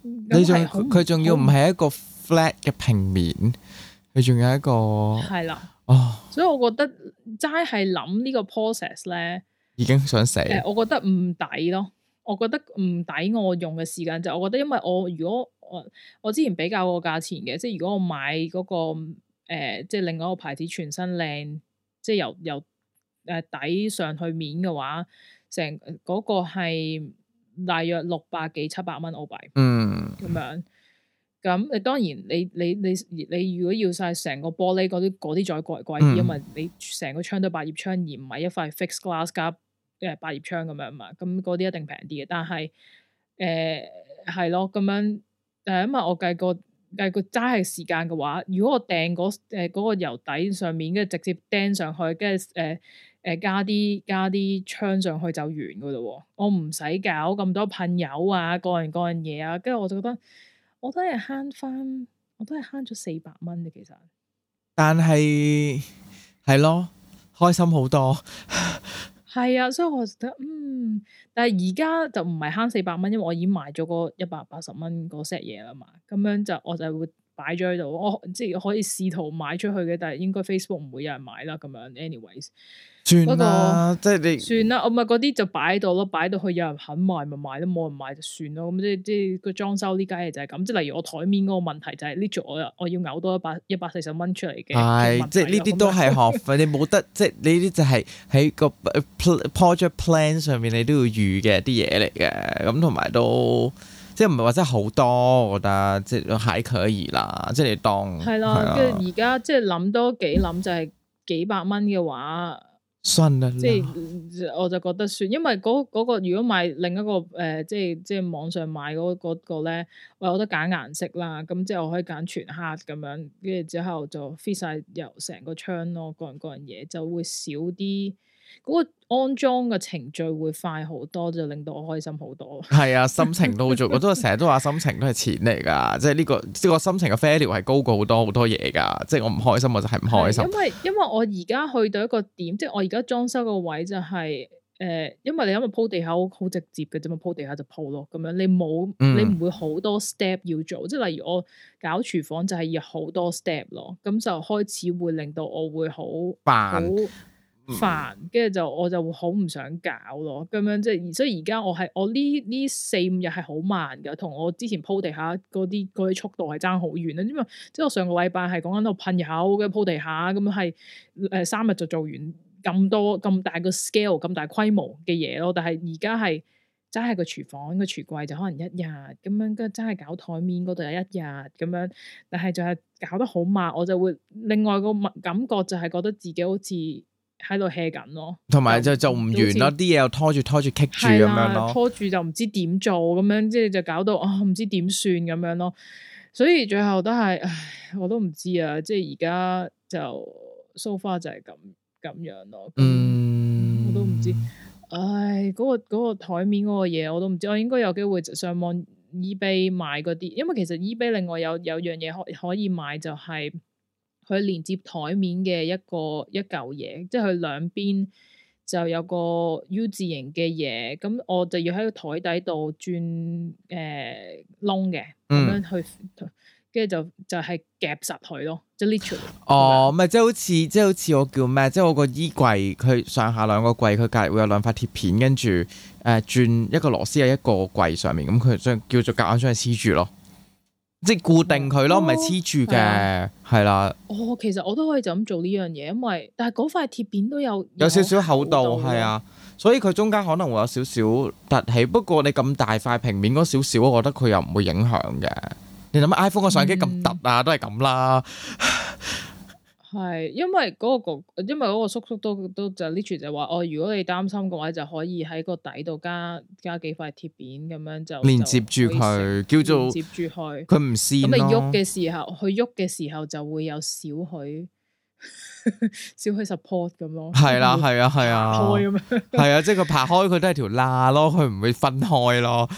佢仲要唔係一個 flat 嘅平面，佢仲有一個係啦。 哦， 所以我覺得齋係諗呢個 process 咧， 已經想死。 我覺得唔抵咯。我覺得唔抵我用嘅時間就我覺得，因為如果我之前比較過價錢嘅，即係如果我買嗰個即係另外一個牌子全身靚，即係由底上去面嘅話，成嗰個係大約600幾700蚊澳幣，咁樣。咁你當然你如果要晒成個玻璃嗰啲再貴啲，因為你成個窗都百葉窗，而唔係一塊 fixed glass 加百葉窗咁樣嘛，咁嗰啲一定平啲嘅。但係係咯咁樣，因為我計過齋係時間嘅話，如果我訂嗰個油底上面，跟住直接釘上去，跟住加啲窗上去就完噶咯。我唔使搞咁多噴油啊，各樣嘢啊，跟住我就覺得。我都係慳咗400蚊嘅，其實。但係咯，開心好多。 係啊，所以我覺得但係而家就唔係慳400蚊，因為我已經買咗個180蚊嗰 set 嘢啦嘛。咁樣就我就會擺咗喺度，我即係可以試圖買出去嘅，但係應該 Facebook 唔會有人買啦。咁樣 anyways。 算啦，即係你算啦，我咪嗰啲就擺喺度咯，擺到去有人肯買咪買，都冇人買就算咯。咁即係個裝修呢家嘢就係咁，即係例如我台面嗰個問題就係呢組我要嘔多140蚊出嚟嘅。 係，即係呢啲都係學費，你冇得即係呢啲就係喺個 project plan 上面你都要預嘅啲嘢嚟嘅。咁同埋都即係唔係話真係好多，我覺得即係還可以啦。即係你當係啦，跟住而家即係諗多幾諗就係幾百蚊嘅話。 算啦， 即係我就覺得算，因為嗰個如果買另一個即係網上買嗰個咧，我有得揀顏色啦，咁即係我可以揀全黑咁樣，跟住之後就 fit 晒由成個窗咯，各樣嘢就會少啲，嗰個安裝嘅程序會快好多，就令到我開心好多。係啊，心情都好做，我都成日都話心情都係錢嚟㗎，即係呢個心情嘅 value 係高過好多嘢㗎，即係我唔開心我就係唔開心。 因為我而家去到一個點，即係我而家裝修個位就係因為你因為鋪地下好直接嘅啫嘛，鋪地下就鋪咯，咁樣你唔會好多 step 要做，即係例如我搞廚房就係要好多 step 咯，咁就開始會令到我會好煩，跟住我就會好唔想搞咯，咁樣即係，所以而家我呢4-5日係好慢㗎，同我之前鋪地下嗰啲速度係爭好遠啦，因為即係我上個禮拜係講緊度噴油嘅鋪地下，咁樣係3日就做完咁大個 scale 咁大規模嘅嘢咯，但係而家係真係個廚房個廚櫃就可能1日咁樣，跟住真係搞台面嗰度有1日咁樣，但係就係搞得好慢，我就會另外個感覺就係覺得自己好似喺度 hea 緊咯，同埋就做唔完咯，啲嘢又拖住棘住咁樣咯， 拖住就唔知點做咁樣，即係就搞到唔知點算咁樣咯，所以最後都係，我都唔知啊，即係而家就 so far 就係咁樣咯，我都唔知，嗰個台面嗰個嘢我都唔知，我應該有機會上網 eBay 買嗰啲，因為其實 eBay 另外有樣嘢可以買就係。佢連接台面嘅一嚿嘢，即係佢兩邊就有個 U 字形嘅嘢，咁我就要喺個台底度轉窿嘅，咁樣去，跟住就係夾實佢咯，即係 literally。 哦，咪即係好似我叫咩？即係我個衣櫃，佢上下兩個櫃，佢隔籬會有兩塊鐵片，跟住轉一個螺絲喺一個櫃上面，咁佢將叫做夾硬將佢黐住咯。即係固定佢咯，唔係黐住嘅，係啦。 其實我都可以就咁做呢樣嘢，因為但係嗰塊鐵片都有少少厚度，係啊，所以佢中間可能會有少少凸起。不過你咁大塊平面嗰少少，我覺得佢又唔會影響嘅。你諗下 iPhone 個相機咁凸啊，都係咁啦。 係，因為嗰個叔叔都就 literally 就話如果你擔心嘅話，就可以喺個底度加幾塊鐵片咁樣就連接住佢，叫做連接住佢， 佢唔跣咯。 咁你喐嘅時候就會有少許 support 咁咯。 係啦，係啊，係啊，開咁樣。係啊，即係佢爬開佢都係條罅咯，佢唔會分開咯。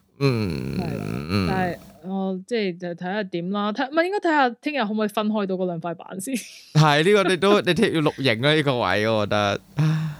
但係。即係就睇下點啦，應該睇下聽日可唔可以分開到嗰兩塊板先。 係呢個你聽要錄影啦，呢個位我覺得。係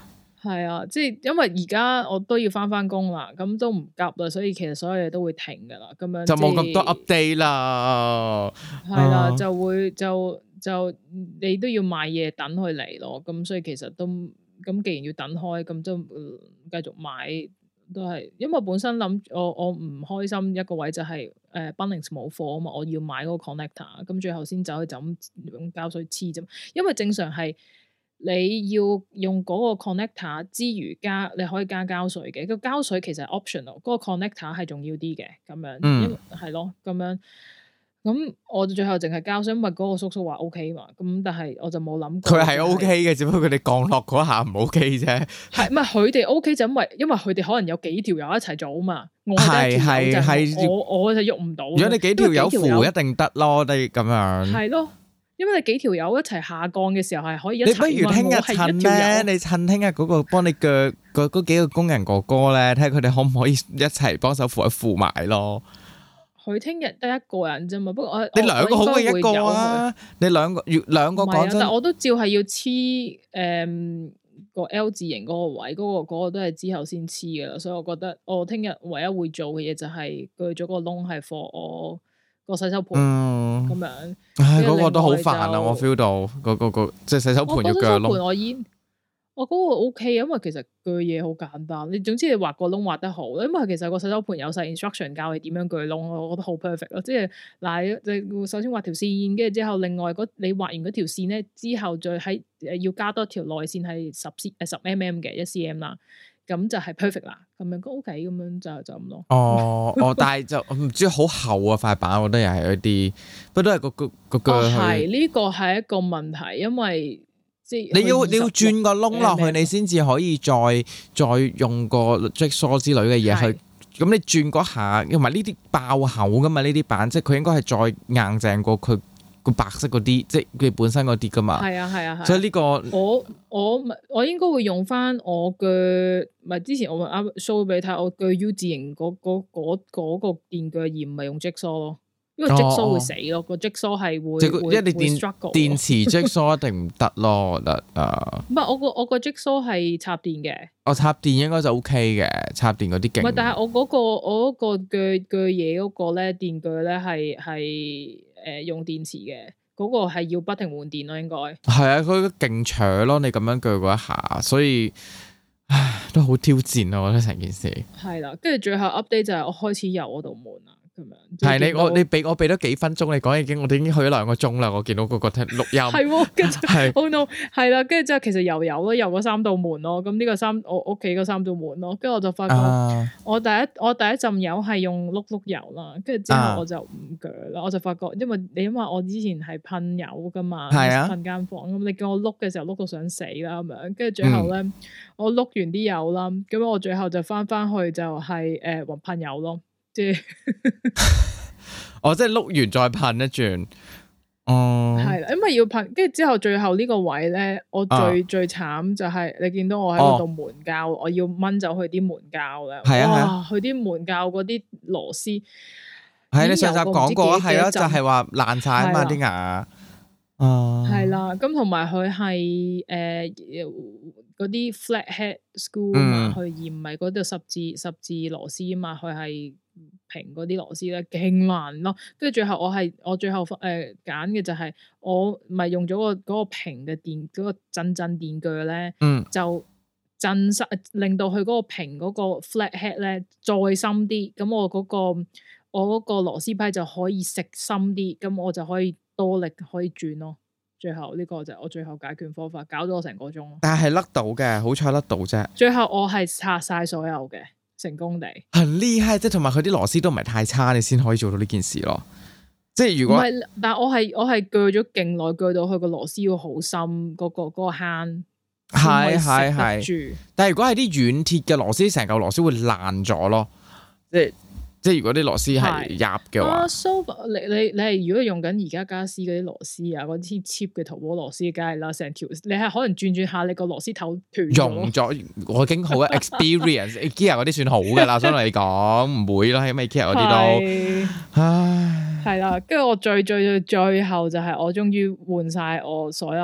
係啊，即係因為而家我都要翻工啦，咁都唔急啦，所以其實所有嘢都會停噶啦，咁樣就冇咁多 update 啦。 係啦，就會就你都要買嘢等佢嚟咯，咁所以其實都咁，既然要等開，咁就繼續買都係，因為本身諗我唔開心一個位就係Bunnings 冇貨啊嘛，我要買嗰個 connector，咁最後先走去就咁用膠水黐啫，因為正常係。你要用嗰個 connector 之餘你可以加膠水嘅，個膠水其實係 optional，嗰個 connector 係重要啲嘅，咁樣，因為係咯，咁樣，咁我最後淨係膠水，因為嗰個叔叔話 OK 嘛，咁但係我就冇諗過。佢係 OK 嘅，只不過佢哋降落嗰下唔 OK 啫。 係，唔係佢哋 OK 就因為佢哋可能有幾條友一齊做啊嘛，我就喐唔到。如果你幾條友扶一定得咯，你咁樣。 係咯。因為你幾條友一齊下降嘅時候係可以一齊， 你不如聽日趁咩？你趁聽日嗰個幫你鋸嗰幾個工人哥哥咧，睇下佢哋可唔可以一齊幫手扶埋咯。 佢聽日得一個人啫嘛，不過你兩個好過一個啊！你兩個講真， 但我都照係要黐個 L 字形嗰個位，嗰個都係之後先黐噶啦，所以我覺得我聽日唯一會做嘅嘢就係鋸咗個窿係放我個洗手盤咁樣， 唉，嗰個都好煩啊！我 feel 到個即係洗手盤要鋸窿。 我嗰個 OK，因為其實鋸嘢好簡單，你總之你畫個窿畫得好，因為其實個洗手盤有晒 instruction 教你點樣鋸窿，我覺得好 perfect 咯。即係嗱，你首先畫條線，跟住之後另外你畫完嗰條線咧，之後再喺要加多條內線係10 mm 嘅1cm 啦。咁就係 perfect 啦，咁樣都 OK，咁樣就咁咯。 但係就唔知好厚啊塊板，我覺得又係一啲，不過都係個鋸。 係呢個係一個問題，因為即係你要轉個窿落去，你先至可以再用個 jigsaw 之類嘅嘢去。咁你轉嗰下，同埋呢啲爆厚噶嘛？呢啲板即係佢應該係再硬淨過佢個白色嗰啲，即係佢本身嗰啲噶嘛。係啊。 所以呢個我應該會用翻我嘅，唔係之前我啱 show 俾你睇，我嘅 U 字型嗰個電鋸，而唔係用 jigsaw 咯，因為 jigsaw 會死咯，個 jigsaw 係會一定電池 jigsaw 一定唔得咯，我覺得唔係我個 jigsaw 係插電嘅， 我插電應該就 OK 嘅，插電嗰啲勁。 唔係，但係我嗰個鋸嘢嗰個咧電鋸咧係用電池嘅。嗰個係要不停換電咯，應該係啊，佢勁長咯，你咁樣鋸嗰一下，所以都好挑戰啊！我覺得成件事係啦，跟住最後 update 就係我開始遊嗰道門啦，咁樣係你俾我俾多幾分鐘你講，我哋已經去咗2個鐘啦，我見到嗰個錄音係，跟住係 oh no 係啦，跟住之後其實遊咯，遊嗰3道門咯，咁呢個我屋企嗰3道門咯，跟住我就發覺我第一浸油係用碌油啦，跟住之後我就唔鋸啦，我就發覺因為我之前係噴油噶嘛，噴間房咁，你叫我碌嘅時候碌到想死啦咁樣，跟住最後咧我碌完啲油啦，咁我最後就翻去就係噴油咯。即係即係碌完再噴一轉， 係啦，因為要噴，跟住之後最後呢個位咧，我最慘就係你見到我喺嗰度門膠，我要掹走佢啲門膠咧，哇，佢啲門膠嗰啲螺絲， 係你上集講過，係咯，就係話爛晒啊嘛啲牙， 係啦，咁同埋佢係嗰啲 flat head screw 嘛，佢而唔係嗰度十字螺絲啊嘛，佢係平嗰啲螺絲咧，勁難咯。跟住最後我最後揀嘅就係我咪用咗嗰個平嘅電嗰個震電鋸咧，就震實令到佢嗰個平嗰個 flat head 咧再深啲，咁我嗰個螺絲批就可以食深啲，咁我就可以多力可以轉咯。最後呢個就係我最後解決方法，搞咗我成個鐘咯。 但係甩到嘅，好彩甩到啫。 最後我係拆晒所有嘅，成功地。 很厲害，即係同埋佢啲螺絲都唔係太差，你先可以做到呢件事咯。即係如果唔係， 但係我係鋸咗勁耐，鋸到佢個螺絲要好深，嗰個坑係住。 但係如果係啲軟鐵嘅螺絲，成嚿螺絲會爛咗咯，即係如果啲螺絲係入嘅話， 你係如果用緊而家家私嗰啲螺絲啊，嗰啲 cheap 嘅淘寶螺絲，梗係啦，成條你係可能轉下，你個螺絲頭斷溶咗。我已經好 experience，IKEA 嗰啲算好噶啦，相對嚟講唔會咯，因為 IKEA 嗰啲都，唉， 係啦。跟住我最後就係我終於換晒我所有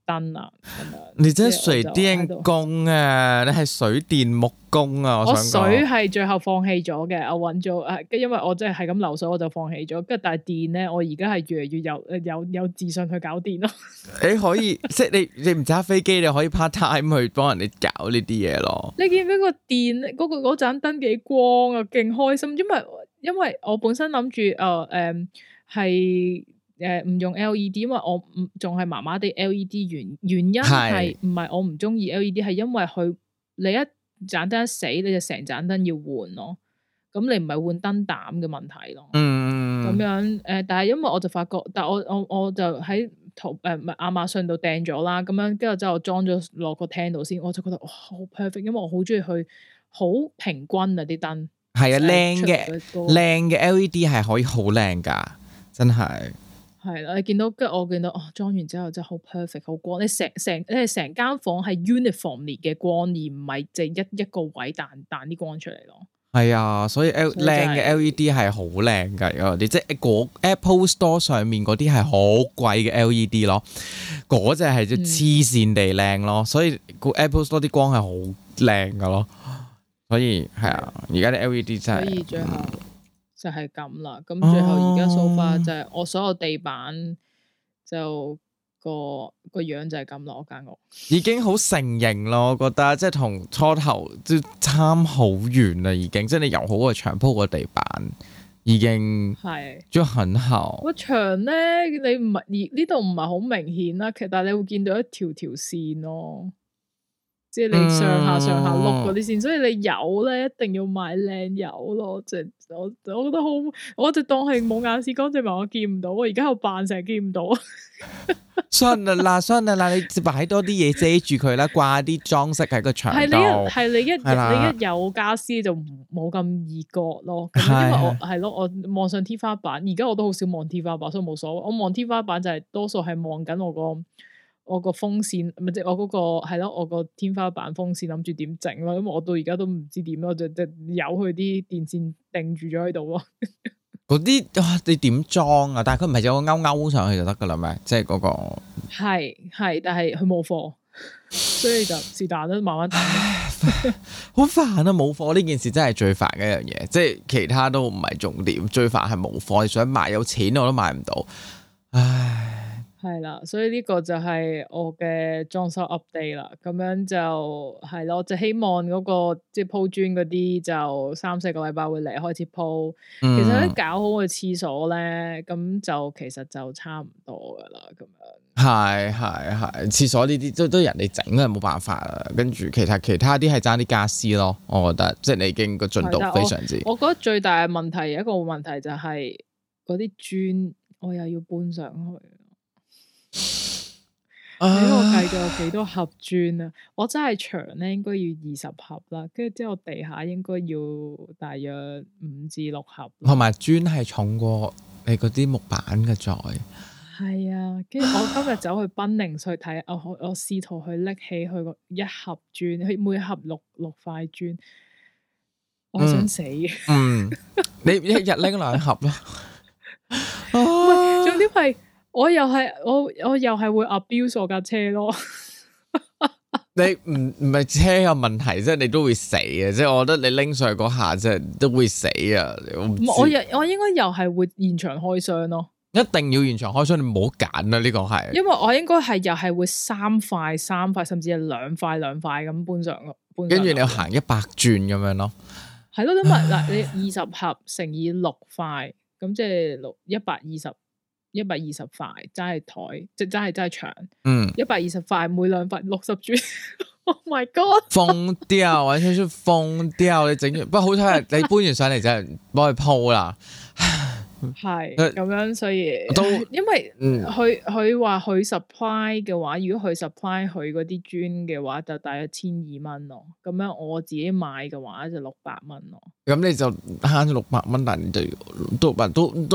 燈啊咁樣。 你真係水電工啊！你係水電木工啊！ 我水係最後放棄咗嘅，我揾咗因為我真係咁流水，我就放棄咗。跟住但係電咧，我而家係越嚟越有自信去搞電咯。你可以即係你唔揸飛機，你可以 part time 去幫人哋搞呢啲嘢咯。 你見唔見個電嗰盞燈幾光啊？勁開心，因為我本身諗住係唔用 LED，因為我仲係麻麻地 LED 原因係唔係我唔中意 LED， 係因為你一盞燈一死，你就成盞燈要換咯。咁你唔係換燈膽嘅問題咯。咁樣但係因為我就發覺，但係我就喺亞馬遜度訂咗啦。咁樣跟住之後裝咗落個廳度先，我就覺得哇好 perfect，因為我好中意去好平均啊啲燈。係啊， 靚嘅 LED 係可以好靚噶，真係。 係啦，我見到裝完之後真係好 perfect， 好光。你成間房係 uniformly 嘅光，而唔係淨係一個位彈啲光出嚟咯。係啊，所以靚嘅 LED 係好靚噶，有啲即係Apple Store 上面嗰啲係好貴嘅 LED 咯，嗰隻係即黐線地靚咯，所以個 Apple Store 啲光係好靚噶咯。所以係啊，而家啲 LED 真係。所以最後就係咁啦，咁最後而家 so far 就係我所有地板就個樣就係咁咯，我間屋已經好成型咯，我覺得即係同初頭即差好遠啦，已經即係你油好個牆鋪個地板已經係就很好。 個牆咧，你唔係呢度唔係好明顯啦，其實但係你會見到一條線咯。即係你上下碌嗰啲線，所以你油咧一定要買靚油咯。即係我覺得好，我就當係冇眼屎乾淨，我見唔到。我而家喺度扮成日見唔到。 算啦，你擺多啲嘢遮住佢啦，掛啲裝飾喺個牆度。 係你一有家私就冇咁易割咯。因為我望上天花板，而家我都好少望天花板，所以冇所謂。我望天花板就係多數係望緊我個風扇，咪即係我嗰個係咯，我個天花板風扇諗住點整咯，因為我到而家都唔知點咯，就由佢啲電線定住咗喺度咯。 嗰啲你點裝啊？但係佢唔係有個勾上去就得噶啦咩？即係嗰個係，但係佢冇貨，所以就是但都慢慢等。 好煩啊！冇貨呢件事真係最煩嘅一樣嘢，即係其他都唔係重點，最煩係冇貨。你想買有錢我都買唔到，唉。 係啦，所以呢個就係我嘅裝修 update 啦。咁樣就係咯，就希望嗰個即係鋪磚嗰啲就3-4個禮拜會嚟開始鋪。其實咧搞好個廁所咧，咁就其實就差唔多噶啦。咁樣係廁所呢啲都人哋整啊，冇辦法啦。跟住其他啲係爭啲家私咯，我覺得即係你已經個進度非常之。 我覺得最大嘅問題，一個問題就係嗰啲磚我又要搬上去。你我計咗有幾多盒磚啊？我真係牆咧應該要20盒啦，跟住之後地下應該要大約5至6盒。 同埋磚係重過你嗰啲木板嘅材。 係啊，跟住我今日走去賓寧去睇，我試圖去拎起佢個一盒磚，佢每盒六塊磚，我想死。 你一日拎2盒咯。 重點係。我又係會 abuse 我架車咯。 你唔係車嘅問題，即係你都會死嘅。即係我覺得你拎上去嗰下，即係都會死啊！我應該又係會現場開箱咯。 一定要現場開箱，你唔好揀啊！呢個係因為我應該係又係會3塊，甚至係2塊咁搬上。 跟住你要行100轉咁樣咯。 係咯，因為嗱，你20盒乘以6塊，咁即係120塊齋係台，即係齋係牆。120塊每2塊60磚。Oh my god！ 瘋掉，完全是瘋掉！你整完，不過好彩你搬完上嚟就係幫佢鋪啦。 係咁樣，所以因為佢話佢 supply 嘅話，如果佢 supply 佢嗰啲磚嘅話，就大約1200蚊咯。咁樣我自己買嘅話就600蚊咯。咁你就慳咗600蚊，但係都搬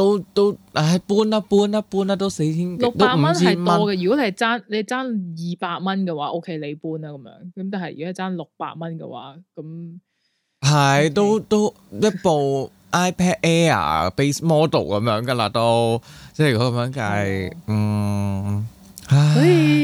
啦，都4000。 600蚊係多嘅。如果你爭200蚊嘅話，OK 你搬啦咁樣。咁但係如果爭600蚊嘅話，咁係都一部。iPad Air base model 咁樣噶啦，都即係如果咁樣計， 所以就係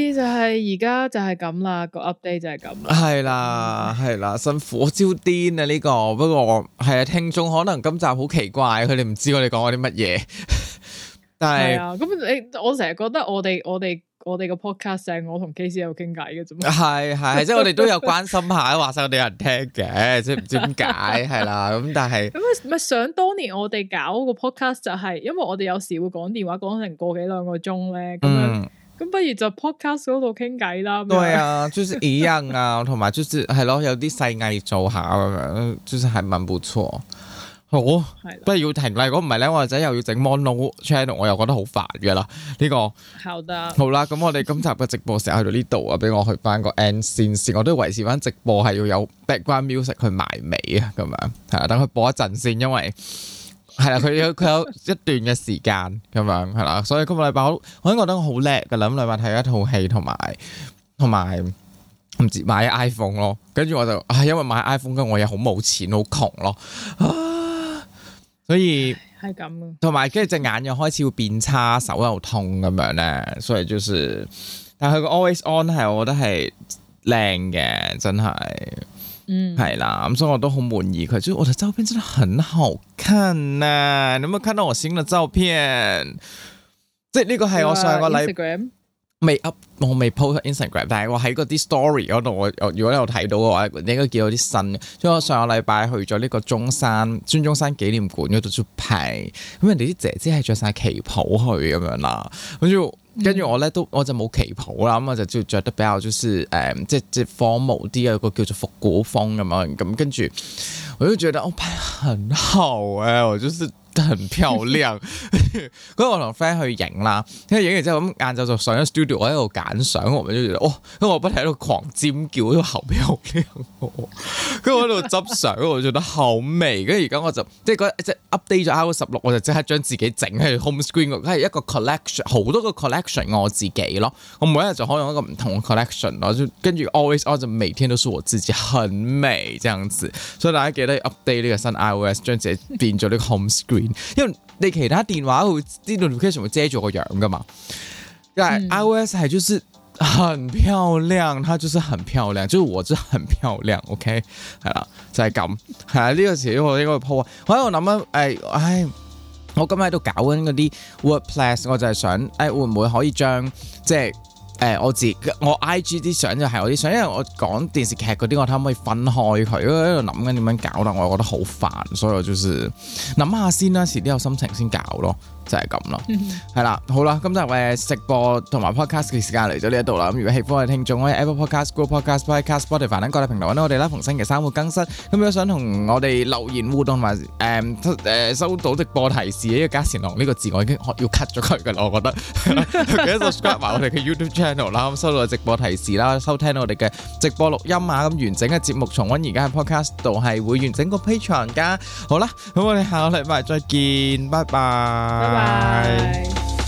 係而家就係咁啦，個 update 就係咁。 係啦，係啦，辛苦我超癲啊呢個。不過係啊，聽眾可能今集好奇怪，佢哋唔知我哋講咗啲乜嘢。但係咁我成日覺得我哋個 podcast 係我同 KC 有傾偈嘅啫嘛。 係，即係我哋都有關心下，話晒我哋有人聽嘅，即係唔知點解係啦。咁但係咁咪想當年我哋搞個 podcast 就係，因為我哋有時會講電話講成個幾兩個鐘咧，咁樣咁不如就 podcast 嗰度傾偈啦。 對啊，就是一樣啊，同埋就是係咯，有啲細藝做下咁樣，就是係蠻不錯。好，不如要停啦。如果唔係咧，我仔又要整 mono channel， 我又覺得好煩嘅啦。呢個好啦，咁我哋今集嘅直播時候去到呢度啊，俾我去翻個 end 先，我都維持翻直播係要有 background music 去埋尾啊，咁樣係啊，等佢播一陣先，因為係啦，佢有一段嘅時間咁樣係啦，所以今個禮拜我已經覺得好叻噶啦。咁禮拜睇一套戲同埋唔知買 iPhone 咯，跟住我就因為買 iPhone 跟住我又好冇錢，好窮咯。所以係咁， 同埋跟住隻眼又開始會變差，手又痛咁樣咧，所以就是，但係佢個 Always On 係我覺得係靚嘅，真係，係啦，咁所以我都好滿意佢，就我的照片真的很好看啊！你有冇看到我新嘅照片？即係呢個係我上個禮未 up， 我未 post Instagram， 但係我喺嗰啲 story 嗰度，我如果你有睇到嘅話，你應該見到啲新嘅。所以我上個禮拜去咗呢個孫中山紀念館嗰度出牌，咁人哋啲姐姐係着晒旗袍去咁樣啦，跟住我咧我就冇旗袍啦，咁我就着得比較就是即係 formal 啲，有個叫做復古風咁樣，咁跟住我就覺得我拍很好我就是很漂亮。嗰日我同 friend 去影啦，跟住影完之後咁晏晝就上咗 studio， 我喺度揀相，我咪就覺得跟住我不停喺度狂尖叫，都好漂亮。跟住我喺度執相，我覺得好美。跟住而家我就即係 update 咗 iOS 16，我就即刻將自己整喺 home screen， 係一個 collection， 好多個 collection 我自己咯。我每一日就可以用一個唔同嘅 collection 咯，就跟住 always on 就每天都是我自己，很美這樣子。所以大家記得 update 呢個新 iOS， 將自己變咗呢個 home screen。因為你其他電話會啲 notification 會遮住個樣噶嘛，但係 iOS 係就是很漂亮，它就是很漂亮，就是我真係很漂亮 ，OK 係啦，就係咁係啊。呢個時我應該會 po 啊，我喺度諗我今日喺度搞緊嗰啲 WordPress， 我就係想會唔會可以將即係我 IG 啲相就係我啲相，因為我講電視劇嗰啲，我睇可唔可以分開佢？因為喺度諗緊點樣搞，但我又覺得好煩，所以我就是諗下先啦，遲啲有心情先搞咯，就係咁咯。係啦，好啦，今集直播同埋 podcast 嘅時間嚟咗呢一度啦。咁如果喜歡我哋聽眾，可以 Apple Podcast、Google Podcast、Spotify 等各大平台揾到我哋啦。逢星期三會更新。咁如果想同我哋留言互動同埋收到直播提示，因為嘉善郎呢個字我已經要 cut 咗佢㗎啦，我覺得。記得 subscribe 埋我哋嘅 YouTube channel 啦，咁收到直播提示啦，收聽我哋嘅直播錄音啊，咁完整嘅節目重溫而家喺 podcast 度係會完整個 Patreon 噶。好啦，咁我哋下個禮拜再見，拜拜。